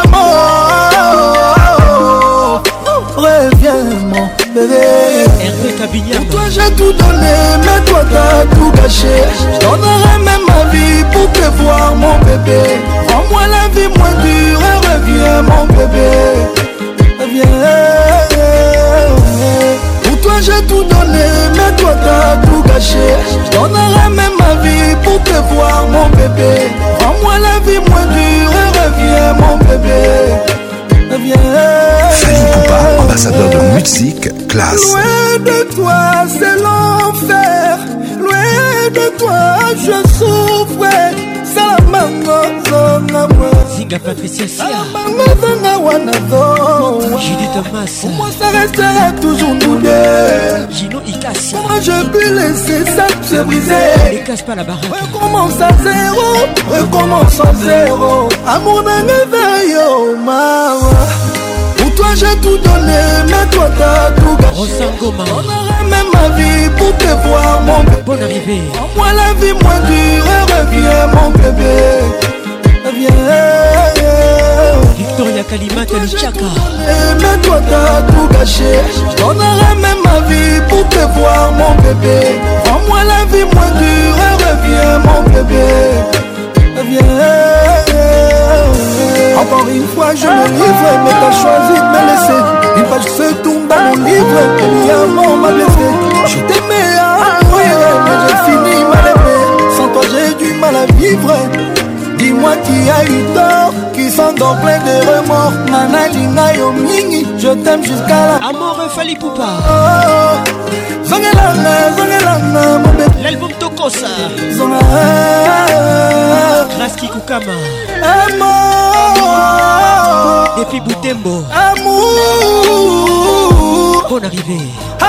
Amour. Reviens mon bébé. Hervé Cabignard. Pour toi j'ai tout donné, mais toi t'as tout gâché. Je donnerai même ma vie pour te voir mon bébé. Rends-moi la vie moins dure et reviens mon bébé. Reviens. Pour toi j'ai tout donné, mais toi t'as tout gâché. Je donnerai même ma vie pour te voir mon bébé. Rends-moi la vie moins dure et reviens mon bébé. Fali Poupa, ambassadeur de Music Class. Loin de toi c'est l'enfer, loin de toi je souffre. Salamango zona moi, Zinga Patricia Sia, Salamango zona wanazo. Julie Thomas, pour moi ça restera toujours nous deux. Gino Ikasi, moi je peux laisser ça se briser. Ne casse pas la baraque. Recommence à zéro, recommence à zéro. Amour d'un éveil, maman. Pour toi j'ai tout donné, mais toi t'as tout gâché. Rosangoma, on aurait même ma vie pour te voir mon bébé. Bonne arrivée. Rends-moi la vie moins dure et reviens mon bébé. Reviens. Victoria Kalimata Luchaka. Mais toi t'as tout gâché. Je donnerai même ma vie pour te voir mon bébé. Rends-moi la vie moins dure et reviens mon bébé. Encore une fois je me livre, mais t'as choisi de me laisser. Une page se tourne dans mon livre, et mi amour m'a blessé. Je t'aimais à mourir, mais j'ai fini mal aimé. Sans toi j'ai du mal à vivre. Dis-moi qui a eu tort, qui s'endort plein de remords. Nana Lina Yomingi, je t'aime jusqu'à la Amour Fali Poupa. Zongelanga, zongelanga mon bébé. L'album Tokosa. Zona. Raski Kukama. Amour. Depuis Boutembo. Amour. Bonne arrivée.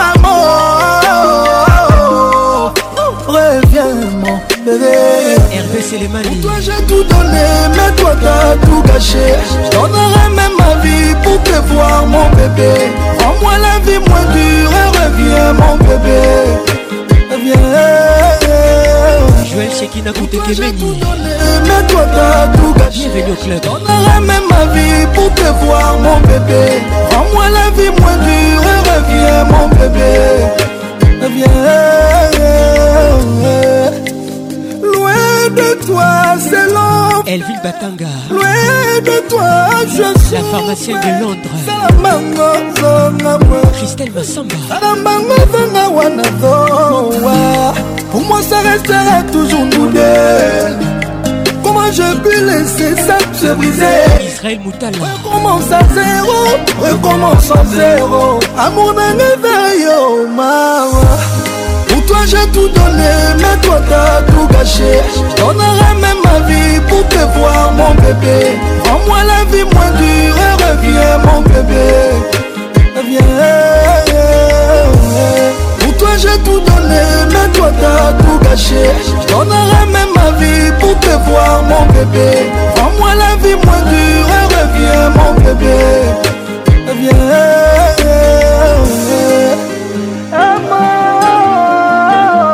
Amour. Reviens mon bébé. Hervé Selemani. Toi j'ai tout donné, mais toi t'as tout gâché. Je donnerai même ma vie pour te voir mon bébé. Rends-moi la vie moins dure et reviens mon bébé. Reviens. Joël Shekina Koutekemeni. Mais toi t'as tout gâché. Bienvenue au club. Je donnerai même ma vie pour te voir mon bébé. Rends-moi la vie moins dure et reviens mon bébé. Reviens. Loin de toi c'est l'enfer. Elville Batanga. Loin de toi je suis la pharmacienne de Londres. Salamango zona moi, Christelle Massamba. Salamango zona wanazoa. Pour moi ça restera toujours nous deux. Comment je peux laisser ça se briser? Israël Moutala. Recommence à zéro, recommence à zéro. Amour d'un éveil, oh maman. Pour toi j'ai tout donné, mais toi t'as tout gâché. Je donnerai même ma vie pour te voir mon bébé. Rends-moi la vie moins dure et reviens mon bébé. Reviens. Pour toi j'ai tout donné, mais toi t'as tout gâché. Je donnerai même ma vie pour te voir mon bébé. Rends-moi la vie moins dure et reviens mon bébé. Reviens.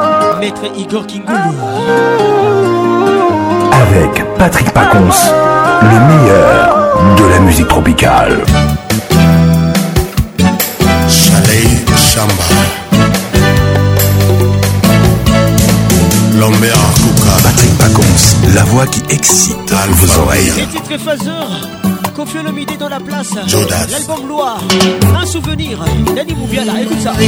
Maître Igor Kingoulou. Avec Patrick Pacons. le meilleur de la musique tropicale. Chalet Chamba, Lambert Kouka, Patrick Pacons, la voix qui excite vos oreilles. Les titres phaseurs, Kofi Olomide dans la place. Jodas. L'album Loire, un souvenir. Dani Moubiala, écoute ça.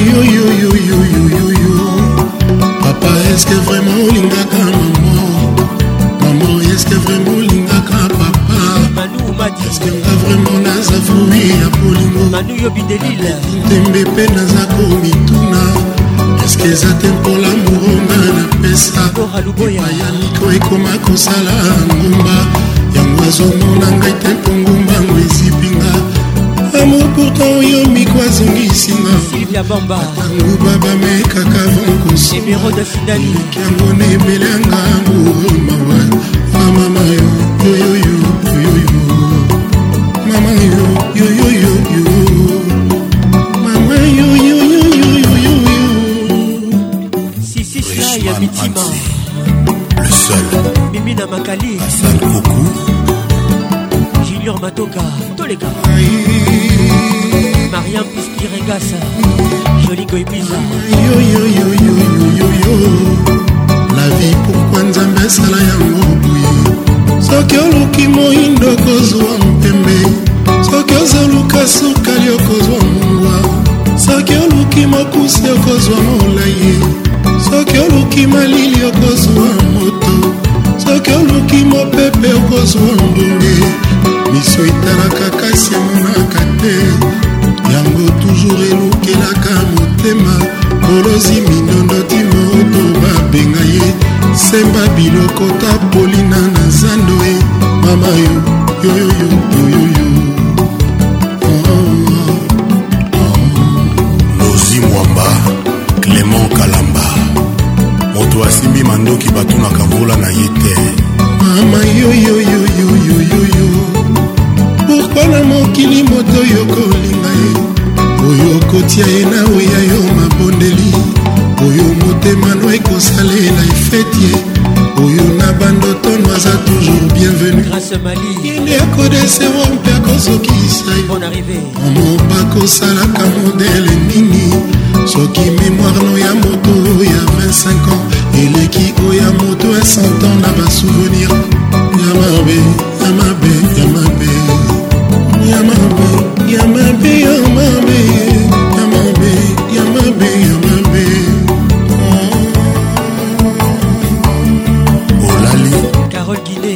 Papa, est-ce que vraiment lingaka maman? Maman, est-ce que vraiment lingaka papa? Manu Madi. Est-ce que nga vraiment naza fruit ya polingo? Manu Yobi Delil. Tembe pe naza komituna. Est-ce que eza te mpola moronga na pesa? Epaya niko ekoma kosala ngumba. Yango azomona ngai te mpo ngumbango ezipinga. Amour pourtant yo miko azongisinga. Sylvia Bamba. Tango baba mekaka vonkoso. Numéro de Sidani. Yango nebele yanga amour mawa. Mama yo yo yo yo yo yo. Mama yo yo yo yo yo. Mama yo yo yo yo yo yo yo. Sissi Slaya Mitima. le seul. Mimina Makali. Hassan Koukou. Junior Matoka. Toleka. Mariam Pispirengasa. Joli Goibiza. Yo yo yo yo yo yo yo. La vie pourquoi Nzambe sala yango buye. Soki oluki moindo kozwa mpembe. Soki ozoluka sukali okozwa mungwa. Soki oluki mokusi okozwa molaye. Soki oluki malili okozwa moto. Soki oluki mopepe okozwa mbonge. Miso etalaka kasi emonaka te. Yango toujours elukelaka motema. Kolozi mindondo timoto babenga ye. Semba biloko ta polina na zando e. Mama yo yo yo yo yo yo. Lozi Mwamba, Clément Kalamba. Moto asimbi mandoki batunaka mvula na ye te. Mama yo yo yo yo yo yo yo. Pourquoi na mokili moto yo kolinga ye? Oyo kotia ye na oya yo mabondeli. Oyo motema no ekosalela efeti ye. Oyo na bandoto no aza toujours bienvenu. Grâce Mali. Yende akodesero mpe akozokisa ye. Bonne arrivée. Omo bakosalaka modele nini? Soki mémoire no ya moto ya 25 ans. Eleki oya moto ya 100 ans na basouvenir. Yamabe, yamabe, yamabe. Yamabe, yamabe, yamabe. Yamabe, yamabe, yamabe. Olali. Carole Guiné.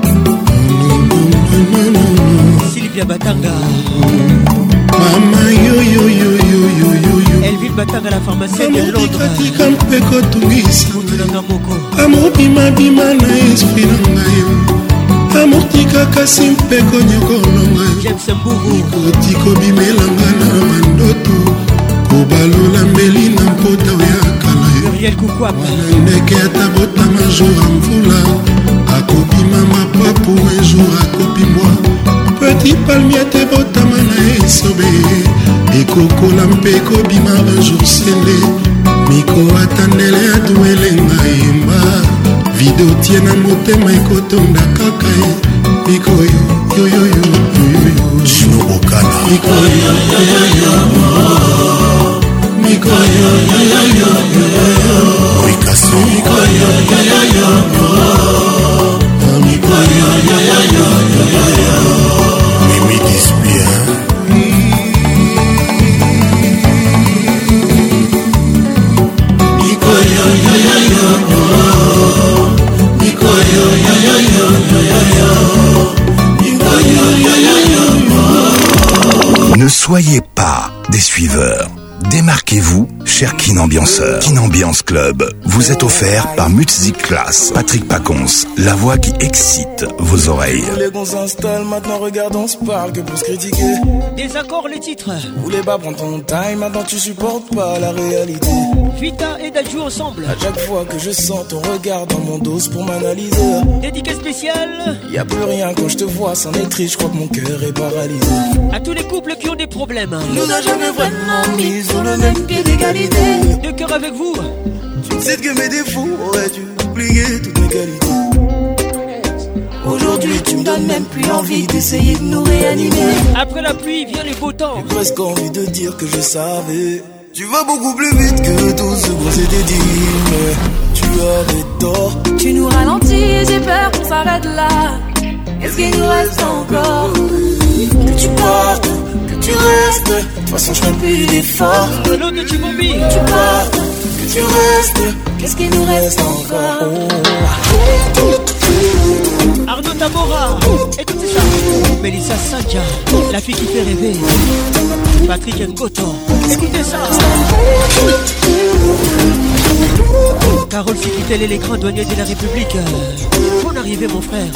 Sylvia Batanga. Mama yo yo yo yo yo yo yo. Elville Batanga, la pharmacienne de Londres. Tika mpe kotungisa. Mutulanga Moko. Amour bima bima na esprit na ngai yo. Amour tika kasi mpe konyokolonga yo. James Mburu. Kotiko bimelanga na mandoto. Kobalola mbeli na mpota ya kala yo. Muriel Koukwapa. Ndeke atabotama jour ya mvula. Akobima mapapu un jour akobimwa. Petit palmier te botama na esobe. Ekokola mpe ekobima un jour sele. Miko atandele aduele ngayemba. Video tie na motema ekotonda kaka ye. Miko yo yo yo yo yo yo. Chino Okana. Miko yo yo yo yo. Miko yo yo yo yo yo. Rikasso. Miko yo yo yo yo. Miko yo yo yo yo yo. Mimi Dispien. Miko yo yo yo yo. Miko yo yo yo yo yo. Miko yo yo yo yo. Ne soyez pas des suiveurs. Démarquez-vous, cher Kin Ambianceur. Kin Ambiance Club vous est offert par Music Class. Patrick Pacons, la voix qui excite vos oreilles. Les qu'on s'installe, maintenant regarde, on se parle que pour se critiquer. Désaccord les titres. Voulais pas prendre ton time, maintenant tu supportes pas la réalité. Vita et Dadju ensemble. À chaque fois que je sens ton regard dans mon dos pour m'analyser. Dédicace spéciale. Y a plus rien quand je te vois, c'en est triste, je crois que mon cœur est paralysé. À tous les couples qui ont des problèmes. Nous n'a jamais vraiment mis sur le même pied d'égalité. De cœur avec vous. Tu sais que mes défauts auraient dû oublier toutes mes qualités. Aujourd'hui tu me donnes même plus envie d'essayer de nous réanimer. Après la pluie vient le beau temps. J'ai presque envie de dire que je savais. Tu vas beaucoup plus vite que tout ce qu'on s'était dit, mais tu avais tort. Tu nous ralentis et j'ai peur qu'on s'arrête là. Qu'est-ce qu'il nous reste encore? Que tu partes, que tu restes. De toute façon je ferai plus d'efforts. L'autre de Chibombi. Que tu partes, que tu restes. Qu'est-ce qu'il nous reste encore? Arnaud Tamora, écoutez ça. Mélissa Sancha, la fille qui fait rêver. Patrick Ngoto, écoutez ça. Carole Sikitel, les grands douaniers de la République. Bonne arrivée mon frère.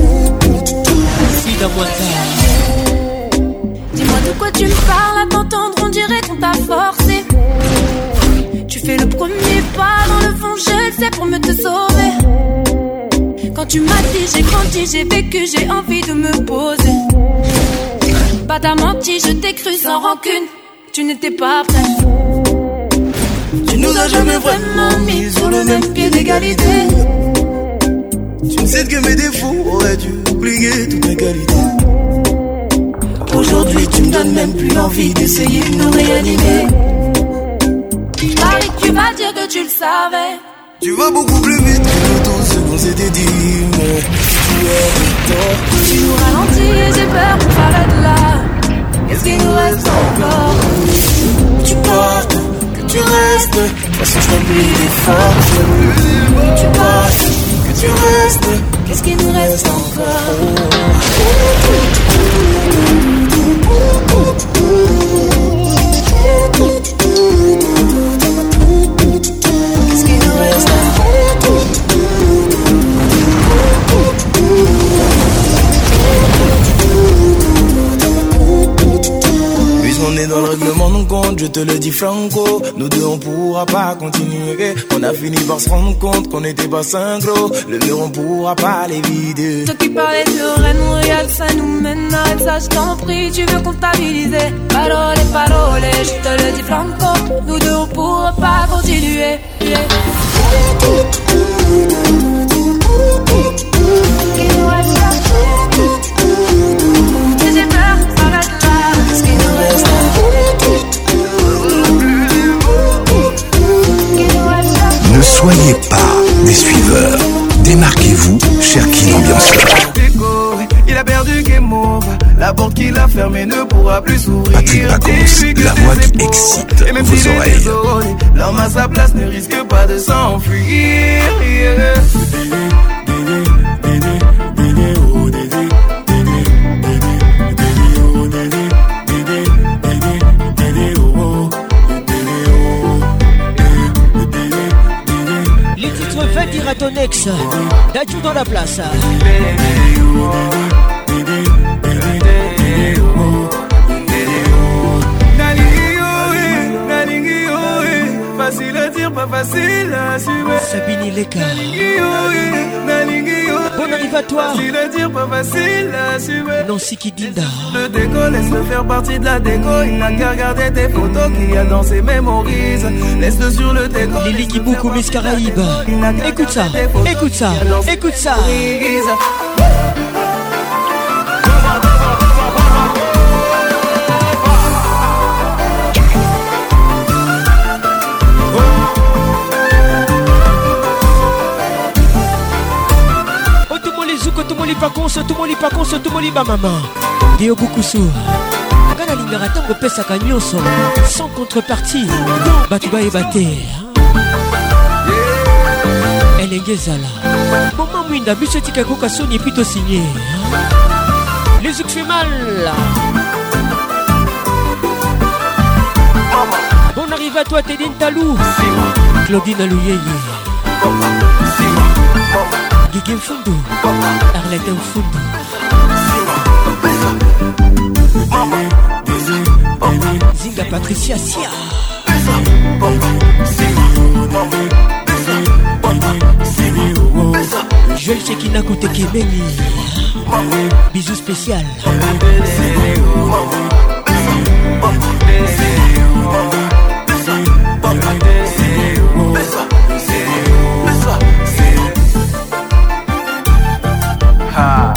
Sida Mwanta. Dis-moi de quoi tu me parles, à t'entendre on dirait qu'on t'a forcé. Tu fais le premier pas, dans le fond je le sais pour me te sauver. Quand tu m'as dit j'ai grandi, j'ai vécu, j'ai envie de me poser. Pas t'as menti, je t'ai cru sans rancune. Tu n'étais pas prêt. Tu nous as jamais vraiment mis sur le même pied d'égalité. Tu ne sais que mes défauts auraient dû oublier toutes mes qualités. Aujourd'hui tu me donnes même plus envie d'essayer de nous réanimer. Paris, tu vas dire que tu le savais. Tu vas beaucoup plus vite que tout ce qu'on s'était dit, mais tu avais tort. Tu nous ralentis et j'ai peur qu'on s'arrête là. Qu'est-ce qu'il nous reste encore? Que tu partes, que tu restes. De toute façon je ferai plus d'efforts. Que tu partes, que tu restes. Qu'est-ce qu'il nous reste encore? Qu'est-ce qu'il nous reste encore? Puisqu'on est dans le règlement de compte, je te le dis franco. Nous deux on pourra pas continuer. On a fini par se rendre compte qu'on n'était pas synchro. Le mur on pourra pas les vider. Toi qui parlais de Rennes, Montréal, ça nous mène à ça, je t'en prie, tu veux comptabiliser. Parole, parole, je te le dis franco. Nous deux on pourra pas continuer. Yeah. J'ai peur, s'arrête là. Qu'est-ce qu'il nous reste? Ne soyez pas des suiveurs. Démarquez-vous, cher Kin Ambianceur. Il a perdu Game Over. La porte qu'il a fermée ne pourra plus s'ouvrir. Patrick Pacons, la voix qui excite vos oreilles. L'homme à sa place ne risque pas de s'enfuir. Les titres va dire à ton ex. Dadju dans la place. Facile à dire, pas facile à assumer. Sabine Leka. Bonne arrive à toi. Facile à dire, pas facile à assumer. Nancy Kidinda. Le déco, laisse-le faire partie de la déco. Il n'a qu'à regarder tes photos qu'il y a dans ses mémories. Laisse-le sur le déco. Lily Kiboukou, Miss Caraïbes. Écoute ça, écoute ça, écoute ça. Tumoli pakonso tumoli ba maman Dio Bukusu Kana lingara tango pesa kanyoso sans contrepartie Batuba et Baté Elengezala Maman Mwinda biso tika koka soni plutôt signé Les zouk fait mal Bon arrive à toi Tédine Talou Claudine Alouyeye Guigui Mfundu Arlette Mfundu Zinga Patricia Sia Joël Chekina Koute Kemeni Bisous spécial Ha.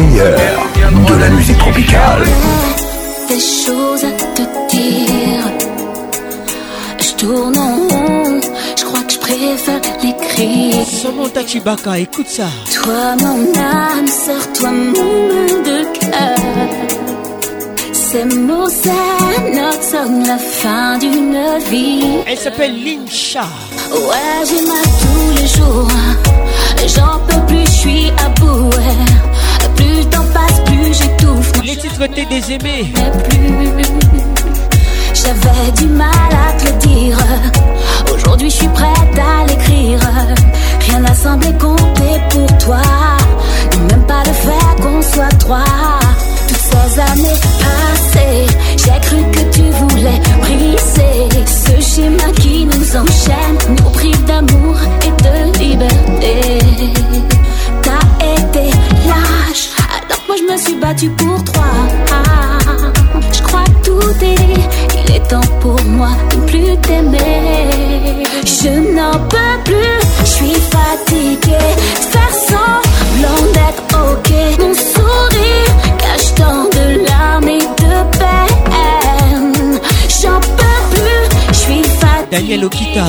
meilleur de la musique tropicale. Des choses à te dire. Je tourne en rond, je crois que je préfère l'écrire. Samantha Chibaka, écoute ça. Toi mon âme sœur, toi mon mal de cœur. Ces mots c'est notre song, la fin d'une vie. Elle s'appelle Lincha. Ouais, j'ai mal tous les jours. J'en peux plus, je suis à bout. Plus le temps passe, plus j'étouffe. Les titres t'es des aimés. Mais plus, j'avais du mal à te le dire. Aujourd'hui, je suis prête à l'écrire. Rien n'a semblé compter pour toi. Même pas le fait qu'on soit trois. Toutes ces années passées, j'ai cru que tu voulais briser ce schéma qui nous enchaîne, nous prive d'amour et de liberté. T'as été lâche, alors que moi je me suis battue pour toi. Je crois que tout est dit, il est temps pour moi de ne plus t'aimer. Je n'en peux plus, je suis fatiguée de faire semblant d'être ok. Mon sourire cache tant de larmes et de peine. J'en peux plus, je suis fatiguée. Daniel Okita.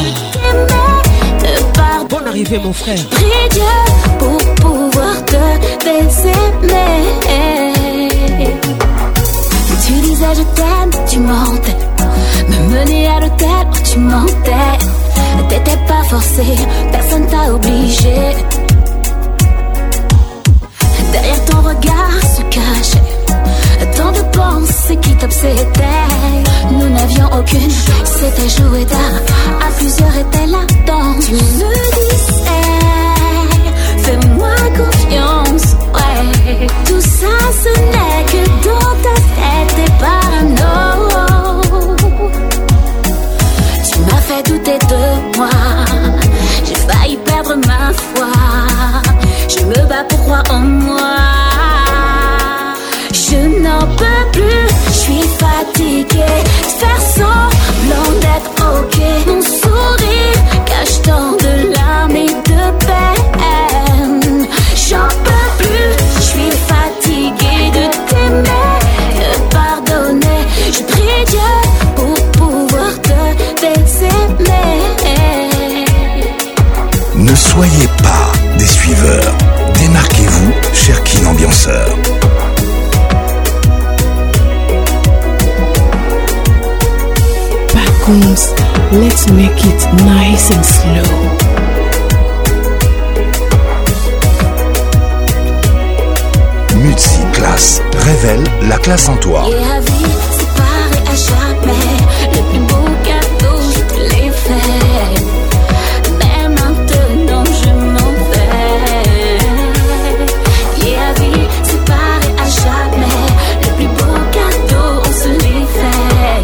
Bonne arrivée mon frère. Prie Dieu pour pouvoir te baiser. Tu disais je t'aime, tu mentais. Me mener à l'hôtel, tu mentais. T'étais pas forcé, personne t'a obligé. Derrière ton regard se cachait tant de pensées qui t'obsédaient. Nous n'avions aucune, c'était joué tard. À plusieurs était la danse. Tu me disais, fais-moi confiance. Ouais, tout ça ce n'est que dans ta tête et parano. Tu m'as fait douter de moi. J'ai failli perdre ma foi. Je me bats pour croire en moi. Je n'en peux plus, je suis fatiguée de faire semblant d'être ok. Mon sourire cache tant de larmes et de peine. J'en peux plus, je suis fatiguée de t'aimer, de pardonner. Je prie Dieu pour pouvoir te baiser. Ne soyez pas des suiveurs. Démarquez-vous, cher Kin Ambianceur. Let's make it nice and slow. Mutsi Classe révèle la classe en toi. Et la vie séparée à jamais. Le plus beau cadeau, je te l'ai fait. Mais maintenant je m'en vais. Et la vie séparée à jamais. Le plus beau cadeau, on se l'est fait.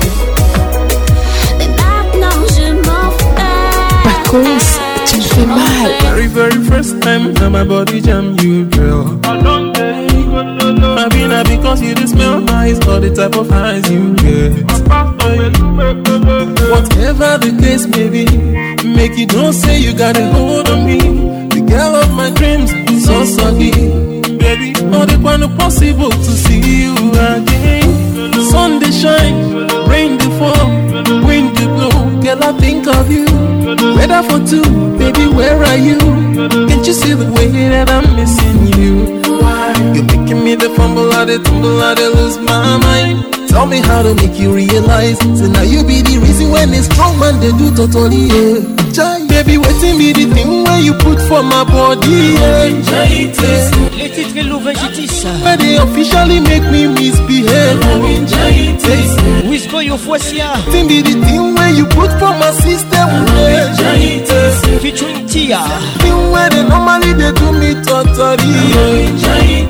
Tu me fais mal. Very first time that my body jam you, girl. I've been happy because you just smell nice, all the type of eyes you get. Whatever the case may be, make you don't say you got a hold on me. The girl of my dreams, so soggy. Baby, all the one possible to see you again. Sun they shine, rain they fall, wind they blow. Girl, I think of you. Weather for two, baby, where are you? Can't you see the way that I'm missing you? Why? You're making me the fumble, I the tumble, I the lose my mind. Tell me how to make you realize. So now you be the reason when a strong man they do totally, yeah. Baby, waiting be the thing where you put for my body, yeah. Les titres Louvain Jitis. Where they officially make me misbehave. Whisper your Foisia. Waiting be the thing where you put for my system, yeah. Featuring Tia. Thing where they normally they do me totally, yeah.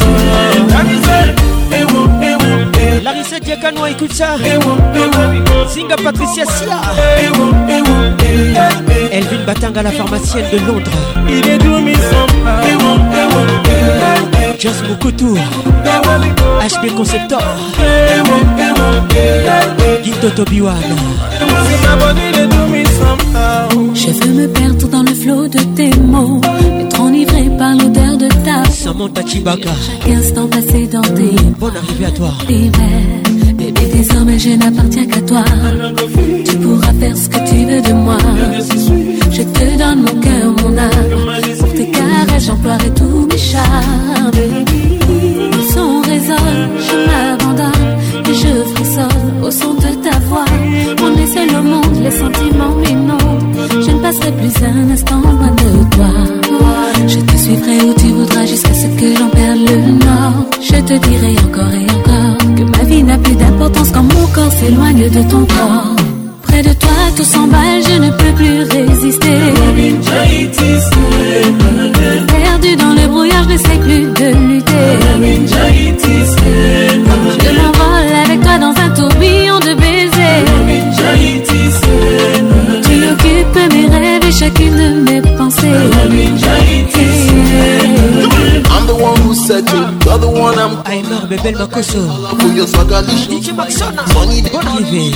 Larissa Diakano, écoute ça. Singa Patricia Sia. Elvin Batanga, la pharmacienne de Londres. Just Moukoutou. HB Conceptor. Guido Tobiwan. Je veux me perdre dans le flot de tes mots, être enivré par l'odeur de ta Samantha Chibaka. Chaque instant passé dans tes bonne arrivée à toi. Bébé, désormais je n'appartiens qu'à toi. Tu pourras faire ce que tu veux de moi. Je te donne mon cœur, mon âme. Pour tes caresses, j'emploierai tous mes charmes. Le son résonne, je m'abandonne et je frissonne au son de ta voix. On est seul au monde, les sentiments m'inondent. Je ne passerai plus un instant loin de toi. Je te suivrai où tu voudras jusqu'à ce que j'en perde le nord. Je te dirai encore et encore que ma vie n'a plus d'importance quand mon corps s'éloigne de ton corps. Près de toi tout s'emballe, je ne peux plus résister. Perdu dans le brouillard, je n'essaie plus de lutter. Je m'envole avec toi dans un tourbillon de baisers. Tu occupes mes rêves et chacune de mes pensées. I'm the one who said you're the one I'm Aymar Bebel Makoso DJ Maxona bonne arrivée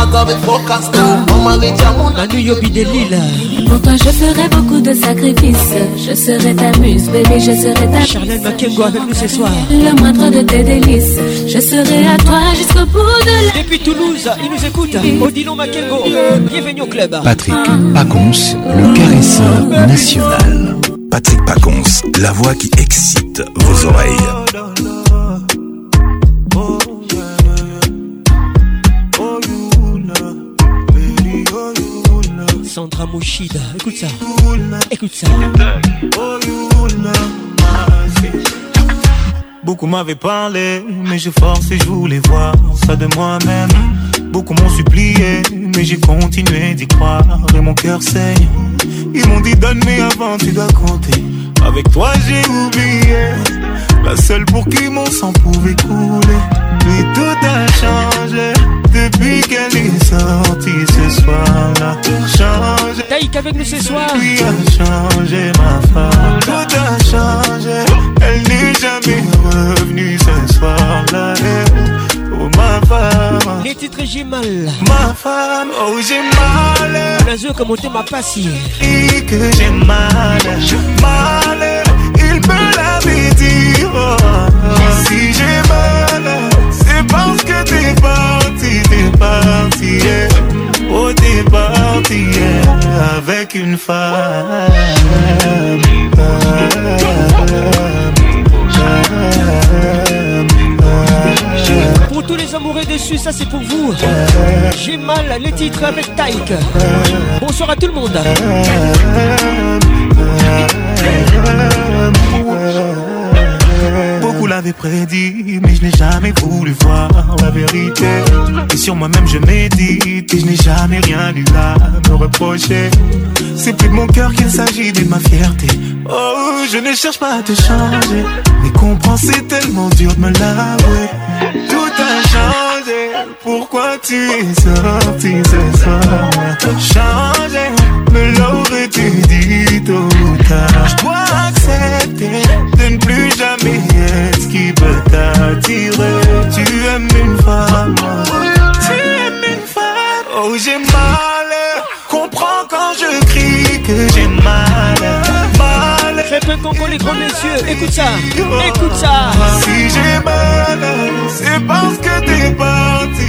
Manu Yobi de Lille. Pour toi je ferai beaucoup de sacrifices. Je serai ta muse, bébé, je serai ta Charlène Makengo avec nous ce soir. Le moindre de tes délices. Je serai à toi jusqu'au bout de la... Depuis Toulouse, il nous écoute. Odilon Makengo, bienvenue au club. Patrick Pacons, le caresseur national. Patrick Pacons, la voix qui excite vos oreilles. Sandra Mouchida, écoute ça. Écoute ça. Beaucoup m'avaient parlé, mais j'ai forcé, je voulais voir ça de moi-même. Beaucoup m'ont supplié, mais j'ai continué d'y croire et mon cœur saigne. Ils m'ont dit donne mais avant tu dois compter. Avec toi j'ai oublié, la seule pour qui mon sang pouvait couler. Puis tout a changé depuis qu'elle est sortie ce soir-là. Changé. Taïk avec nous ce soir. Lui a changé ma femme. Tout a changé. Elle n'est jamais revenue ce soir-là. Oh ma femme. Les titres j'ai mal. Ma femme, oh j'ai mal. La zone comme on m'a passé. Et que j'ai mal. Mal, il me l'avait dit. Oh, si j'ai mal, c'est parce que t'es parti, yeah. Oh t'es parti, yeah, avec une femme. Pour tous les amoureux déçus, ça c'est pour vous. J'ai mal, les titres avec Taïk. Bonsoir à tout le monde. Beaucoup l'avaient prédit, mais je n'ai jamais voulu voir la vérité. Et sur moi-même je médite, et je n'ai jamais rien eu à me reprocher. C'est plus de mon cœur qu'il s'agit, de ma fierté. Oh, je ne cherche pas à te changer, mais comprends, c'est tellement dur de me l'avouer. Tout a changé, pourquoi tu es sorti ce soir? Changé, me l'aurais-tu dit tôt ou tard? Je dois accepter de ne plus jamais être ce qui peut t'attirer. Tu aimes une femme, tu aimes une femme. Oh j'ai mal, comprends quand je crie que j'ai mal. Mal. Très peu Congo les grands messieurs, écoute ça, écoute ça. Si j'ai mal, c'est parce que t'es parti,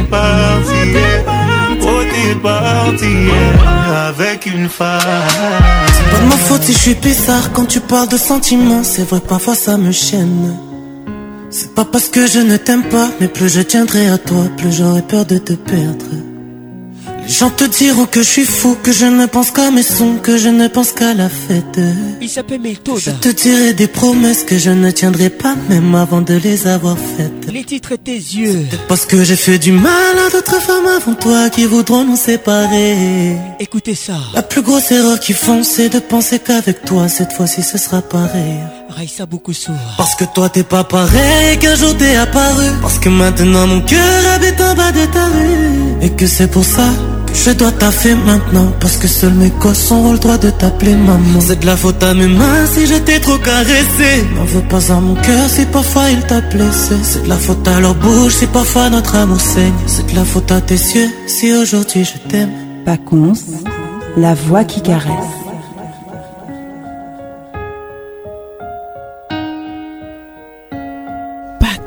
oh t'es parti, yeah, avec une femme. C'est pas de ma faute si je suis bizarre quand tu parles de sentiments. C'est vrai que parfois ça me chaîne. C'est pas parce que je ne t'aime pas, mais plus je tiendrai à toi, plus j'aurai peur de te perdre. Les gens te diront que je suis fou, que je ne pense qu'à mes sons, que je ne pense qu'à la fête. Il s'appelle Méthode. Je te dirai des promesses que je ne tiendrai pas même avant de les avoir faites. Les titres tes yeux. Parce que j'ai fait du mal à d'autres femmes avant toi qui voudront nous séparer. Écoutez ça. La plus grosse erreur qu'ils font, c'est de penser qu'avec toi cette fois-ci ce sera pareil. Raïssa Boukoussou. Parce que toi t'es pas pareil qu'un jour t'es apparu. Parce que maintenant mon cœur habite en bas de ta rue. Et que c'est pour ça que je dois taffer maintenant. Parce que seuls mes gosses ont le droit de t'appeler maman. C'est de la faute à mes mains si je t'ai trop caressé. N'en veux pas à mon cœur si parfois il t'a blessé. C'est de la faute à leur bouche si parfois notre amour saigne. C'est de la faute à tes yeux si aujourd'hui je t'aime. Pacons, la voix qui caresse.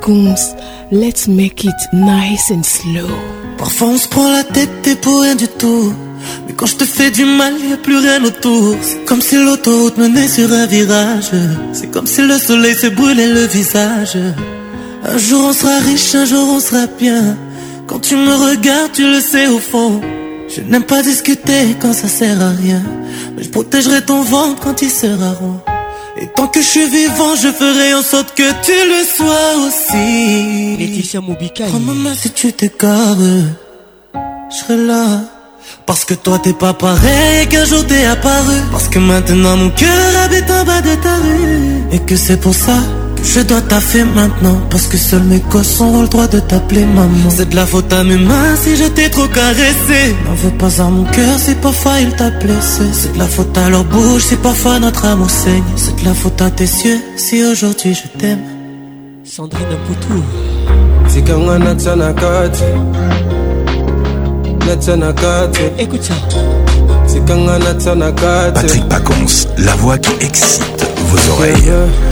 Pacons, let's make it nice and slow. Parfois on se prend la tête et pour rien du tout. Mais quand je te fais du mal, y a plus rien autour. C'est comme si l'autoroute menait sur un virage. C'est comme si le soleil se brûlait le visage. Un jour on sera riche, un jour on sera bien. Quand tu me regardes, tu le sais au fond. Je n'aime pas discuter quand ça sert à rien. Mais je protégerai ton ventre quand il sera rond. Et tant que je suis vivant, je ferai en sorte que tu le sois aussi. Laetitia Moubikaï. Prends ma main si tu t'égares, je serai là. Parce que toi t'es pas pareil, qu'un jour t'es apparu. Parce que maintenant mon cœur habite en bas de ta rue. Et que c'est pour ça que je dois taffer maintenant. Parce que seuls mes gosses auront le droit de t'appeler maman. C'est de la faute à mes mains si je t'ai trop caressé. N'en veux pas à mon cœur si parfois il t'a blessé. C'est de la faute à leur bouche si parfois notre amour saigne. C'est de la faute à tes yeux si aujourd'hui je t'aime. Sandrine Poutou. Écoute ça. Patrick Pacons, la voix qui excite vos oreilles.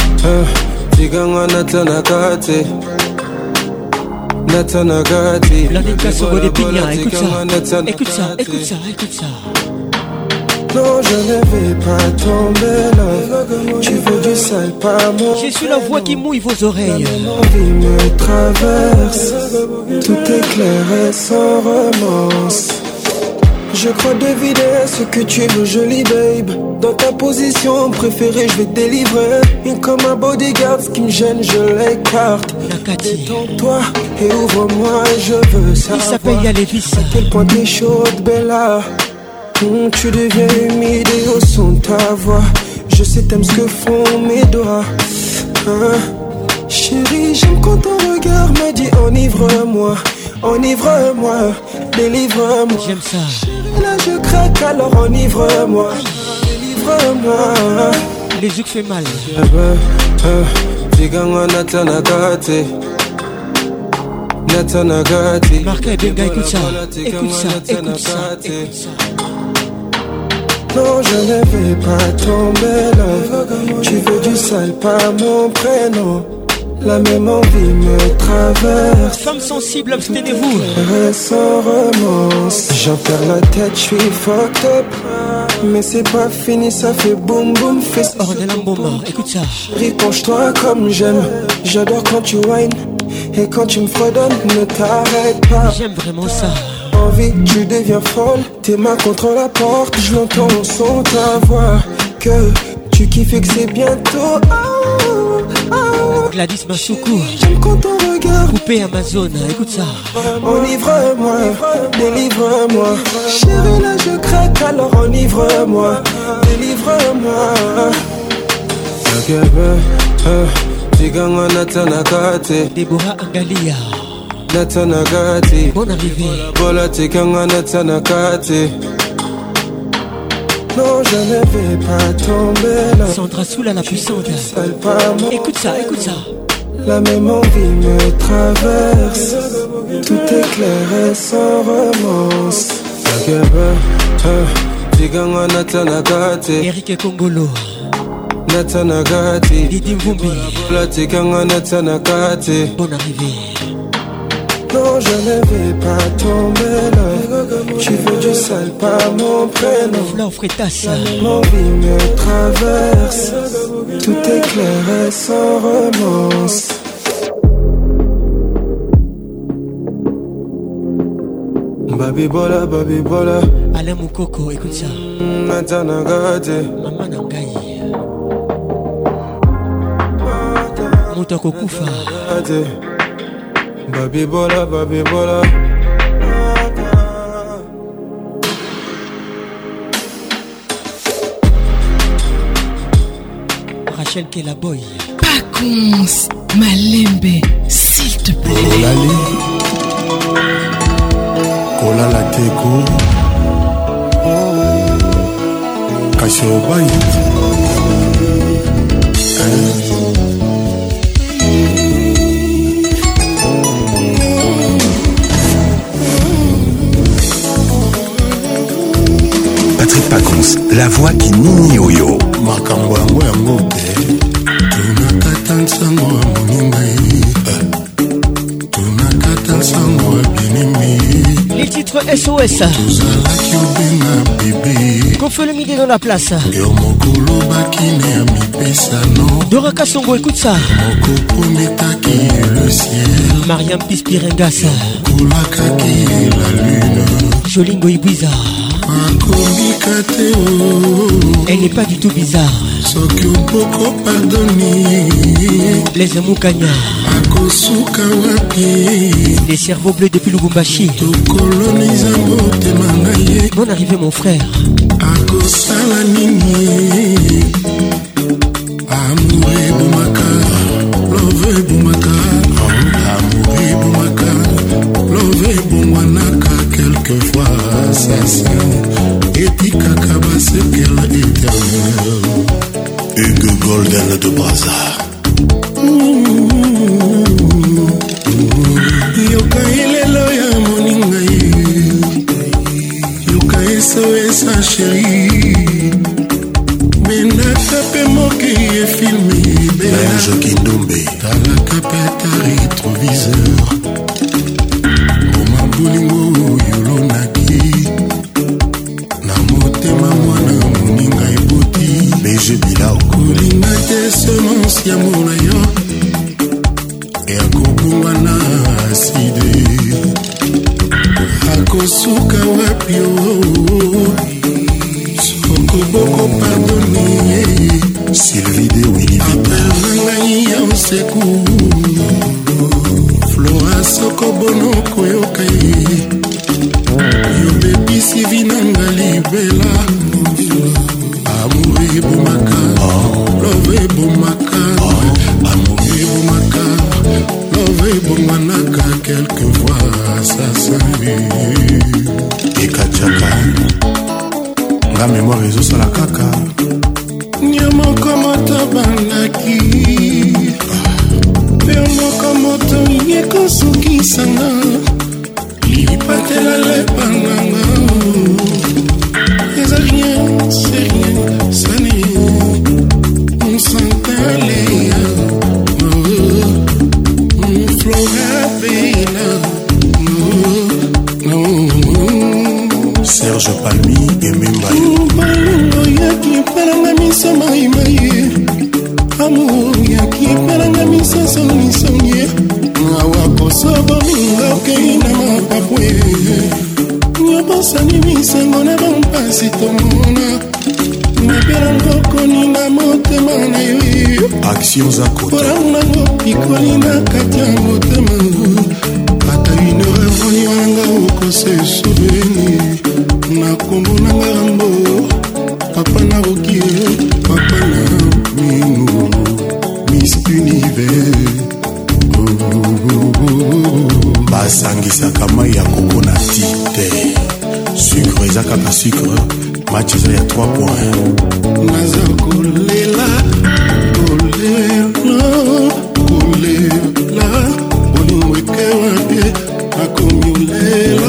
L'anica Sogo des Pignas, écoute ça. Écoute ça, écoute ça, écoute ça. Non, je ne vais pas tomber là. Tu veux du sale, pas moi. Je suis la voix qui mouille vos oreilles. L'envie me traverse. Tout est clair et sans romance. Je crois deviner ce que tu veux, jolie babe. Dans ta position préférée, je vais te délivrer. Et comme un bodyguard, ce qui me gêne, je l'écarte. Détends-toi et ouvre-moi, je veux savoir. Il s'appelle Yalévis. À quel point t'es chaude, Bella. Tu deviens humide et au son de ta voix. Je sais t'aimes ce que font mes doigts. Chérie, j'aime quand ton regard me dit enivre-moi. Enivre-moi, délivre-moi. J'aime ça. Chérie, là je craque, alors enivre-moi. Délivre-moi. Les yeux fait mal. Marca et Benga, écoute ça. Écoute ça, écoute ça, écoute ça. Non, je ne vais pas tomber là. Tu veux du sale, pas mon prénom. La même envie me traverse. Femme sensible, abstenez-vous. Sans romance. J'en perds la tête, je suis fucked up. Mais c'est pas fini, ça fait boum boum. Ornella Mboma, écoute ça. Riponche-toi comme j'aime. J'adore quand tu whines. Et quand tu me fredonnes, ne t'arrête pas. J'aime vraiment ça. Envie, tu deviens folle. Tes mains contre la porte, je l'entends au son de ta voix. Que tu kiffes et que c'est bientôt. Gladys Massoukou. J'aime quand ton regard. Coupé Amazon, écoute ça. Enivre-moi, délivre-moi. Chérie, là je craque, alors enivre-moi. Délivre-moi. Deborah Angalia. Bonne arrivée. Non, je ne vais pas tomber là. Sandra Soula la puissante. Écoute ça, écoute ça. La même envie me traverse. Tout est clair et sans romance. Eric Kongolo. Didi Mvumbi. Bonne arrivée. Non, je ne vais pas tomber là. Tu veux du sale, pas mon prénom. Flore Freitas. Mon vie me traverse. Tout est clair et sans romance. Baby bola, baby bola. Alain Moukoko, écoute ça. Maman Nangaï. Moutoko Koufa. Baby bola, baby bola. Rachel Kelaboy. Pacons, Malembe, s'il te plaît. Olali, Kolala Teko, Kashobai. Patrick Pacons, la voix qui nini oyo. Makambo yango yango te. Tunakata nsango ya moninga ye. SOS. Qu'on fait le midi dans la place. Dora Kassongo, écoute ça. Mariam Pispirengasa. Jolingo Ibiza. Elle n'est pas du tout bizarre. Les Amoukanya. Les cerveaux bleus depuis Lubumbashi. Bonne arrivée mon frère. Amouré Boumaka, love Boumaka, amouré Boumaka, love Boumanaka, quelquefois assassin, et Tikakaba c'est qu'elle éternelle. Hugo Golden de Brazza. Yoka ilelo ya moningai, Yoka SOS sa chérie. Benaka moke ye filmé Benjo Kindombe Talaka peta rétroviseur Moma bolingo yolonaki Na motema mwana moninga eboti BG Bilao Kolinga te semence ya mona yo E akobungwa na aside Akosuka wapi yo Boko pardonner Sylvie de Willy Vita on sekou Flora soko bono koyoka Yo baby si vinanga libela Amouré Boumaka Love Boumaka Amouré Boumaka Love Boumanaka quelquefois assassin Et Kachaka la mémoire réseau sur la caca. Nyamoko moto bandaki Nyamoko moto yeko suki sanga Lipatela lepananga Y'a rien, c'est rien, ça n'est On s'entale Flora Bella Serge Palmi et Mimbayo Yaki pelanga miso mai mai Amour yaki pelanga miso soni soni Awa kosobo minga keina mapapwe Nyabosani misengo na bampasi tomona Napelanga koni na motema na yo Action Zakota Poranga pikoli na katia motema Ata une heure voni wanga oko se souvenir Na kombo na ngambo Papa na rokie Papa na minu Miss Univers Basangisa kama ya coconati te Sucre ezaka ka sucre Match eza ya 3 points Naza kolela Kolela Kolela Olingweke wapie Akomulela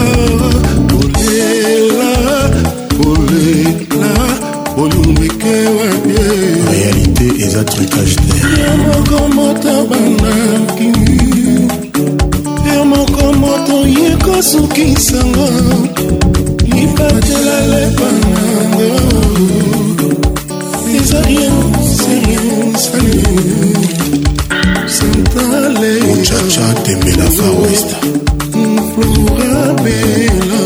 Réalité et un trucage sukisanga lipatela lepananga eza rien c'est rien santale muchacha tembela Far West Flora Bella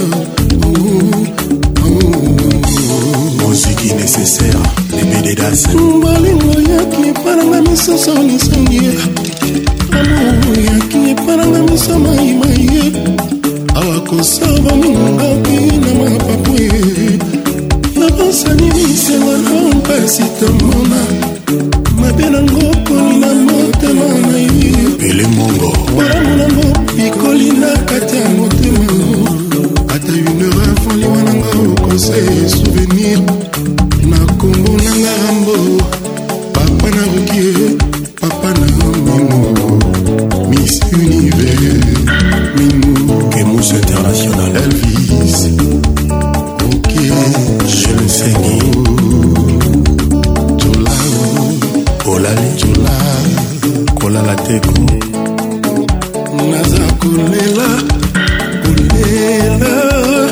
musique nécessaire les BDDAS balingo yaki paranga misoso nisongie amour yaki paranga miso maimai awakosaba mingoki na mapapwe nabosani misengo na mpasi tomona mabe nango poni na motema na ye pele mongo bolamu nango pikoli na kati ya motema ata une heure avant liwa nanga okose souvenir na kombo nanga rambo papa na rokie papa na mimo Miss Univers Mimo Kemus International Elvis ok je le sais Jola Olale Jola Kola la teko Naza kolela Kolela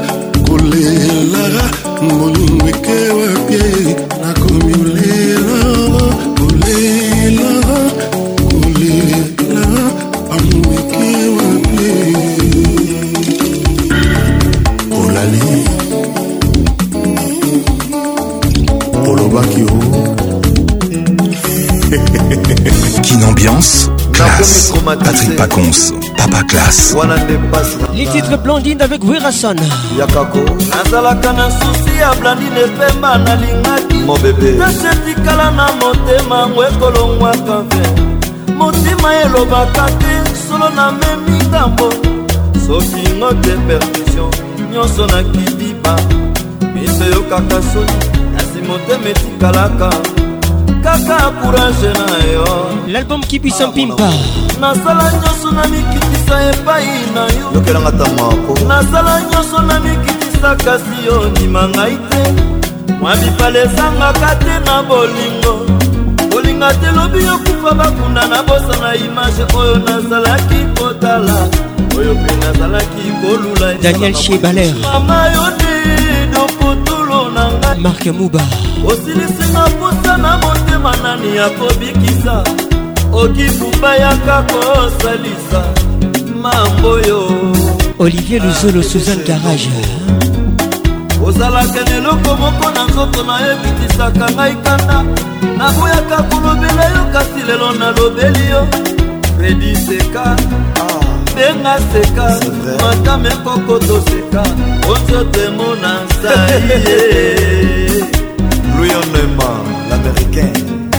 classe. Patrick Pacons, Papa classe. Les titres Blandine avec Werason. nazalaka na susi ya Blandine Pemba nalingaki nasetikala na motema ngo ekolongwaka ve motima elobaka te solo na memi ngambo soki ngo te percussion nyonso na kibiba miso yokaka soni nasi motema etikalaka kaka courage na yo. L'album qui puisse en pimpa. Nasala nyonso na mikitisa epai na yo. Yokelanga tamako. Nasala nyonso na mikitisa kasi yo ndima ngai te. Mwa bipale ezangaka te na bolingo. Bolinga te lobi yokufa bakunda na bosa na image oyo nazalaki kotala. Oyo pe nazalaki kolula. Daniel Chebaler. Mama yo de dopotulo na ngai. Marc Mouba. Osilisinga posa na motema nani ya kobikisa okifupa yaka kosalisa mambo yo. Olivier Luzolo, Suzanne Garage. ozalaka neloko moko na nzoto na yo ebitisaka ngai kanda naboyaka kolobela yo kasi lelo nalobeli yo Fredi Seka benga seka matame kokoto seka onzote mona saye Louis Onema, l'américain.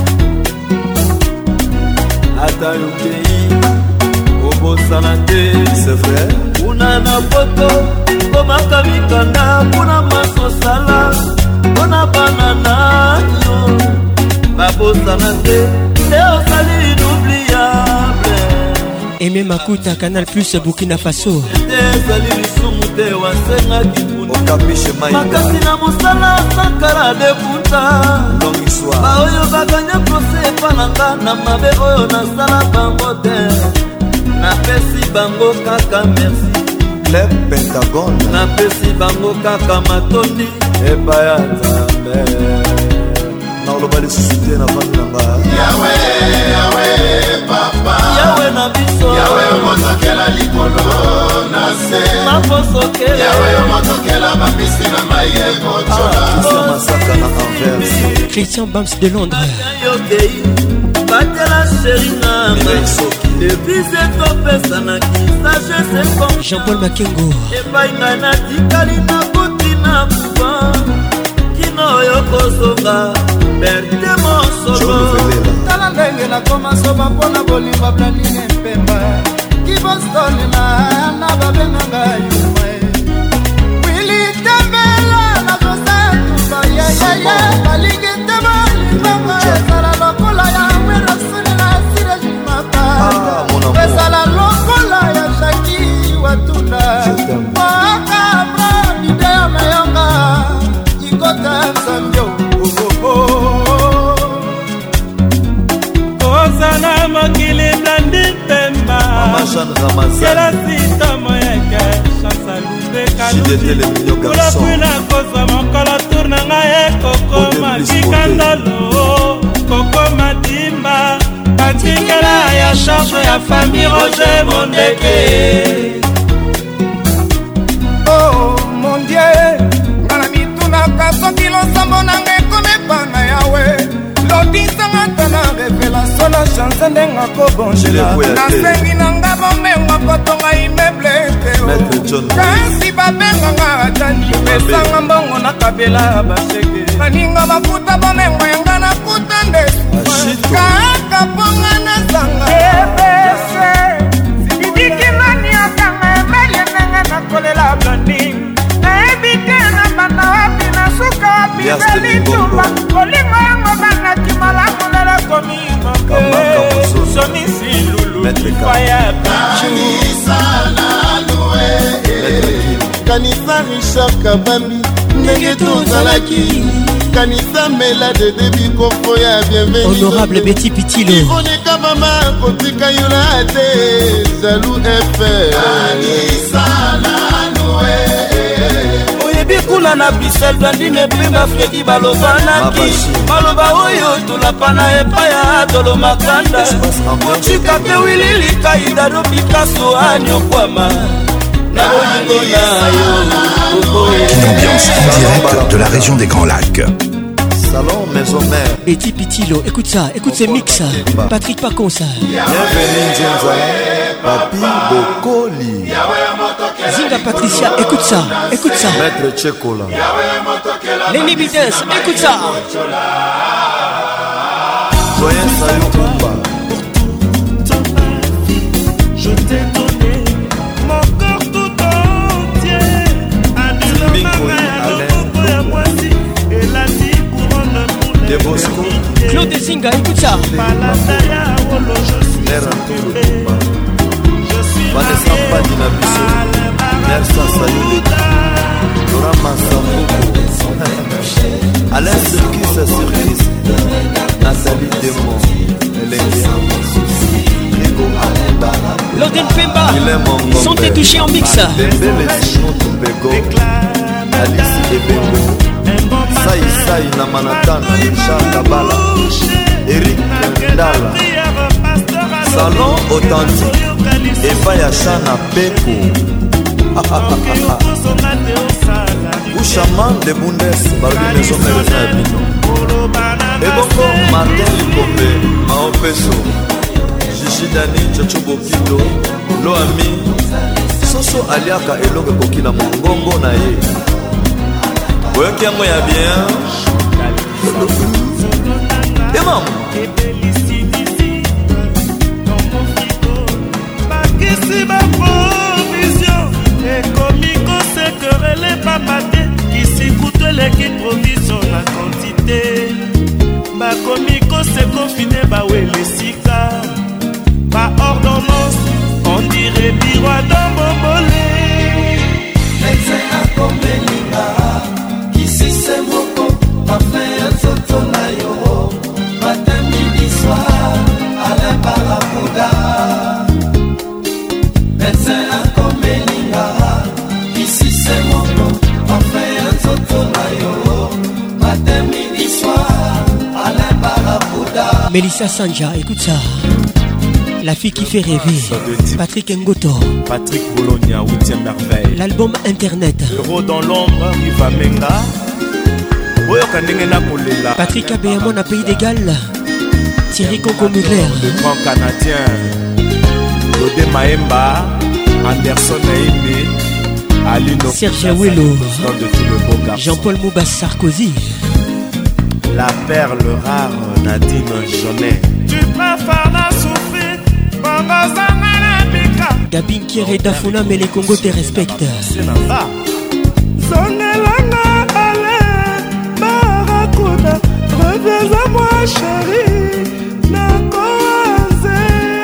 ata yokei obosana te c'est vrai una na poto komaka mikanda mpona masosala mpona banana yo babosana te te osali inoubliable. Aimé Makuta, Canal Plus Burkina Faso. te ezali lisumu te wasengaki makasi na mosala sankara de puta baoyo baganya prose epa na nga na mabe oyo nasala bango te napesi bango kaka merci Club Pentagon napesi bango kaka matondi epa ya nzambe naoloba lisusu te na vandi na nga yawe yawe papa yawe na biso yawe omotokela likolo na se maposokela yawe omotokela bambisi na mai ekotola masaka na Anvers Christian Bams de Londres. yokei batela sheri nanga devise topesanaki sagese kom Jean-Paul Makengo epai ngai natikali nakuti na kuba kino oyo kozonga berte mosolo tala ndenge nakoma soba mpona bolimba Blandine Pemba kibostone na babenganga yumae wili tembela na kosa tuba yayaya balingi tema limbangwa esala lokola ya werasuni na sirejimaka esala lokola ya Jaki Watuna wakabra idea mayanga ikota msambio kozana mokili Blandine Pemba kela sita moyeke chansa lubekakulapwina kozwa mokolo tour na ngai ekokoma kikandalo kokoma dimba batikela ya charge ya famille Roger Mondeke. Oh mon Dieu ngana mitunaka soki losambo nanga ekomepa na yawe lobisanga tana revelation na chance ndenga kobonjela nasengi nanga bomengo kotonga immeuble teo kasi babenganga atani pesanga mbongo na kabela basheke baninga bafuta bomengo yanga nakuta nde kaka ponga na zanga ebese sididikimani akanga emelie ndenge nakolela Blandine nayebi te na banda wapi na suka wapi zelitumba kolingo yango bangaki malamu lela komimoke sonisi lulu faya kanisa Richard Kabambi ndenge tozalaki kanisa mela de debi kofo ya bienvenu Honorable Betty Pitilo ironeka mama kotika yola te jalou efe kanisa nanue oyebi kuna na Bruxelles Blandine Pemba Fredi balovanaki maloba oyo tolapana epai ya Adolo Makanda motika te wililika idado Picasso anyokwama na bolingo na yo Une ambiance en direct de la région des Grands Lacs. Salon Maison Mère. Betty Pitilo, écoute ça, écoute ces mix. Patrick Pacons. Bienvenue Nzenza, Papi Bokoli. Zinga Patricia, écoute ça, écoute ça. Maître Tchekola. Lenny Bittens, écoute ça. Joyeux Sayou Kumba. Je t'ai donné mon corps tout entier. Et la vie couronne pour les Bosco. Claude Zinga, écoute ça. Vanessa Padina Bisso. Nersa Sayou. Laura Massamboko. Alain Serkis Serkis. Nathalie Demon. Loden Pemba, sont touchés en mix. Alice Ebengo, Sai na Manhattan, Richard Kabala, Eric Ndala, Salon authentique, Eva Yachana Beko, Ushaman de Bundes, Barbi Maison Mérina Bino, Ebongo Martin Likombe, Mao Peso, Dani Chochobo Kito, Loami, Soso Aliaka Elonge Bokina Mongongo na ye. Oyoki yango ya bien. Emam. Bakisi ba provision ekomiko sekerele pamate kisi kuteleki provision na quantité bakomiko sekofine bawelesika ba ordonnance, on dirait biroir dans mon bolé. Médecin a comme Linga, qui si c'est moko, parfait un soto na yoro, matin midi soir, Alain Barapouda. Médecin a comme Linga, qui si c'est moko, parfait un soto na yoro, matin midi soir, Alain Barapouda. Mélissa Sanja, écoute ça. La fille qui fait rêver. Patrick Ngoto. Patrick Bologna, 8e merveille. L'album Internet. Euro dans l'ombre, Riva Menga. Patrick Abéamon à Pays d'Égal. Thierry Conco Mugler. Le grand Canadien. Lodé Maemba. Anderson Naïmé. Alino. Serge Ouello. Jean-Paul Moubas Sarkozy. La perle rare, Nadine Jaunet. Tu préfères la souffrir. Gabin Kieré Dafuna, mais les Congos te respectent. Zonelanga, allez, Barakuda, reviens à moi, chérie. Nakoaze,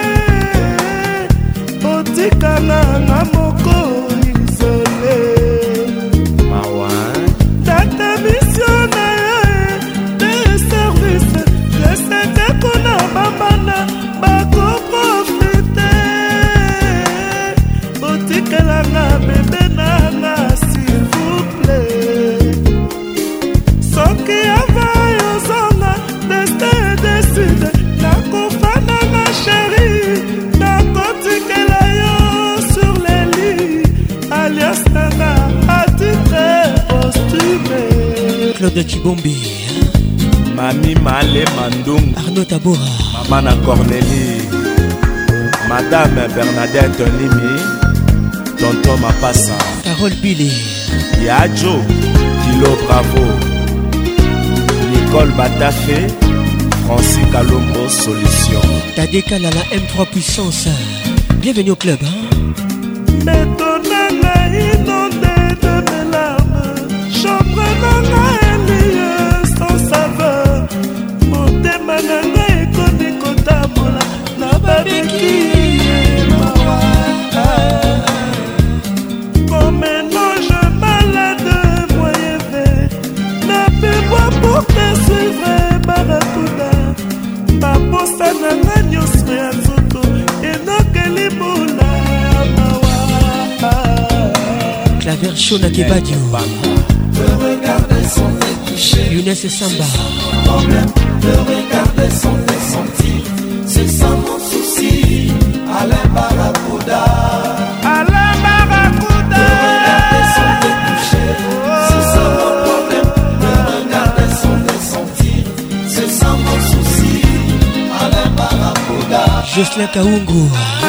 Otikana, Namoko, isolé. Mawan, Data missionnaire, des services, je sais que qu'on a babana, bako profiter. Otikalanga, bébé nana, s'il vous plaît. Soki availle aux zona, destin décide, nakofana ma chérie, nakotikela yo sur les lits, alias nana, à titre posthume. Claude Chibombi. Mami Malé Mandung. Arnaud Tabora. Maman Cornélie. Madame Bernadette Nimi. Tonton Mapassa. Carole Billy. Yadjo. Kilo Bravo. Nicole Batafé. Francis Kalombo Solution. Tadeka Lala M3 Puissance. Bienvenue au club. Mais ton nana inondé de mes larmes. Chambre nana liée sans saveur. Motema nana ekoni kotambola. Na babeki mawa. Comme un ange malade moyen vert. N'appelle-moi pour te suivre Barakuda. Baposa nanga nyonso ya nzoto. Enokeli bula mawa. Claver Shona Kebadio. De regarder sans te toucher. Younes Samba. Problème de regarder sans te sentir. C'est ça mon souci. Alain Barapouda. Alain Barapouda. De regarder sans te toucher. C'est ça mon problème. De regarder sans te sentir. Jocelyn Kaungu.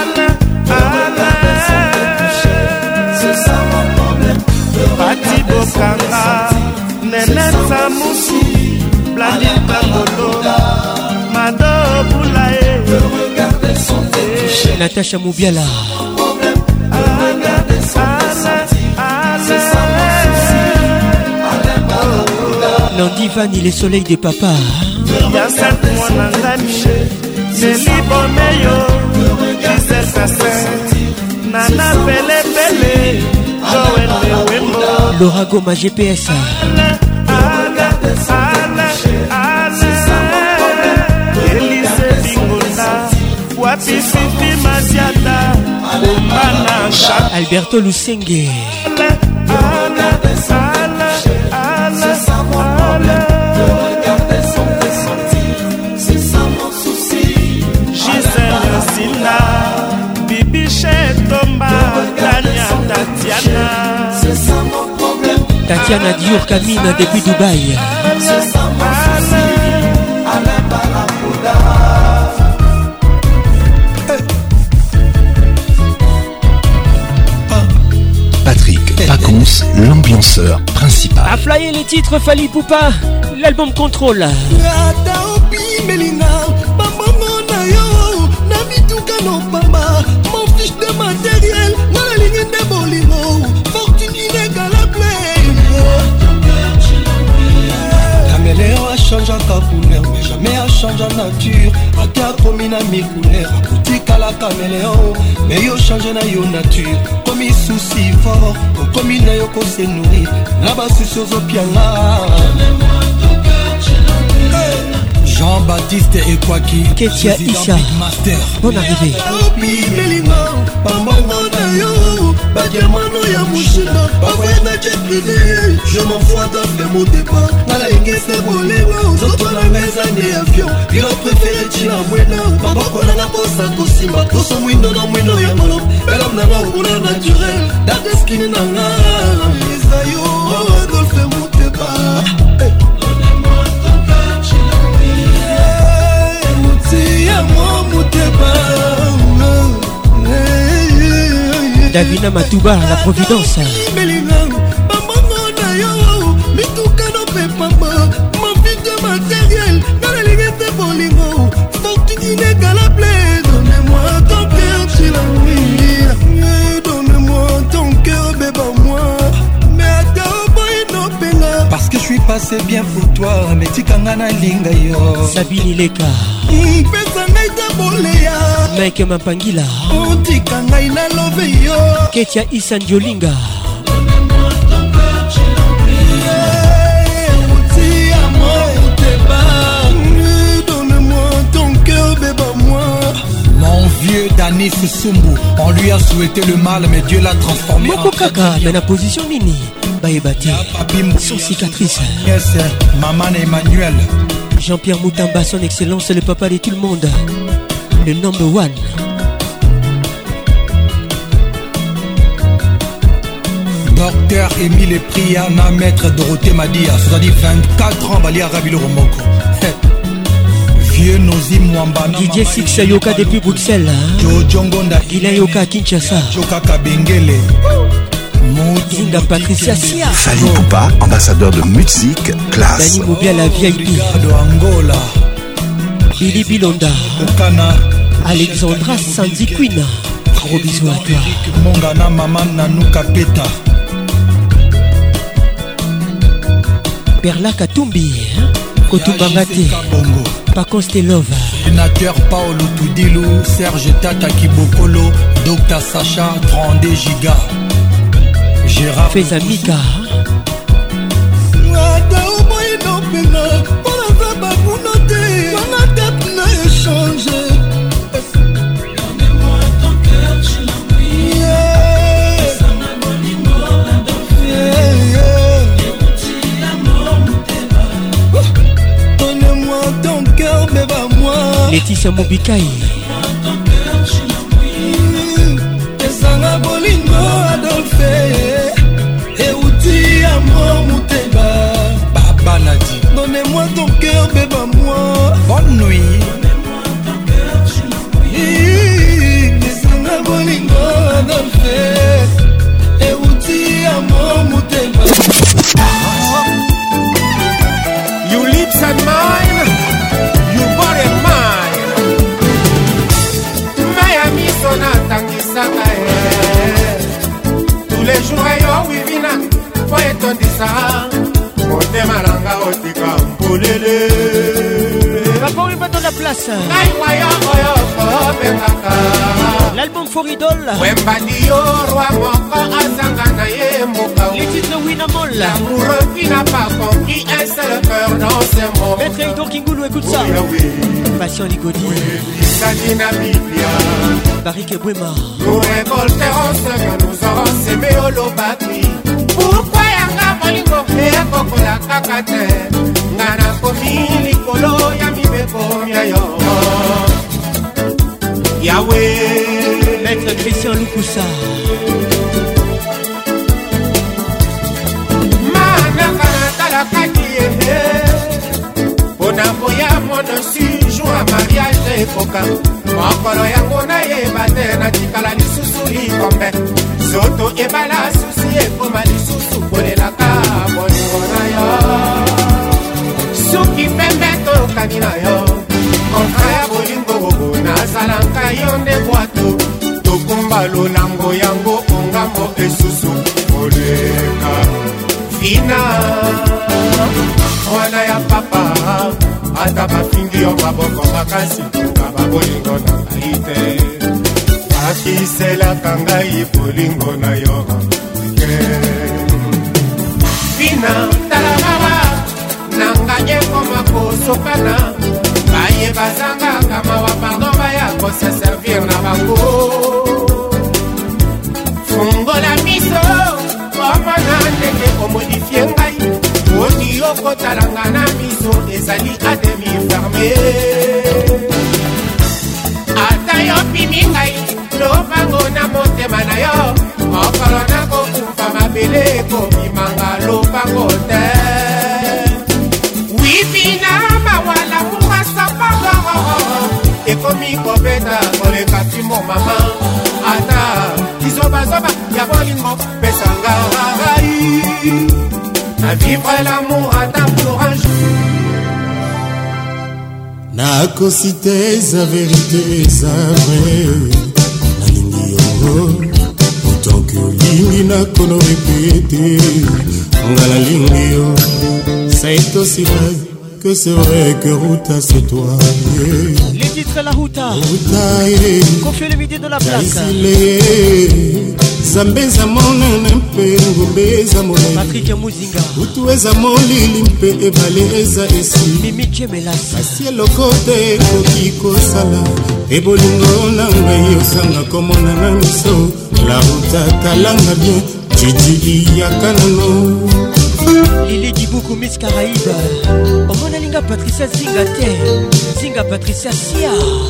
Pati Bokanga, Nenette Samoussou, Blandine Bakolo, Mado Boulaye. Natacha Moubiala. Nandi Vani, les soleils des papas. Yacette Mwanangani, Nelly Bomeyo, Gisèle Kassin, Nana Pele Pele, Joël Lewembo, Laura Goma GPS. Elise Bingonda, Wapi Fifi Masiata, Omana Alberto Lusenge. Tatiana Dior Camina depuis Dubaï. Patrick Pacons, l'ambianceur principal. A flyer les titres Fali Poupa, l'album Contrôle. Mon fiche de matériel, dans la ligne de Bolimo, fortune inégalable. Caméléon a changé en couleur, mais jamais a changé en nature. A te a commis na mi couleur, a boutique à la caméléon, mais yo changé na yo nature. Comme il souci fort, comme il n'a yo qu'on se nourrir, là-bas c'est sur Zopiana. Jean-Baptiste et Kwaki, Ketia Issa, bonne arrivée. Je m'en fous d'avoir mon départ. Dans la ligne c'est boléro. Zoto na mes années avion. Il a préféré tirer un moyen. Papa qu'on a la poste à Kosima. Tout son mouino dans mouino ya malo. Belle homme n'a pas couleur naturelle. Dans skin n'a pas. Les aïeux, Adolphe mon départ. Davina Matouba, la Providence. Donnez-moi ton cœur, tu l'as. Donnez-moi ton cœur, bébé, moi. Mais attends, parce que je suis passé bien pour toi, mais tu kangana linga yo. Sabine Ileka. Mike Mapangila. Ketia Issa Ndiolinga. Donne-moi ton cœur, bébé, moi. Mon vieux Danis Sumbu, on lui a souhaité le mal, mais Dieu l'a transformé Moko Kaka, dans la position Nini. Baïbati, son cicatrice. Yes, Maman Emmanuel. Jean-Pierre Moutamba, son excellence, le papa de tout le monde. Le number one. Docteur Émile Priana, maître Dorothée Madia, c'est-à-dire 24 ans, Bali Arabi le Romoko. Vieux Nozi Mwamba. Didier Six Yoka depuis Bruxelles. Jojo Ngonda. Guilain Yoka Kinshasa. Joka Kabengele. Zinga Patricia Sia. Fali Poupa, ambassadeur de musique classe. Dani Moubia la VIP. Angola. Billy Bilonda. Okana. Alexandra Sandy Queen. Gros bisous à toi. Mongana Maman Nanuka Peta. Perla Katumbi. Kotumbangate. Pacons Telova. Sénateur Paolo Toudilou. Serge Tata Kibokolo. Dr Sacha 32 gigas. Gérard Fezamika. Donnez-moi ton cœur, tu Donne-moi ton cœur, bébé, moi. Laetitia Mobikai. Esanga bolingo Adolphe Euti amour Mouteba Baba Nadi. Donnez-moi ton cœur, bébé, moi. Bonne nuit. Donnez-moi ton cœur, tu l'as. toujours yo wivina po etondisa motema nanga otika mpolele Papa on va dans la place. L'album For Idol. Les titres Winamol. L'amoureux qui n'a pas compris un seul cœur dans ce monde. Maître Ido Kingoulou, écoute ça. Passion Ligodi. Barik et Bouema. Nous récolterons ce que nous aurons semé au Lobaki. Pourquoi yanga bolingo et kokola kakate. Ngana komi likolo ya mibeko miayo. Yahweh. Maître Christian Lukusa. Manaka talakaki ehe. Bonaboya monosi jour à mariage ekoka. Mokolo yango na yeba te na tikala lisusu likombe. Soto ebala susi ekoma lisusu bolelaka bolingo na yo. Suki pembe tokani na yo. Kontra ya bolingo bobo nazalanka yo nde bwato. Tokumba lolango yango ongambo esusu boleka. Fina mwana ya papa ata bafingi yo maboko makasi kaba bolingo na ngai te. Akiselaka ngai bolingo na yo Fina tala mama nanga ekoma kosokana baye bazanga kama wa pardon baya kose servir na bango. Fungola miso omana ndenge omodifie ngai odi okotalanga na miso ezali ademi ferme. Ata yo pimi ngai lobango na motema na yo mokolo na kokufa mabele ekobimanga lobango te. Wipina mawala mukasapagoro ekomi kobeta koleka timo mama. Ata izobazoba ya bolingo pesanga rai na vivre l'amour ata pour un jour. nakosite eza verite eza vrai nalingi yo otanke olingi nakono répété nga nalingi yo ça est aussi vrai que c'est vrai que Ruta c'est toi. Les titres la Ruta. Confie le midi de la place. Zambeza mona mpe ngobeza mona Patrick Muzinga. Utu eza molili mpe ebale eza esi. Mimi Kemelas. Asielo kote kokiko sala. Ebolingo na ngai osanga komona na miso. La Ruta talanga bien. Titi yakanano. Lili Dibuku Miss Caraïbe. Omona linga Patricia Zinga te. Zinga Patricia Sia.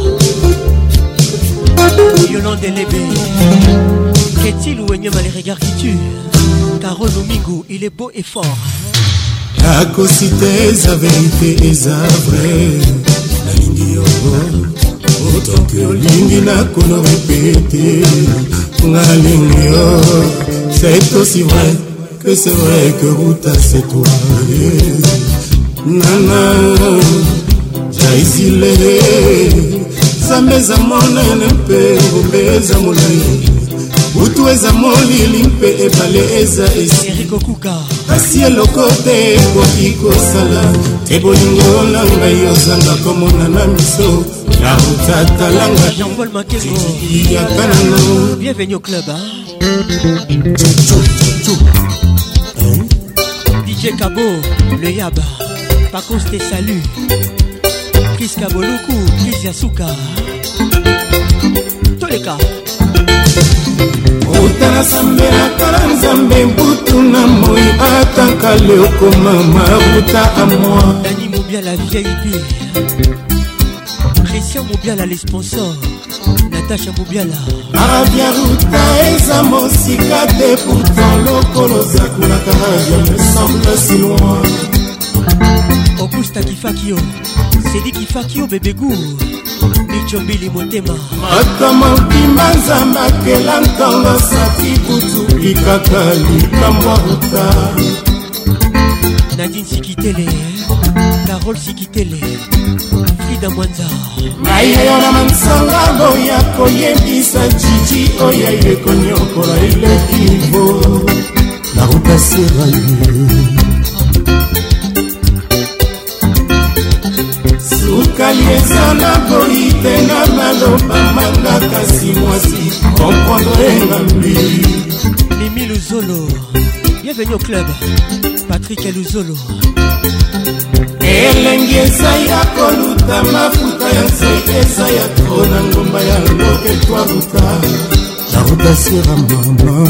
Yolande Lébé. Qu'est-il ou Enyama les regards qui tuent. Carole Domingo, il est beau et fort. Nakosite eza vérité eza vrai. Nalingi yo autant que olingi nakono répété. Nalingi yo c'est aussi vrai que c'est vrai que Ruta c'est toi. Nana jaisile Zambeza monene mpe ngobeza molai. Utu eza molili mpe ebale eza esi. Eriko Kuka. Asi eloko te kokiko sala. Te bolingo na ngai ozanga komona na miso. La Ruta talanga Jean-Paul Makengo. Yakanano. Bienvenue au club hein? DJ Kabo, le Yaba. Pacos te salue. Chris Kaboluku, Chris Yasuka. Tous les cas. Utana sambela kala nzambe mbutu na moi ataka leo koma maruta à moi. Dani Moubiala VIP. Christian Moubiala les sponsors. Natacha Moubiala. Arabia Ruta eza mosika te pourtant lokolo zakula karaja me semble si loin. Augusta Kifakio. Sedi Kifakio bébé goût. Michombili Motema. Atama pima nzamba kela ntango sati kutu likaka likambo Ruta. Nadine Sikitele. Carole Sikitele. David Mwanza Mayo na mansanga boya koyebisa jiji oya ile konyokola ile kivo na rupasira Sukalieza na boite na maloba manga kasi mwasi comprendre ngambi Mimi Luzolo bienvenue au club Patrick Luzolo elengeza ya koluta mafuta ya sekeza ya trona ngomba ya loke twaruta narutasira mama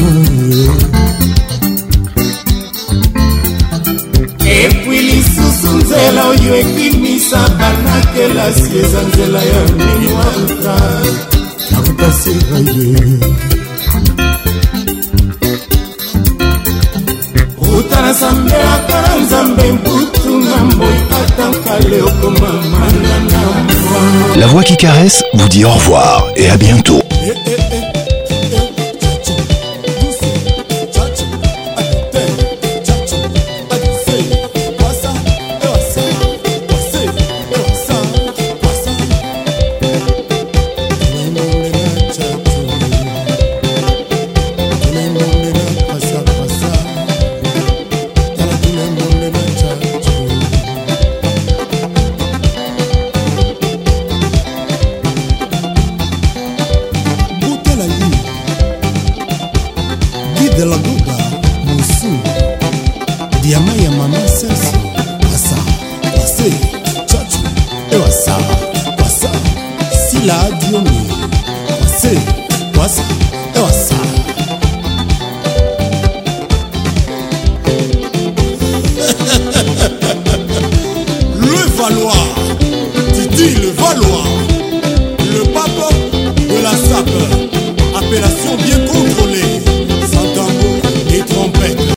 epui lisusu nzela oyo ekimisa banakelasi eza nzela ya mini waruta narutasira ye utana sambe akara nzambe mputu ngamboy atankale okoma manana mwa. La voix qui caresse vous dit au revoir et à bientôt. de la Gouda, Moussou, Diamaya Mama Sels.